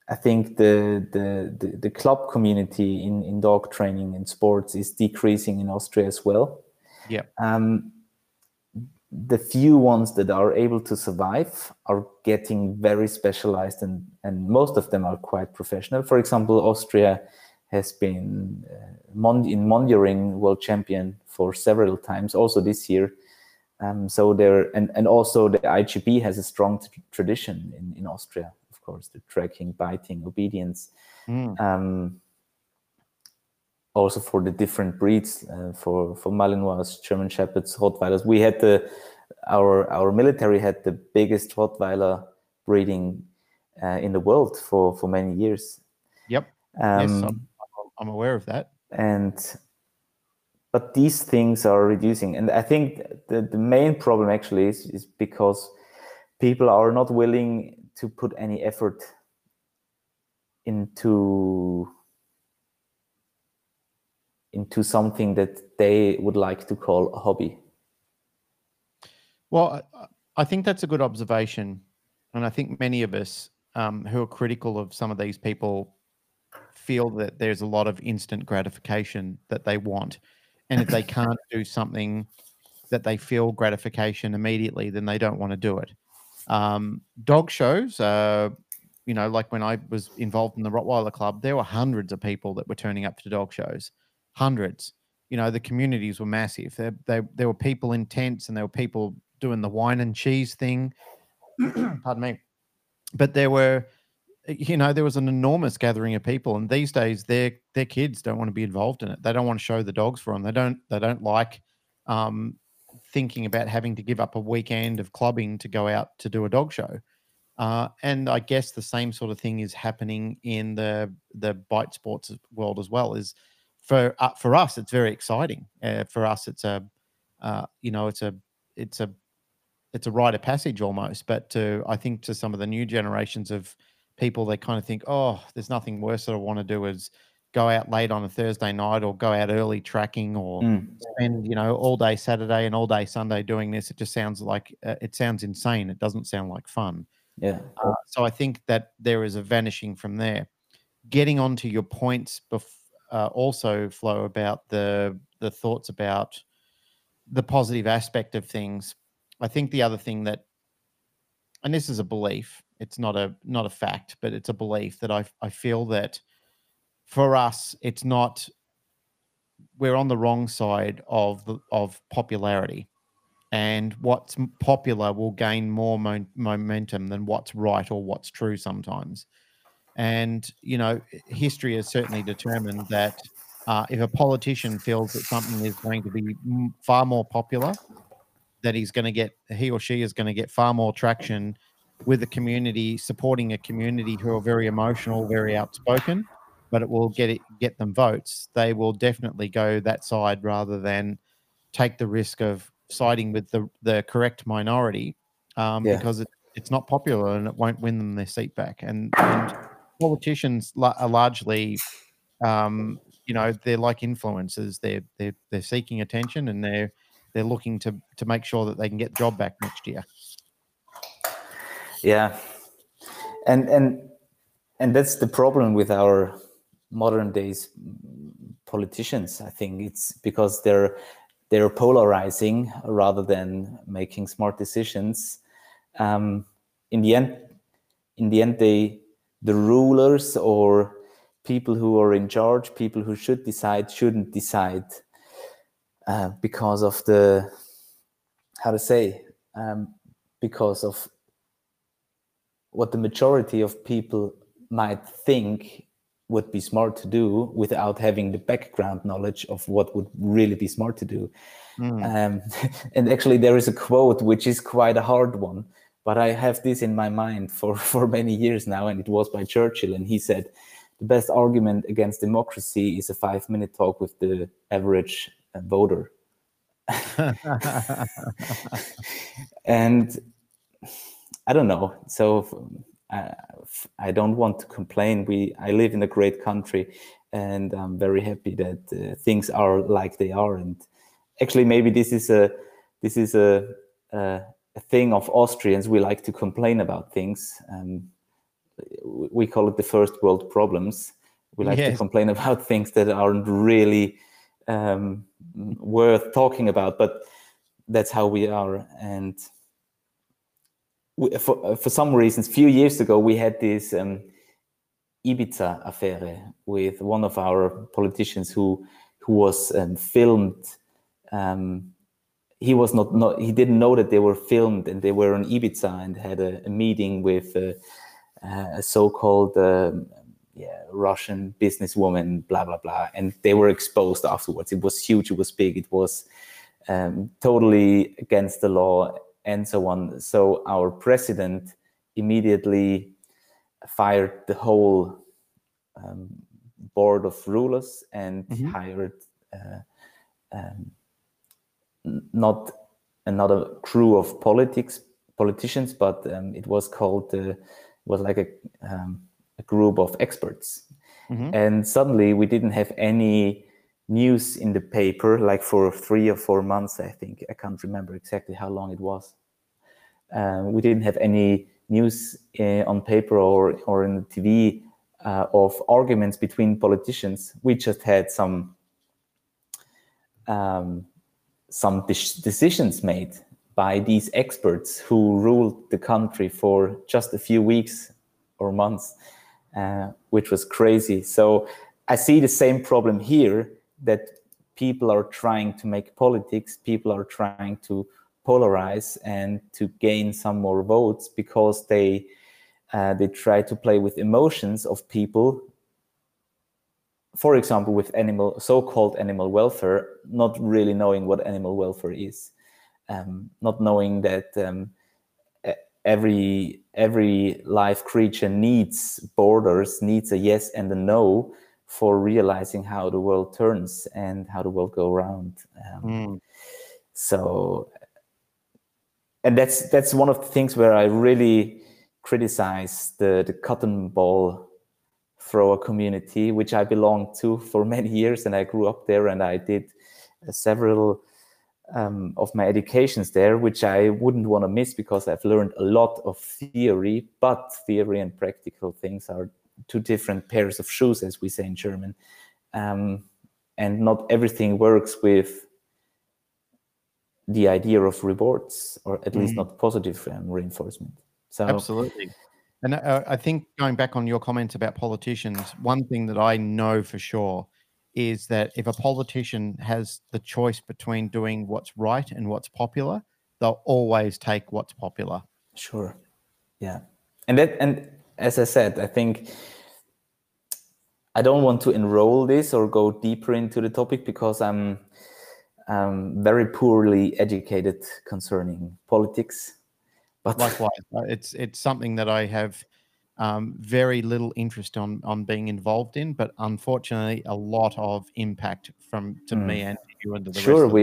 I think the club community in dog training and sports is decreasing in Austria as well. Yeah. The few ones that are able to survive are getting very specialized, and most of them are quite professional. For example, Austria has been in Mondioring world champion for several times, also this year. So there, and also the IGB has a strong tradition in Austria, of course, the tracking, biting, obedience. Also for the different breeds, for Malinois, German Shepherds, Rottweilers. We had our military had the biggest Rottweiler breeding in the world for many years. Yep. Yes, I'm aware of that. But these things are reducing, and I think the main problem actually is because people are not willing to put any effort into something that they would like to call a hobby. Well, I think that's a good observation. And I think many of us who are critical of some of these people feel that there's a lot of instant gratification that they want. And if they can't do something that they feel gratification immediately, then they don't want to do it. Dog shows, like when I was involved in the Rottweiler Club, there were hundreds of people that were turning up to dog shows. Hundreds. The communities were massive. There were people in tents, and there were people doing the wine and cheese thing. Pardon me. But there was an enormous gathering of people, and these days their kids don't want to be involved in it. They don't want to show the dogs for them. They don't like thinking about having to give up a weekend of clubbing to go out to do a dog show. And I guess the same sort of thing is happening in the bite sports world as well. Is for us, it's very exciting. For us, it's a rite of passage almost. But I think to some of the new generations of people, they kind of think, oh, there's nothing worse that I want to do is go out late on a Thursday night or go out early tracking or spend, all day Saturday and all day Sunday doing this. It just sounds like it sounds insane. It doesn't sound like fun. Yeah. So I think that there is a vanishing from there. Getting onto your points also, Flo, about the thoughts about the positive aspect of things. I think the other thing that, and this is a belief, it's not a fact, but it's a belief that I feel that for us, it's not, we're on the wrong side of popularity, and what's popular will gain more momentum than what's right or what's true sometimes. And, history has certainly determined that if a politician feels that something is going to be far more popular, that he or she is going to get far more traction with the community, supporting a community who are very emotional, very outspoken, but it will get them votes. They will definitely go that side rather than take the risk of siding with the correct minority because it's not popular and it won't win them their seat back. And politicians are largely, they're like influencers. They're seeking attention, and they're looking to make sure that they can get the job back next year. Yeah, and that's the problem with our modern days politicians. I think it's because they're polarizing rather than making smart decisions. In the end, the rulers or people who are in charge, people who should decide, shouldn't decide because of because of what the majority of people might think would be smart to do without having the background knowledge of what would really be smart to do. And actually there is a quote which is quite a hard one, but I have this in my mind for many years now, and it was by Churchill, and he said, the best argument against democracy is a 5-minute talk with the average voter. And I don't know. So I don't want to complain. I live in a great country, and I'm very happy that things are like they are. And actually, maybe this is a thing of Austrians. We like to complain about things. we call it the first world problems. We like to complain about things that aren't really worth talking about, but that's how we are. And for some reasons, a few years ago, we had this Ibiza affair with one of our politicians who was filmed. He was not he didn't know that they were filmed, and they were on Ibiza and had a meeting with a so-called Russian businesswoman, blah blah blah, and they were exposed afterwards. It was huge, it was big, it was totally against the law, and so on. So our president immediately fired the whole board of rulers and hired not another crew of politicians, but it was called was like a group of experts. And suddenly we didn't have any news in the paper, like for 3 or 4 months, I think. I can't remember exactly how long it was. We didn't have any news on paper or in the TV of arguments between politicians. We just had some decisions made by these experts who ruled the country for just a few weeks or months, which was crazy. So I see the same problem here, that people are trying to make politics, people are trying to polarize and to gain some more votes because they try to play with emotions of people. For example, with so-called animal welfare, not really knowing what animal welfare is, not knowing that every live creature needs borders, needs a yes and a no for realizing how the world turns and how the world goes around. So, and that's one of the things where I really criticize the cotton ball thrower community, which I belonged to for many years, and I grew up there, and I did several of my educations there, which I wouldn't want to miss because I've learned a lot of theory, but theory and practical things are two different pairs of shoes, as we say in German, and not everything works with the idea of rewards, or at least not positive reinforcement. So absolutely. And I think going back on your comments about politicians, one thing that I know for sure is that if a politician has the choice between doing what's right and what's popular, they'll always take what's popular. Sure. Yeah. And as I said, I think I don't want to enroll this or go deeper into the topic because I'm very poorly educated concerning politics. But likewise, it's something that I have very little interest on being involved in, but unfortunately, a lot of impact to me and to you and to the rest of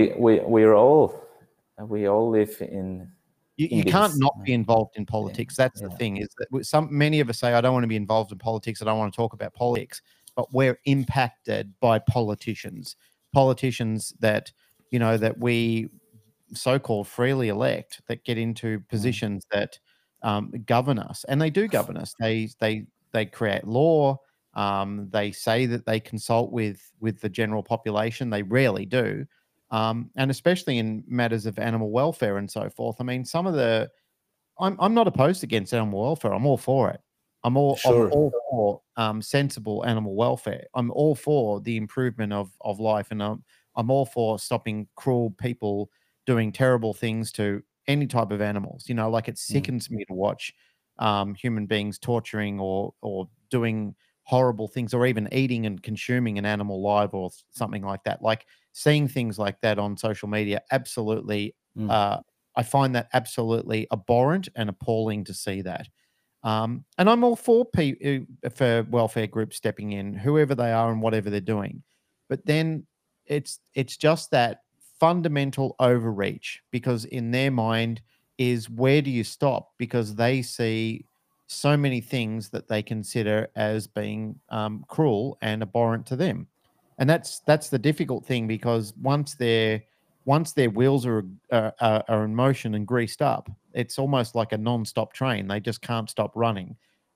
we all live in. You can't not be involved in politics. That's the thing, is that many of us say, I don't want to be involved in politics. I don't want to talk about politics, but we're impacted by politicians that, that we so-called freely elect, that get into positions that govern us, and they do govern us. They create law. They say that they consult with the general population. They rarely do. And especially in matters of animal welfare and so forth. I mean, I'm not opposed against animal welfare. I'm all for it. I'm all for sensible animal welfare. I'm all for the improvement of life, and I'm all for stopping cruel people doing terrible things to any type of animals. Like, it sickens me to watch human beings torturing or doing horrible things, or even eating and consuming an animal live or something like that. Like, seeing things like that on social media, absolutely, I find that absolutely abhorrent and appalling to see that. And I'm all for welfare groups stepping in, whoever they are and whatever they're doing. But then it's just that fundamental overreach, because in their mind is, where do you stop? Because they see so many things that they consider as being cruel and abhorrent to them. And that's the difficult thing, because once their wheels are in motion and greased up, it's almost like a non-stop train. They just can't stop running.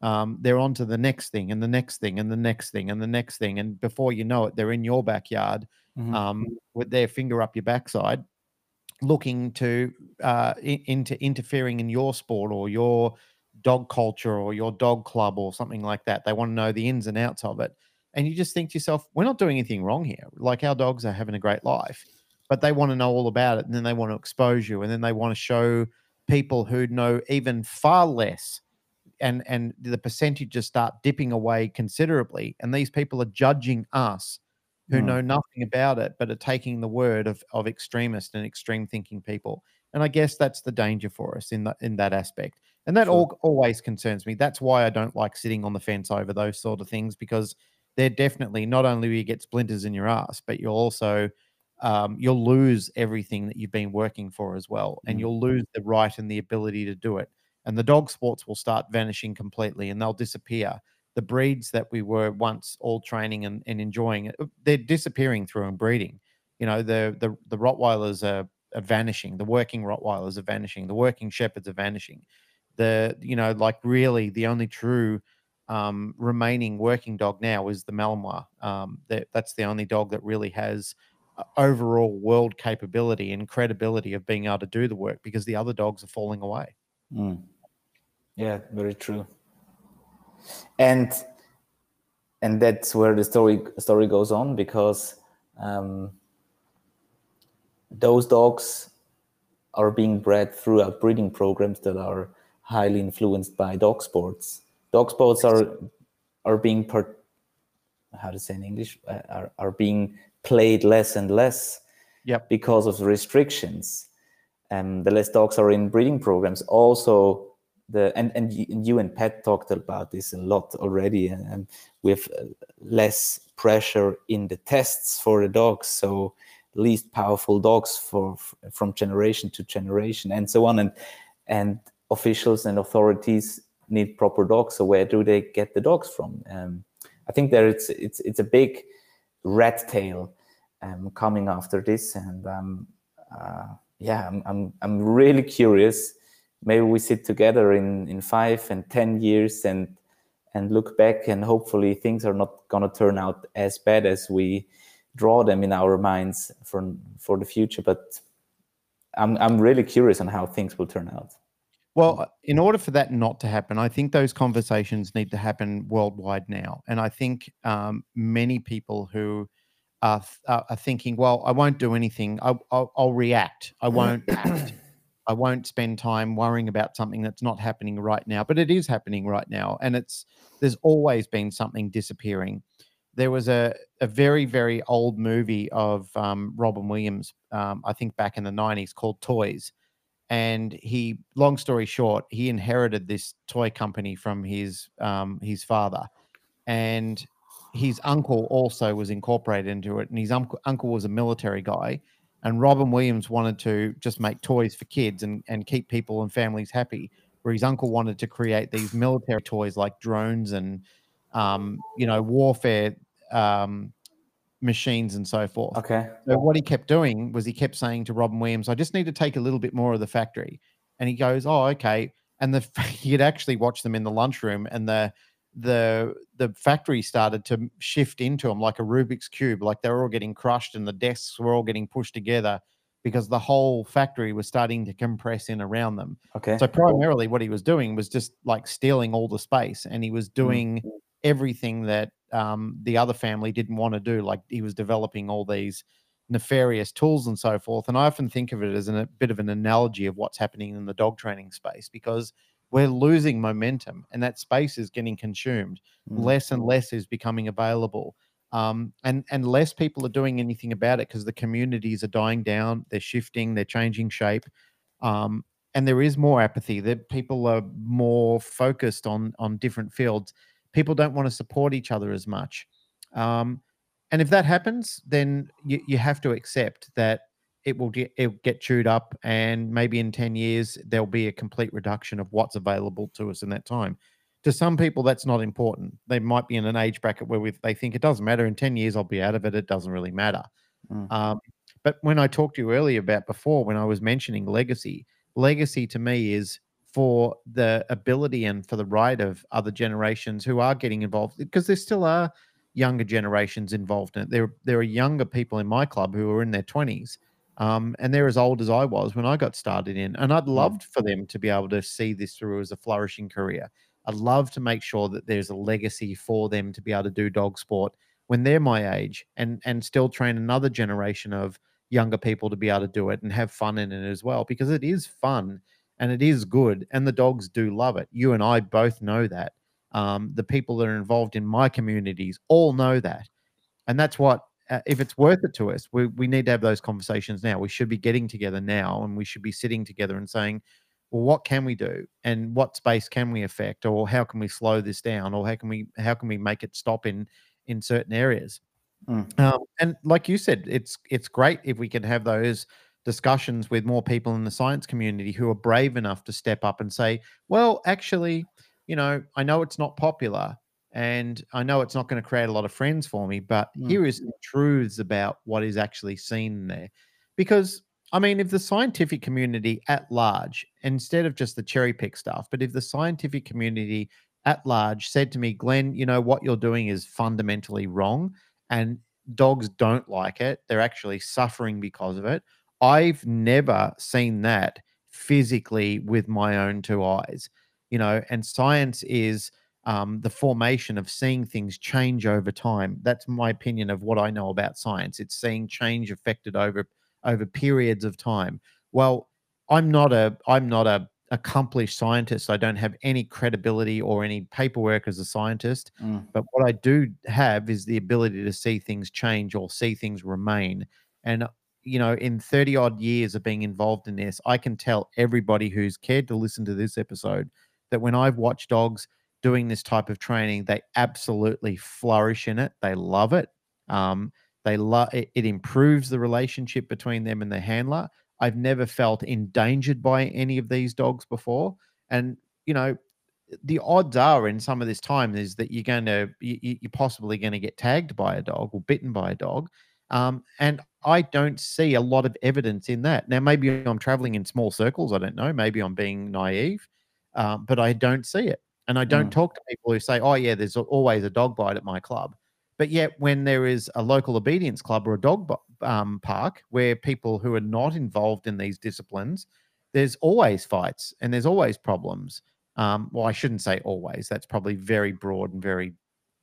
they're on to the next thing and the next thing and the next thing and the next thing. And before you know it, they're in your backyard with their finger up your backside, looking to into interfering in your sport or your dog culture or your dog club or something like that. They want to know the ins and outs of it. And you just think to yourself, we're not doing anything wrong here. Like, our dogs are having a great life, but they want to know all about it. And then they want to expose you. And then they want to show people who know even far less. And the percentages start dipping away considerably. And these people are judging us who know nothing about it, but are taking the word of extremist and extreme thinking people. And I guess that's the danger for us in that aspect. And that always concerns me. That's why I don't like sitting on the fence over those sort of things, because they're definitely, not only will you get splinters in your ass, but you'll also you'll lose everything that you've been working for as well. And you'll lose the right and the ability to do it. And the dog sports will start vanishing completely, and they'll disappear. The breeds that we were once all training and enjoying, they're disappearing through inbreeding. You know, the Rottweilers are vanishing. The working Rottweilers are vanishing. The working Shepherds are vanishing. Like, really the only true remaining working dog now is the Malinois. That's the only dog that really has overall world capability and credibility of being able to do the work, because the other dogs are falling away. Yeah, very true. And that's where the story goes on, because those dogs are being bred throughout breeding programs that are highly influenced by dog sports. Dog sports are being how to say in English, are being played less and less because of the restrictions. The less dogs are in breeding programs. Also, and you and Pat talked about this a lot already, and with less pressure in the tests for the dogs, so least powerful dogs from generation to generation, and so on. And officials and authorities need proper dogs. So where do they get the dogs from? I think it's a big rat tail coming after this, and I'm really curious. Maybe we sit together in 5 and 10 years and look back, and hopefully things are not going to turn out as bad as we draw them in our minds for the future. But I'm really curious on how things will turn out. Well, in order for that not to happen, I think those conversations need to happen worldwide now. And I think many people who are thinking, well, I won't do anything. I'll react. I won't act. I won't spend time worrying about something that's not happening right now, but it is happening right now. And there's always been something disappearing. There was a very, very old movie of Robin Williams, I think back in the 90s, called Toys. And long story short, he inherited this toy company from his father, and his uncle also was incorporated into it. And his uncle was a military guy, and Robin Williams wanted to just make toys for kids and keep people and families happy, where his uncle wanted to create these military toys like drones and warfare machines and so forth. Okay. So what he kept doing was he kept saying to Robin Williams, I just need to take a little bit more of the factory. And he goes, oh, okay. And he'd actually watch them in the lunchroom, and the factory started to shift into him like a Rubik's Cube. Like, they were all getting crushed and the desks were all getting pushed together because the whole factory was starting to compress in around them. Okay. So primarily what he was doing was just like stealing all the space, and he was doing everything that the other family didn't want to do. Like, he was developing all these nefarious tools and so forth. And I often think of it as a bit of an analogy of what's happening in the dog training space, because we're losing momentum and that space is getting consumed. Less and less is becoming available. And less people are doing anything about it because the communities are dying down. They're shifting, they're changing shape. And there is more apathy. That people are more focused on different fields. People don't want to support each other as much. And if that happens, then you have to accept that it'll get chewed up, and maybe in 10 years, there'll be a complete reduction of what's available to us in that time. To some people, that's not important. They might be in an age bracket where they think it doesn't matter. In 10 years, I'll be out of it. It doesn't really matter. But when I talked to you earlier about before, when I was mentioning legacy to me is for the ability and for the right of other generations who are getting involved, because there still are younger generations involved in it. There are younger people in my club who are in their 20s, and they're as old as I was when I got started in. And I'd loved for them to be able to see this through as a flourishing career. I'd love to make sure that there's a legacy for them to be able to do dog sport when they're my age, and still train another generation of younger people to be able to do it and have fun in it as well, because it is fun and it is good, and the dogs do love it. You and I both know that. The people that are involved in my communities all know that, and that's what. If it's worth it to us, we need to have those conversations now. We should be getting together now, and we should be sitting together and saying, well, what can we do, and what space can we affect, or how can we slow this down, or how can we make it stop in certain areas. And like you said, it's great if we can have those discussions with more people in the science community who are brave enough to step up and say, well, actually, I know it's not popular, and I know it's not going to create a lot of friends for me, but here is some truths about what is actually seen there. Because, I mean, if the scientific community at large, instead of just the cherry pick stuff, but if the scientific community at large said to me, Glenn, what you're doing is fundamentally wrong, and dogs don't like it, they're actually suffering because of it. I've never seen that physically with my own two eyes, and science is the formation of seeing things change over time. That's my opinion of what I know about science. It's seeing change affected over periods of time. Well, I'm not a accomplished scientist. I don't have any credibility or any paperwork as a scientist, but what I do have is the ability to see things change or see things remain. And in 30 odd years of being involved in this, I can tell everybody who's cared to listen to this episode that when I've watched dogs doing this type of training, they absolutely flourish in it. They love it. They love it. It improves the relationship between them and the handler. I've never felt endangered by any of these dogs before. And, the odds are in some of this time is that you're possibly going to get tagged by a dog or bitten by a dog. And I don't see a lot of evidence in that. Now, maybe I'm traveling in small circles. I don't know. Maybe I'm being naive, but I don't see it. And I don't talk to people who say, oh, yeah, there's always a dog bite at my club. But yet when there is a local obedience club or a dog park where people who are not involved in these disciplines, there's always fights and there's always problems. Well, I shouldn't say always. That's probably very broad and very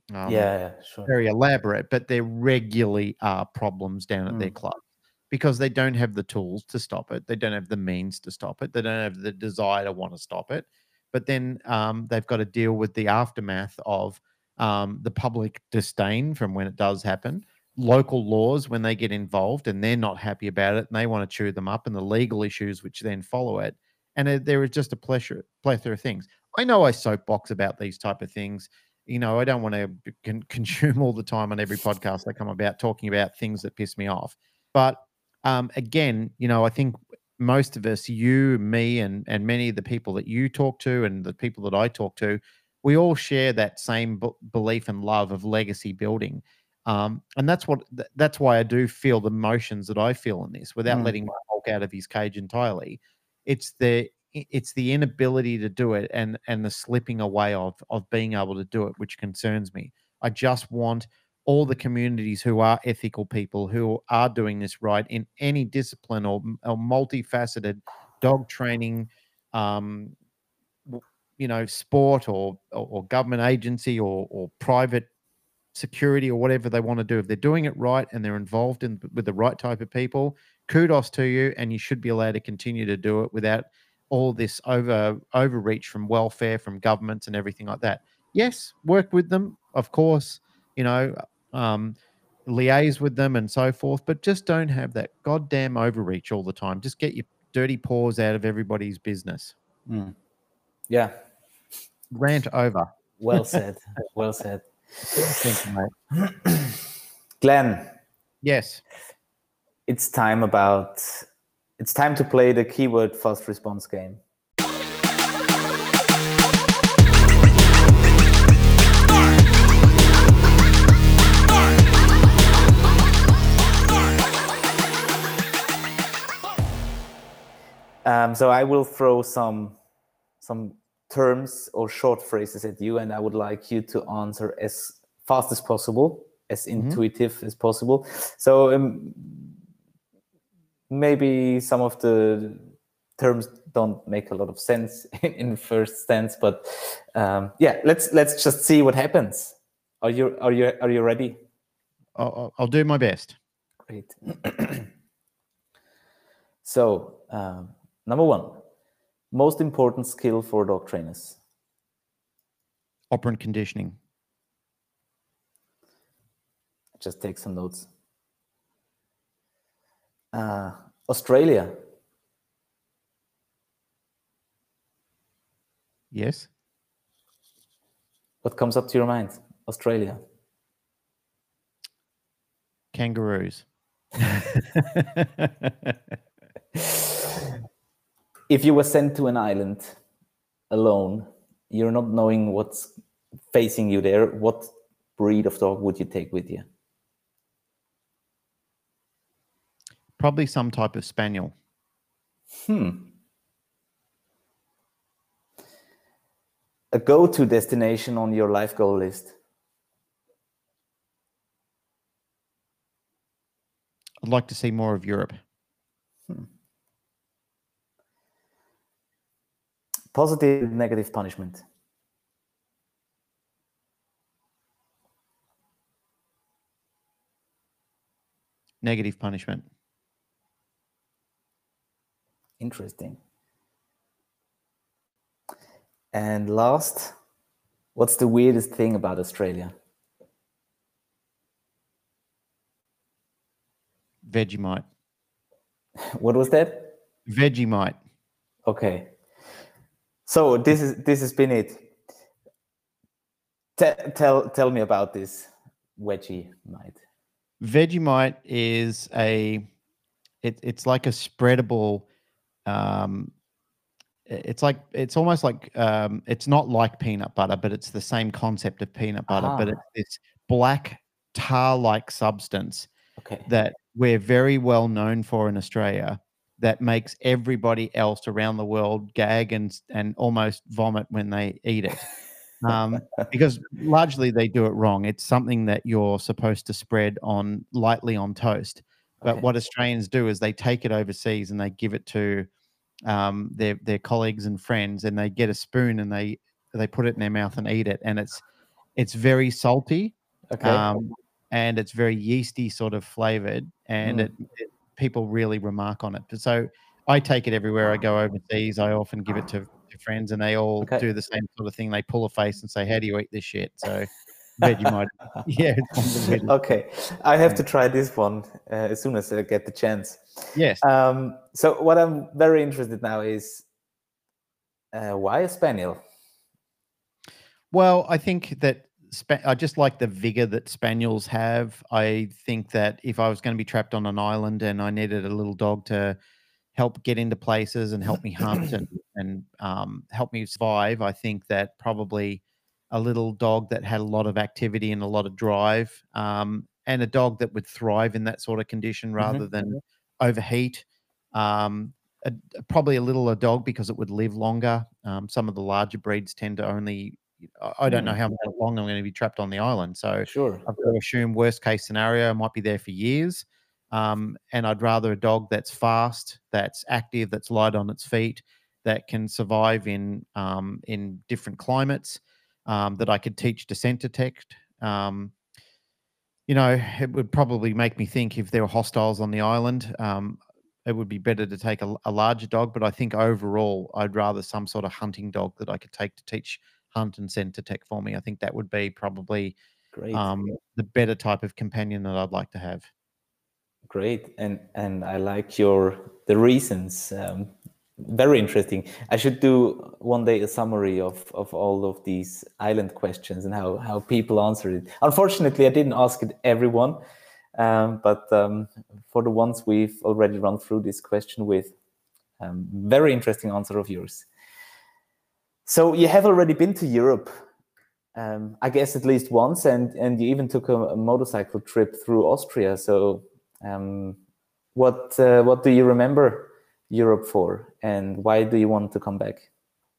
sure. very elaborate, but there regularly are problems down at their club because they don't have the tools to stop it. They don't have the means to stop it. They don't have the desire to want to stop it. But then they've got to deal with the aftermath of the public disdain from when it does happen, local laws when they get involved and they're not happy about it and they want to chew them up, and the legal issues which then follow it. And there is just a plethora of things. I know I soapbox about these type of things. I don't want to consume all the time on every podcast I come about talking about things that piss me off. But again, I think most of us, you, me, and many of the people that you talk to and the people that I talk to, we all share that same belief and love of legacy building. And that's why I do feel the emotions that I feel in this without letting my Hulk out of his cage entirely. It's the inability to do it and the slipping away of being able to do it, which concerns me. I just want all the communities who are ethical people, who are doing this right in any discipline or multifaceted dog training, sport or government agency or private security or whatever they want to do. If they're doing it right and they're involved with the right type of people, kudos to you, and you should be allowed to continue to do it without all this overreach from welfare, from governments and everything like that. Yes, work with them, of course, liaise with them and so forth, but just don't have that goddamn overreach all the time. Just get your dirty paws out of everybody's business. Yeah. Rant over. Well said. Well said. Thank you, mate. Glenn. Yes. It's time to play the keyword fast response game. So I will throw some some terms or short phrases at you, and I would like you to answer as fast as possible, as intuitive as possible. So maybe some of the terms don't make a lot of sense in first stance, but let's just see what happens. Are you ready? I'll do my best. Great. So, number one, most important skill for dog trainers. Operant conditioning. Just take some notes. Australia. Yes. What comes up to your mind? Australia. Kangaroos. If you were sent to an island alone, you're not knowing what's facing you there, what breed of dog would you take with you? Probably some type of spaniel. A go-to destination on your life goal list? I'd like to see more of Europe. Positive, negative punishment? Negative punishment. Interesting. And last, what's the weirdest thing about Australia? Vegemite. What was that? Vegemite. Okay. So this has been it. Tell me about this Vegemite. Vegemite is it's like a spreadable. It's almost like it's not like peanut butter, but it's the same concept of peanut butter. But it's this black tar-like substance that we're very well known for in Australia, that makes everybody else around the world gag and almost vomit when they eat it. Because largely they do it wrong. It's something that you're supposed to spread lightly on toast. But what Australians do is they take it overseas and they give it to their colleagues and friends, and they get a spoon and they put it in their mouth and eat it. And it's very salty. And it's very yeasty sort of flavored, and people really remark on it. So I take it everywhere I go overseas. I often give it to friends, and they all do the same sort of thing. They pull a face and say, "How do you eat this shit?" So Vegemite, yeah. Okay, I have to try this one as soon as I get the chance. Yes. So what I'm very interested now is why a spaniel? Well, I think that I just like the vigor that spaniels have. I think that if I was going to be trapped on an island and I needed a little dog to help get into places and help me hunt and help me survive, I think that probably a little dog that had a lot of activity and a lot of drive, and a dog that would thrive in that sort of condition rather than overheat. Probably a dog because it would live longer. Some of the larger breeds tend to only, I don't know how long I'm going to be trapped on the island. So I've got to assume worst case scenario, I might be there for years. And I'd rather a dog that's fast, that's active, that's light on its feet, that can survive in different climates, that I could teach descent detect. It would probably make me think if there were hostiles on the island, it would be better to take a larger dog. But I think overall, I'd rather some sort of hunting dog that I could take to teach hunt and scent detect for me. I think that would be probably the better type of companion that I'd like to have. Great, and I like the reasons. Very interesting. I should do one day a summary of all of these island questions and how people answer it. Unfortunately, I didn't ask it everyone, but for the ones we've already run through this question with, very interesting answer of yours. So you have already been to Europe, I guess at least once, and you even took a motorcycle trip through Austria. So what do you remember Europe for, and why do you want to come back?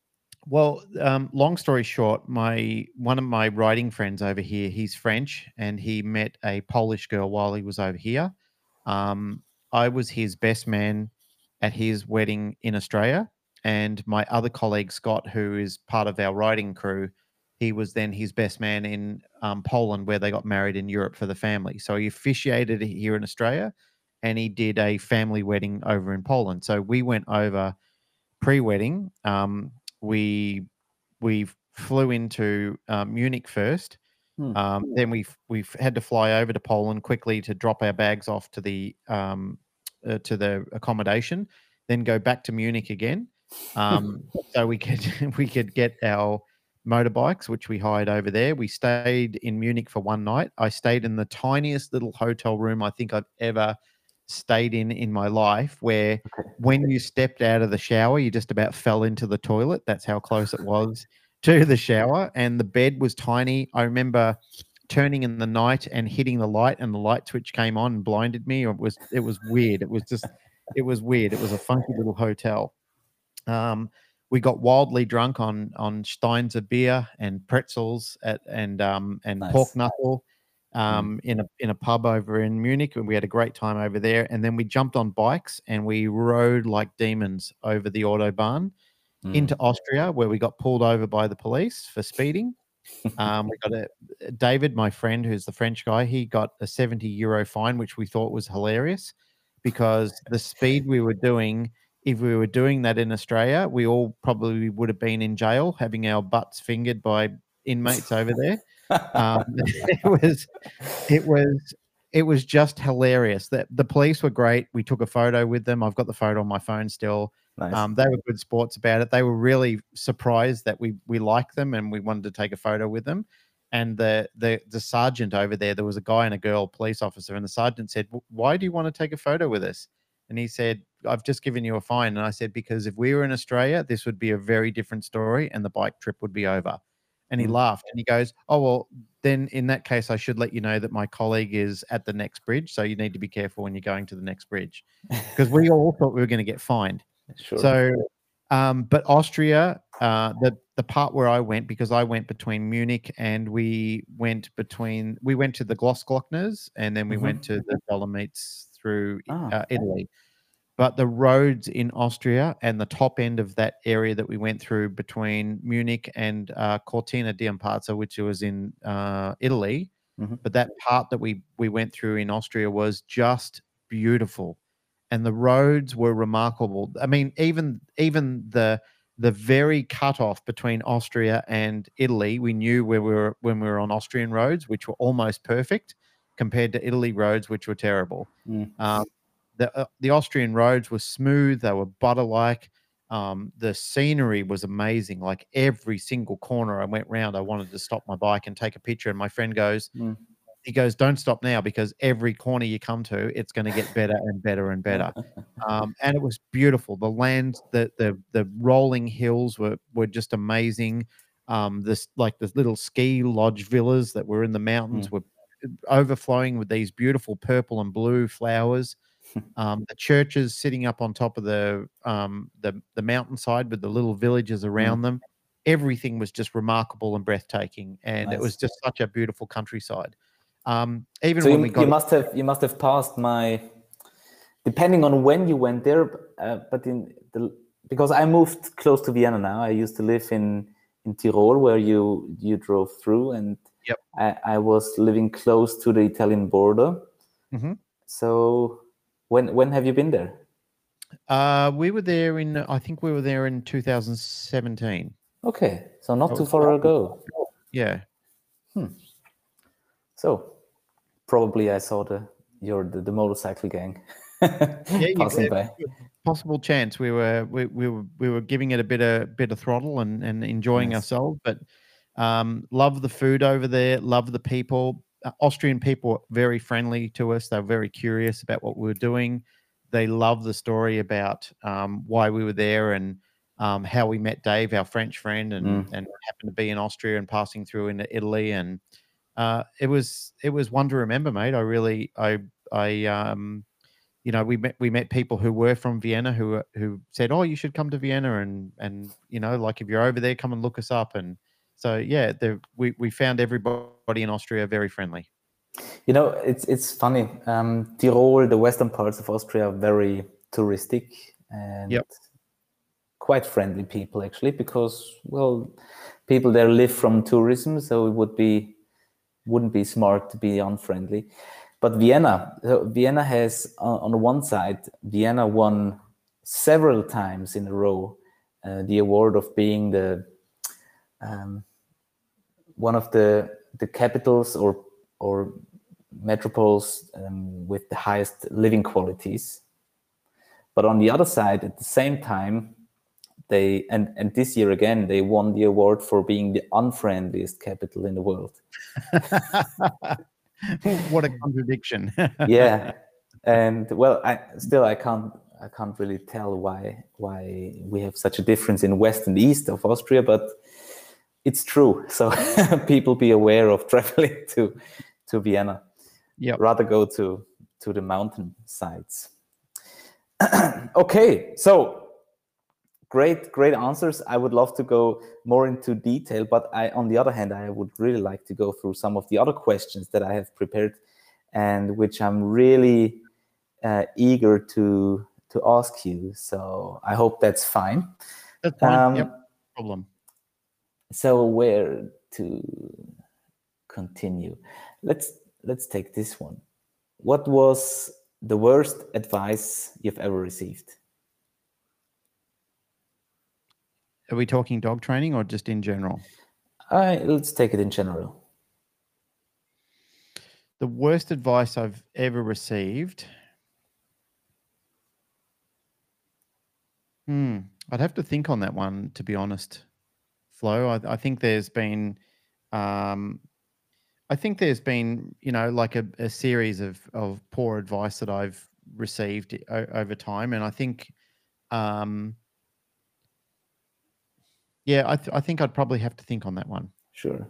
Well, long story short, one of my writing friends over here, he's French, and he met a Polish girl while he was over here. Um, I was his best man at his wedding in Australia, and my other colleague Scott, who is part of our writing crew, he was then his best man in Poland, where they got married in Europe for the family. So he officiated here in Australia, and he did a family wedding over in Poland. So we went over pre-wedding. We we flew into Munich first. Then we've had to fly over to Poland quickly to drop our bags off to the accommodation, then go back to Munich again, so we could we could get our motorbikes, which we hired over there. We stayed in Munich for one night. I stayed in the tiniest little hotel room I think I've ever stayed in my life, where when you stepped out of the shower, you just about fell into the toilet. That's how close it was to the shower, and the bed was tiny. I remember turning in the night and hitting the light, and the light switch came on and blinded me. It was weird. It was weird. It was a funky little hotel. We got wildly drunk on steins of beer and pretzels and pork knuckle in a pub over in Munich, and we had a great time over there. And then we jumped on bikes and we rode like demons over the autobahn into Austria, where we got pulled over by the police for speeding. We got David, my friend, who's the French guy. He got a €70 fine, which we thought was hilarious because the speed we were doing. If we were doing that in Australia, we all probably would have been in jail, having our butts fingered by inmates over there. It was just hilarious. That the police were great. We took a photo with them. I've got the photo on my phone still. Nice. They were good sports about it. They were really surprised that we liked them and we wanted to take a photo with them. And the sergeant over there was a guy and a girl police officer, and the sergeant said, "Why do you want to take a photo with us?" And he said, "I've just given you a fine." And I said, "Because if we were in Australia, this would be a very different story and the bike trip would be over." And he laughed and he goes, "Oh, well, then in that case, I should let you know that my colleague is at the next bridge. So you need to be careful when you're going to the next bridge." Because we all thought we were going to get fined. Sure. So, but Austria, the part where I went, because I went between Munich and we went to the Grossglockners and then we went to the Dolomites through Italy. But the roads in Austria and the top end of that area that we went through between Munich and Cortina d'Ampezzo, which was in Italy, but that part that we went through in Austria was just beautiful, and the roads were remarkable. I mean, even the very cutoff between Austria and Italy, we knew when we were on Austrian roads, which were almost perfect, compared to Italy roads, which were terrible. The Austrian roads were smooth. They were butter-like. The scenery was amazing. Like every single corner I went round, I wanted to stop my bike and take a picture. And my friend goes, "Don't stop now, because every corner you come to, it's going to get better and better and better." And it was beautiful. The land, the rolling hills were just amazing. The little ski lodge villas that were in the mountains were overflowing with these beautiful purple and blue flowers. The churches sitting up on top of the mountainside with the little villages around them. Everything was just remarkable and breathtaking, and it was just such a beautiful countryside. Even so when we got, you must have passed my, depending on when you went there, but because I moved close to Vienna now. I used to live in Tyrol, where you drove through, and I was living close to the Italian border. So when have you been there? We were there I think we were there in 2017. Okay, so not too far ago. Yeah. So probably I saw the motorcycle gang passing by. Possible chance. We were giving it a bit of throttle and enjoying ourselves, but love the food over there, love the people. Austrian people were very friendly to us. They were very curious about what we were doing. They loved the story about why we were there and how we met Dave, our French friend, and happened to be in Austria and passing through into Italy. And it was one to remember, mate. we met people who were from Vienna who said, "Oh, you should come to Vienna," and like if you're over there, come and look us up. And so yeah, we found everybody in Austria very friendly. It's funny. Tyrol, the western parts of Austria, are very touristic and quite friendly people, actually, because people there live from tourism, so it wouldn't be smart to be unfriendly. But Vienna has, on one side, Vienna won several times in a row the award of being the one of the capitals or metropoles with the highest living qualities. But on the other side, at the same time, they and this year again, they won the award for being the unfriendliest capital in the world. What a contradiction. Yeah, and I can't really tell why we have such a difference in west and east of Austria, but it's true. So people be aware of traveling to Vienna. Yeah, rather go to the mountain sides. Okay, so great answers. I would love to go more into detail, but on the other hand, I would really like to go through some of the other questions that I have prepared and which I'm really eager to ask you. So I hope that's fine. That's fine. Yep, no problem. So where to continue? Let's take this one. What was the worst advice you've ever received? Are we talking dog training or just in general? Let's take it in general. The worst advice I've ever received. I'd have to think on that one, to be honest, Flo. I think there's been, like a series of poor advice that I've received over time, and I think, I think I'd probably have to think on that one. Sure.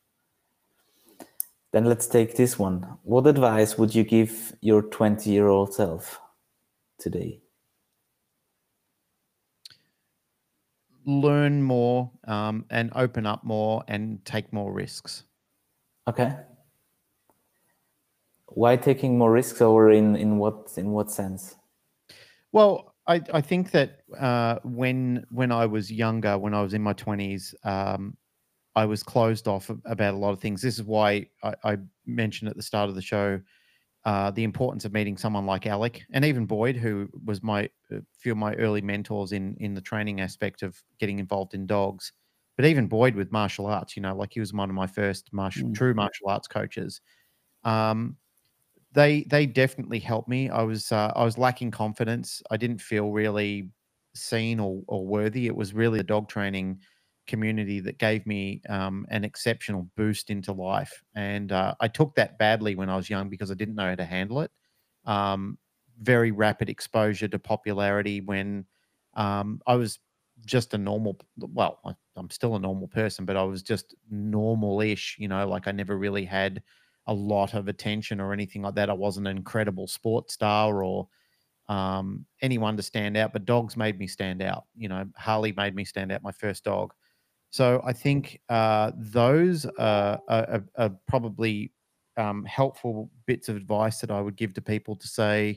Then let's take this one. What advice would you give your 20-year-old self today? Learn more and open up more and take more risks. Okay. Why taking more risks, or in what sense? Well, I think that when I was younger, when I was in my 20s, I was closed off about a lot of things. This is why I mentioned at the start of the show the importance of meeting someone like Alec and even Boyd, who was few of my early mentors in the training aspect of getting involved in dogs. But even Boyd with martial arts, like he was one of my first true martial arts coaches. They definitely helped me. I was lacking confidence. I didn't feel really seen or worthy. It was really the dog training community that gave me an exceptional boost into life. And I took that badly when I was young because I didn't know how to handle it. Very rapid exposure to popularity when I was just a normal, I'm still a normal person, but I was just normal-ish, like I never really had a lot of attention or anything like that. I wasn't an incredible sports star or anyone to stand out, but dogs made me stand out. Harley made me stand out, my first dog. So I think those are probably helpful bits of advice that I would give to people to say,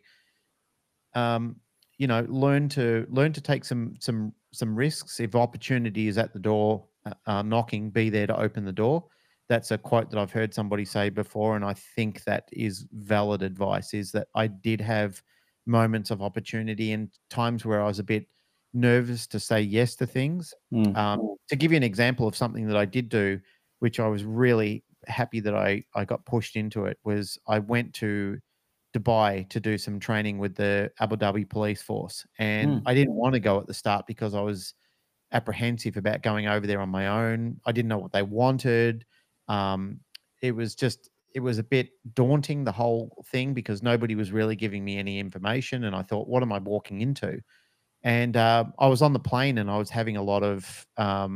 learn to take some risks. If opportunity is at the door knocking, be there to open the door. That's a quote that I've heard somebody say before, and I think that is valid advice, is that I did have moments of opportunity and times where I was a bit nervous to say yes to things. To give you an example of something that I did do, which I was really happy that I got pushed into it, was I went to Dubai to do some training with the Abu Dhabi police force. And I didn't want to go at the start because I was apprehensive about going over there on my own. I didn't know what they wanted. It was a bit daunting, the whole thing, because nobody was really giving me any information. And I thought, what am I walking into? And I was on the plane and I was having a lot of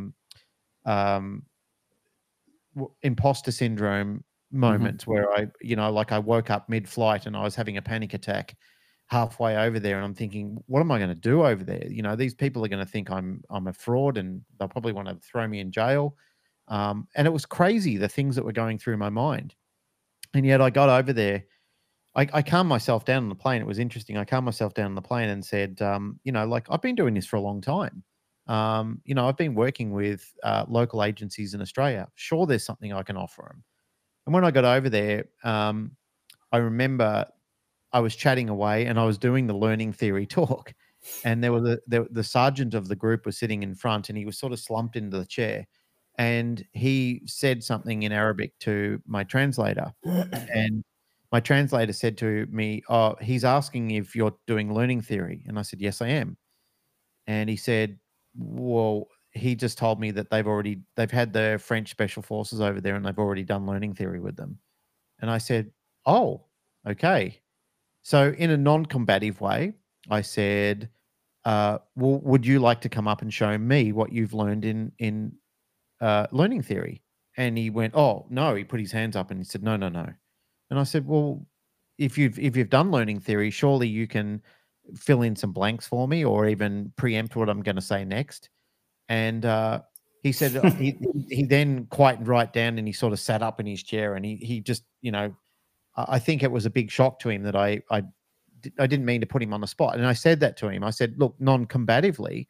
imposter syndrome moments where I woke up mid-flight and I was having a panic attack. halfway over there, and I'm thinking, what am I going to do over there? You know, these people are going to think I'm a fraud, and they'll probably want to throw me in jail. And it was crazy, the things that were going through my mind. And yet I got over there. I calmed myself down on the plane. It was interesting. I calmed myself down on the plane and said, you know, like, I've been doing this for a long time. You know, I've been working with local agencies in Australia. Sure, there's something I can offer them. And when I got over there, I remember I was chatting away and I was doing the learning theory talk. And there was the sergeant of the group was sitting in front, and he was sort of slumped into the chair. And he said something in Arabic to my translator. And my translator said to me, "Oh, he's asking if you're doing learning theory." And I said, "Yes, I am." And he said, "Well, he just told me that they've had the French special forces over there and they've already done learning theory with them." And I said, "Oh, okay." So in a non-combative way, I said, "Well, would you like to come up and show me what you've learned in learning theory?" And he went, "Oh, no." He put his hands up and he said, "No, no, no." And I said, "Well, if you've done learning theory, surely you can fill in some blanks for me, or even preempt what I'm going to say next." And he said he then quietened right down, and he sort of sat up in his chair, and he just, you know, I think it was a big shock to him that I didn't mean to put him on the spot. And I said that to him. I said, "Look, non-combatively."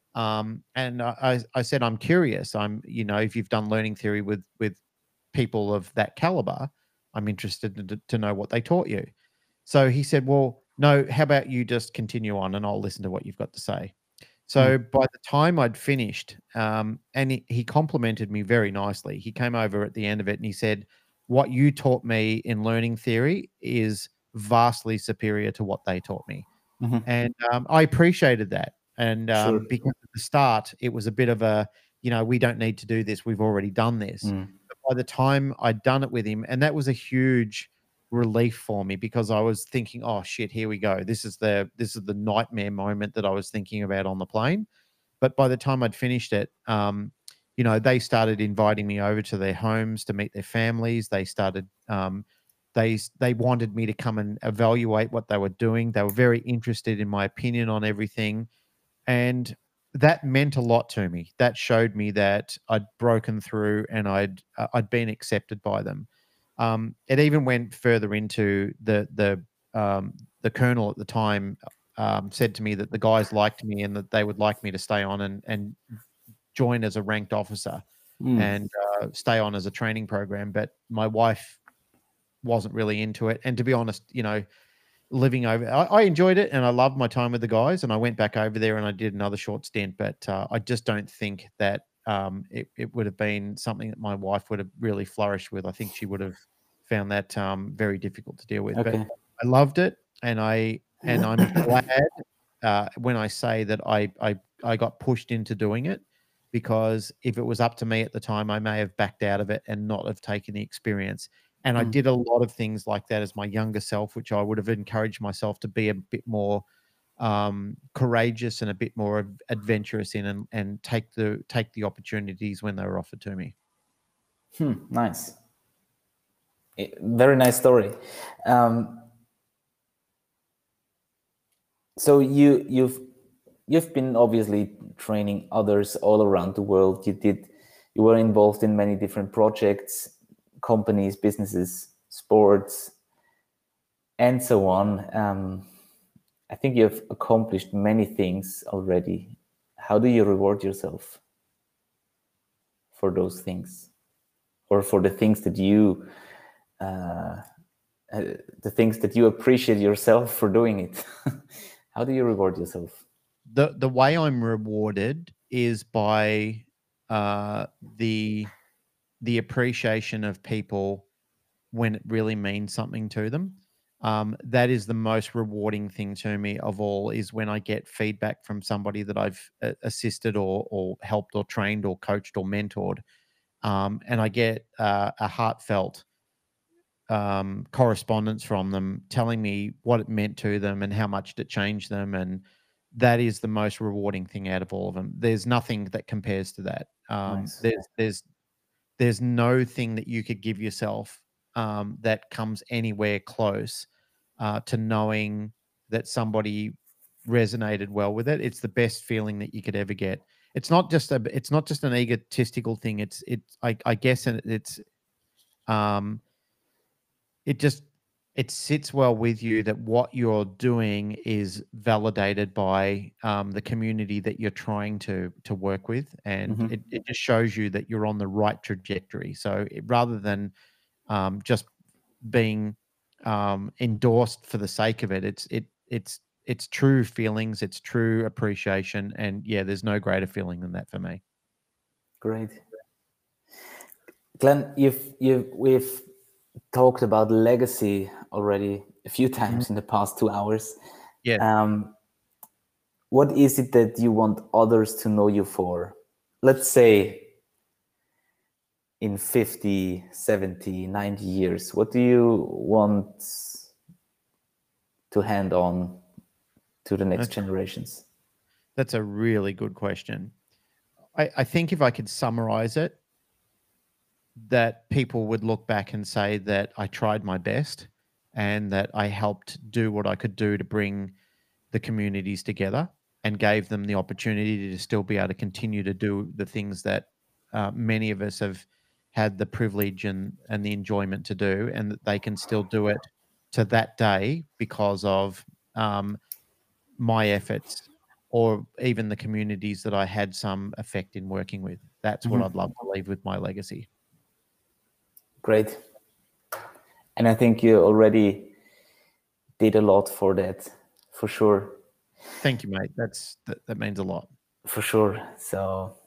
And I said, "I'm curious. You know, if you've done learning theory with people of that caliber, I'm interested to know what they taught you." So he said, "Well, no, how about you just continue on and I'll listen to what you've got to say." So by the time I'd finished, and he complimented me very nicely. He came over at the end of it and he said, "What you taught me in learning theory is vastly superior to what they taught me." Mm-hmm. And I appreciated that. And Sure. because at the start, it was a bit of a, you know, we don't need to do this. We've already done this. But by the time I'd done it with him, and that was a huge relief for me, because I was thinking, oh shit, here we go. This is the nightmare moment that I was thinking about on the plane. But by the time I'd finished it, you know, they started inviting me over to their homes to meet their families. They started they wanted me to come and evaluate what they were doing. They were very interested in my opinion on everything. And that meant a lot to me. That showed me that I'd broken through and I'd been accepted by them. It even went further into the colonel at the time said to me that the guys liked me and that they would like me to stay on and join as a ranked officer and stay on as a training program. But my wife wasn't really into it. And to be honest, you know, living over, I enjoyed it and I loved my time with the guys. And I went back over there and I did another short stint. But I just don't think that it would have been something that my wife would have really flourished with. I think she would have found that very difficult to deal with. Okay. But I loved it, and I'm glad when I say that I got pushed into doing it, because if it was up to me at the time, I may have backed out of it and not have taken the experience. And I did a lot of things like that as my younger self, which I would have encouraged myself to be a bit more courageous and a bit more adventurous in, and take the opportunities when they were offered to me. Nice. Very nice story. So you've been obviously training others all around the world. You were involved in many different projects, companies, businesses, sports, and so on. I think you've accomplished many things already. How do you reward yourself for those things, or for the things that you appreciate yourself for doing it? How do you reward yourself? The way I'm rewarded is by the appreciation of people when it really means something to them. That is the most rewarding thing to me of all, is when I get feedback from somebody that I've assisted or helped or trained or coached or mentored, and I get a heartfelt correspondence from them telling me what it meant to them and how much it changed them. And that is the most rewarding thing out of all of them. There's nothing that compares to that. Nice. There's no thing that you could give yourself that comes anywhere close to knowing that somebody resonated well with it, it's the best feeling that you could ever get. It's not just an egotistical thing. I guess it sits well with you that what you're doing is validated by the community that you're trying to work with, and it just shows you that you're on the right trajectory. So rather than just being endorsed for the sake of it, it's true feelings, it's true appreciation, and yeah, there's no greater feeling than that for me. Great. Glenn, we've talked about legacy already a few times in the past 2 hours. Yeah. What is it that you want others to know you for? Let's say in 50, 70, 90 years, what do you want to hand on to the next generations? That's a really good question. I think if I could summarize it, that people would look back and say that I tried my best and that I helped do what I could do to bring the communities together and gave them the opportunity to still be able to continue to do the things that many of us have had the privilege and the enjoyment to do, and that they can still do it to that day because of my efforts or even the communities that I had some effect in working with. That's what I'd love to leave with my legacy. Great. And I think you already did a lot for that, for sure. Thank you, mate. That means a lot. For sure. So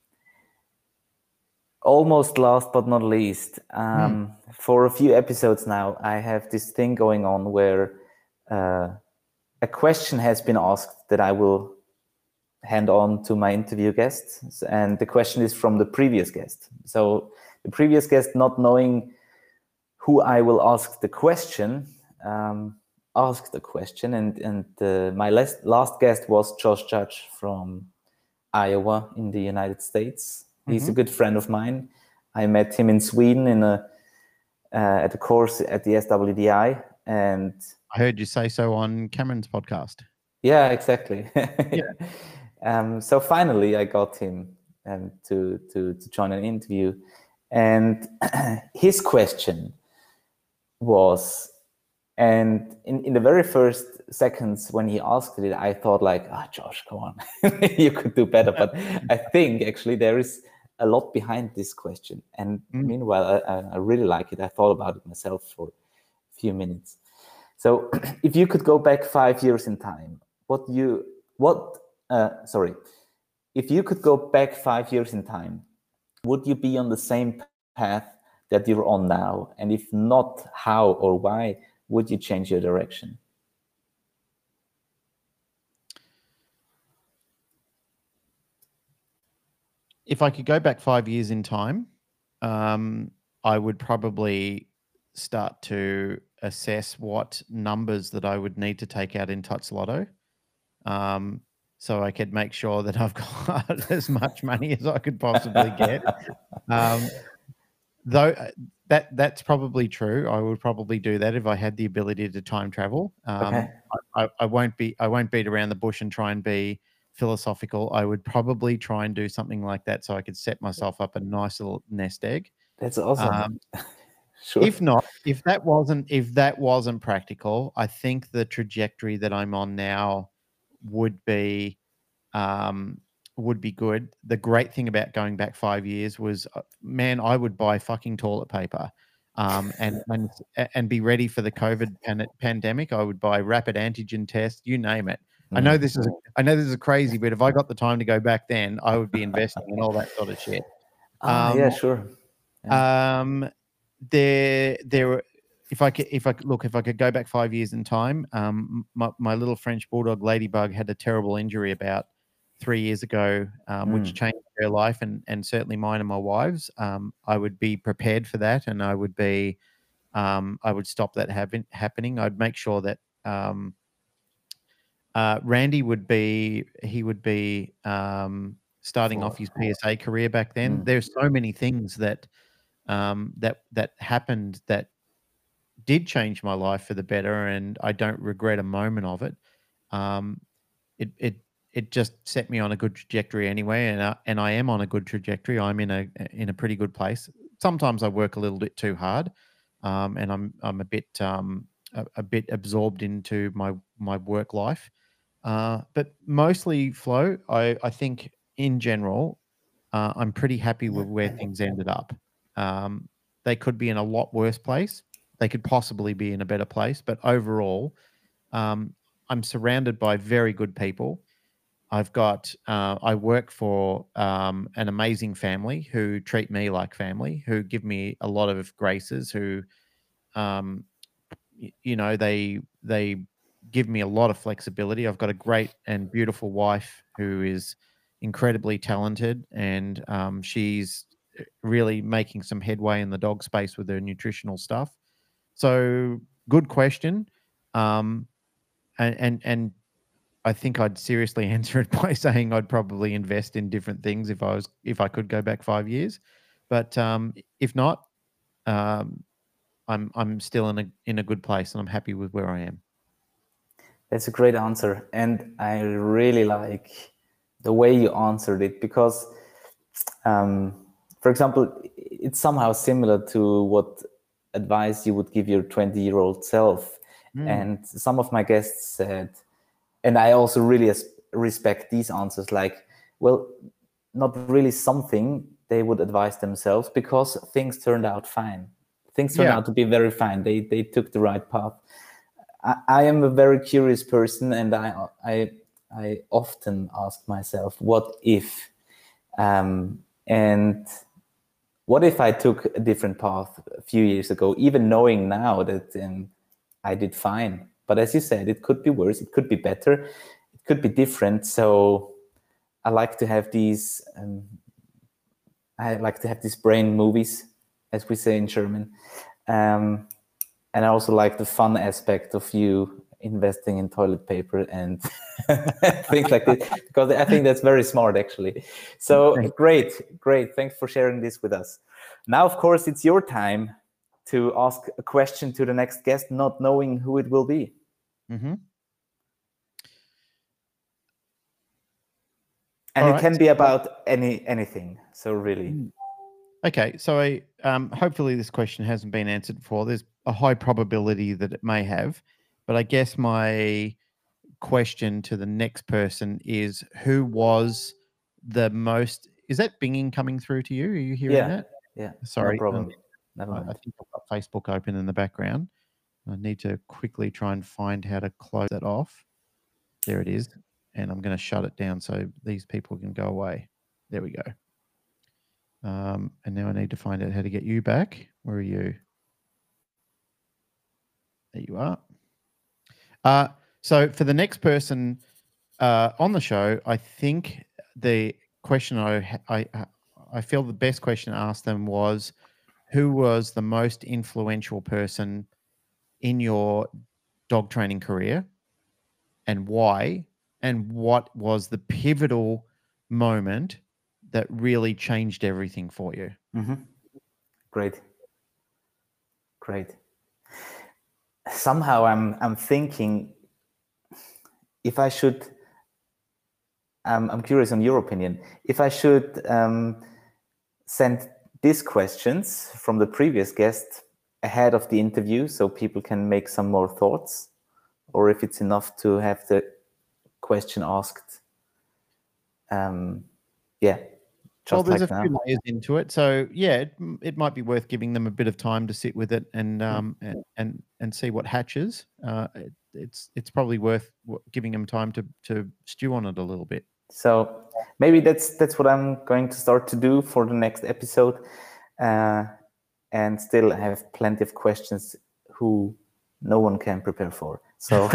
almost last but not least, for a few episodes now, I have this thing going on where a question has been asked that I will hand on to my interview guests. And the question is from the previous guest. So the previous guest, not knowing who I will ask the question, asked the question. And my last guest was Josh Judge from Iowa in the United States. He's a good friend of mine. I met him in Sweden at a course at the SWDI, and I heard you say so on Cameron's podcast. Yeah, exactly. So finally, I got him to join an interview, and his question was, and in the very first seconds when he asked it, I thought like, Josh, come on, you could do better. But I think actually there is a lot behind this question. And meanwhile, I really like it. I thought about it myself for a few minutes. So if you could go back 5 years in time, if you could go back 5 years in time, would you be on the same path that you're on now? And if not, how or why would you change your direction? If I could go back 5 years in time, I would probably start to assess what numbers that I would need to take out in Tots Lotto, so I could make sure that I've got as much money as I could possibly get. Though that's probably true. I would probably do that if I had the ability to time travel. Okay. I won't beat around the bush and try and be philosophical. I would probably try and do something like that so I could set myself up a nice little nest egg. That's awesome. Sure. If that wasn't practical, I think the trajectory that I'm on now would be good. The great thing about going back 5 years was, man, I would buy fucking toilet paper, and be ready for the COVID pandemic. I would buy rapid antigen tests, you name it. I know this is crazy, but if I got the time to go back then, I would be investing in all that sort of shit. Yeah, sure. Yeah. If I could go back 5 years in time, my little French bulldog Ladybug had a terrible injury about 3 years ago, which changed her life and certainly mine and my wife's. I would be prepared for that, and I would stop that happening. I'd make sure that Randy would be starting off his PSA career back then. There's so many things that happened that did change my life for the better, and I don't regret a moment of it. It just set me on a good trajectory anyway, and I am on a good trajectory. I'm in a pretty good place. Sometimes I work a little bit too hard, and I'm a bit absorbed into my work life. But mostly, Flo, I think in general, I'm pretty happy with where things ended up. They could be in a lot worse place. They could possibly be in a better place, but overall, I'm surrounded by very good people. I work for an amazing family who treat me like family, who give me a lot of graces, who, um, they give me a lot of flexibility. I've got a great and beautiful wife who is incredibly talented, and she's really making some headway in the dog space with her nutritional stuff. So, good question. Um, and I think I'd seriously answer it by saying I'd probably invest in different things if I could go back 5 years, but if not, um, I'm still in a good place, and I'm happy with where I am. That's a great answer, and I really like the way you answered it because, for example, it's somehow similar to what advice you would give your 20-year-old self. And some of my guests said, and I also really respect these answers, like, well, not really something they would advise themselves because things turned out fine. Things turned out to be very fine. They took the right path. I am a very curious person, and I often ask myself, what if? And what if I took a different path a few years ago, even knowing now that I did fine? But as you said, it could be worse, it could be better, it could be different. So I like to have these brain movies, as we say in German. And I also like the fun aspect of you investing in toilet paper and things like this, because I think that's very smart, actually. So great. Thanks for sharing this with us. Now, of course, it's your time to ask a question to the next guest, not knowing who it will be. Mm-hmm. And it can be about anything. So really. Okay, so hopefully this question hasn't been answered before. There's a high probability that it may have, but I guess my question to the next person is, who was the most... Is that binging coming through to you? Are you hearing that? Yeah. Sorry. No problem. Never mind. I think I've got Facebook open in the background. I need to quickly try and find how to close that off. There it is. And I'm going to shut it down so these people can go away. There we go. And now I need to find out how to get you back. Where are you? There you are. So for the next person on the show, I think the question I feel the best question to ask them was, who was the most influential person in your dog training career, and why? And what was the pivotal moment that really changed everything for you? Mm-hmm. Great. Somehow I'm thinking, if I should, I'm curious on your opinion, if I should send these questions from the previous guest ahead of the interview so people can make some more thoughts, or if it's enough to have the question asked. Well, there's a few layers into it, so yeah, it might be worth giving them a bit of time to sit with it and see what hatches. It's probably worth giving them time to stew on it a little bit. So maybe that's what I'm going to start to do for the next episode, and still have plenty of questions who no one can prepare for. So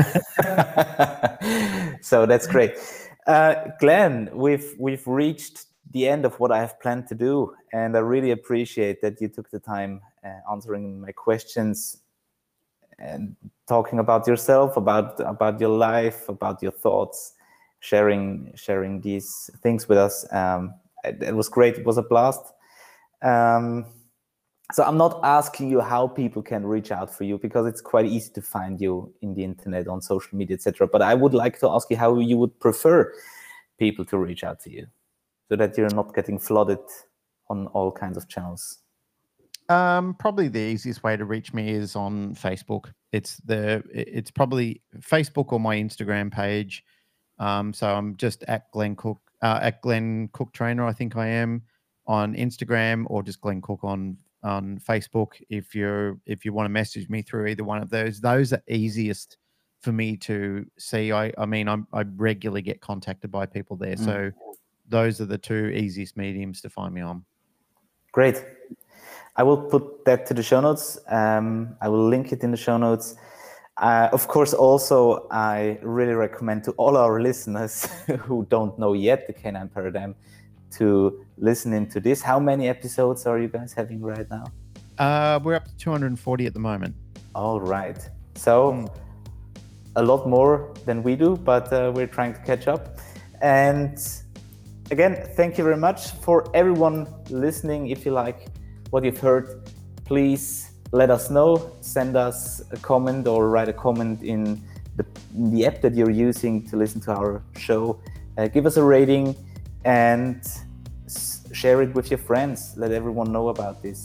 so that's great. Glenn, we've reached the end of what I have planned to do, and I really appreciate that you took the time answering my questions and talking about yourself, about your life, about your thoughts, sharing these things with us. It was great. It was a blast. So I'm not asking you how people can reach out for you, because it's quite easy to find you in the internet, on social media, etc. But I would like to ask you how you would prefer people to reach out to you, so that you're not getting flooded on all kinds of channels. Probably the easiest way to reach me is on Facebook. It's probably Facebook or my Instagram page. So I'm just at Glenn Cook, Trainer, I think I am, on Instagram, or just Glenn Cook on Facebook. If you want to message me through either one of those are easiest for me to see. I regularly get contacted by people there. So those are the two easiest mediums to find me on. Great. I will put that to the show notes. I will link it in the show notes. Of course, also, I really recommend to all our listeners who don't know yet the Canine Paradigm to listen into this. How many episodes are you guys having right now? We're up to 240 at the moment. All right. So a lot more than we do, but we're trying to catch up. And again, thank you very much. For everyone listening, if you like what you've heard, please let us know. Send us a comment or write a comment in the app that you're using to listen to our show. Give us a rating and share it with your friends. Let everyone know about this.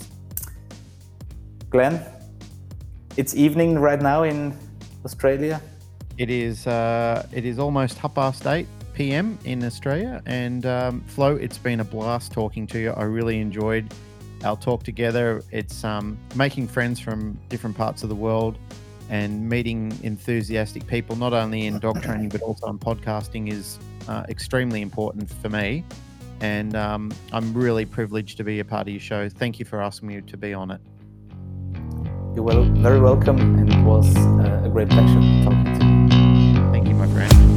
Glenn, it's evening right now in Australia. It is almost 8:30 p.m. in Australia. And Flo, it's been a blast talking to you. I really enjoyed our talk together. It's making friends from different parts of the world and meeting enthusiastic people, not only in dog training, but also in podcasting, is extremely important for me. And I'm really privileged to be a part of your show. Thank you for asking me to be on it. You're very welcome, and it was a great pleasure talking to you. Thank you, my friend.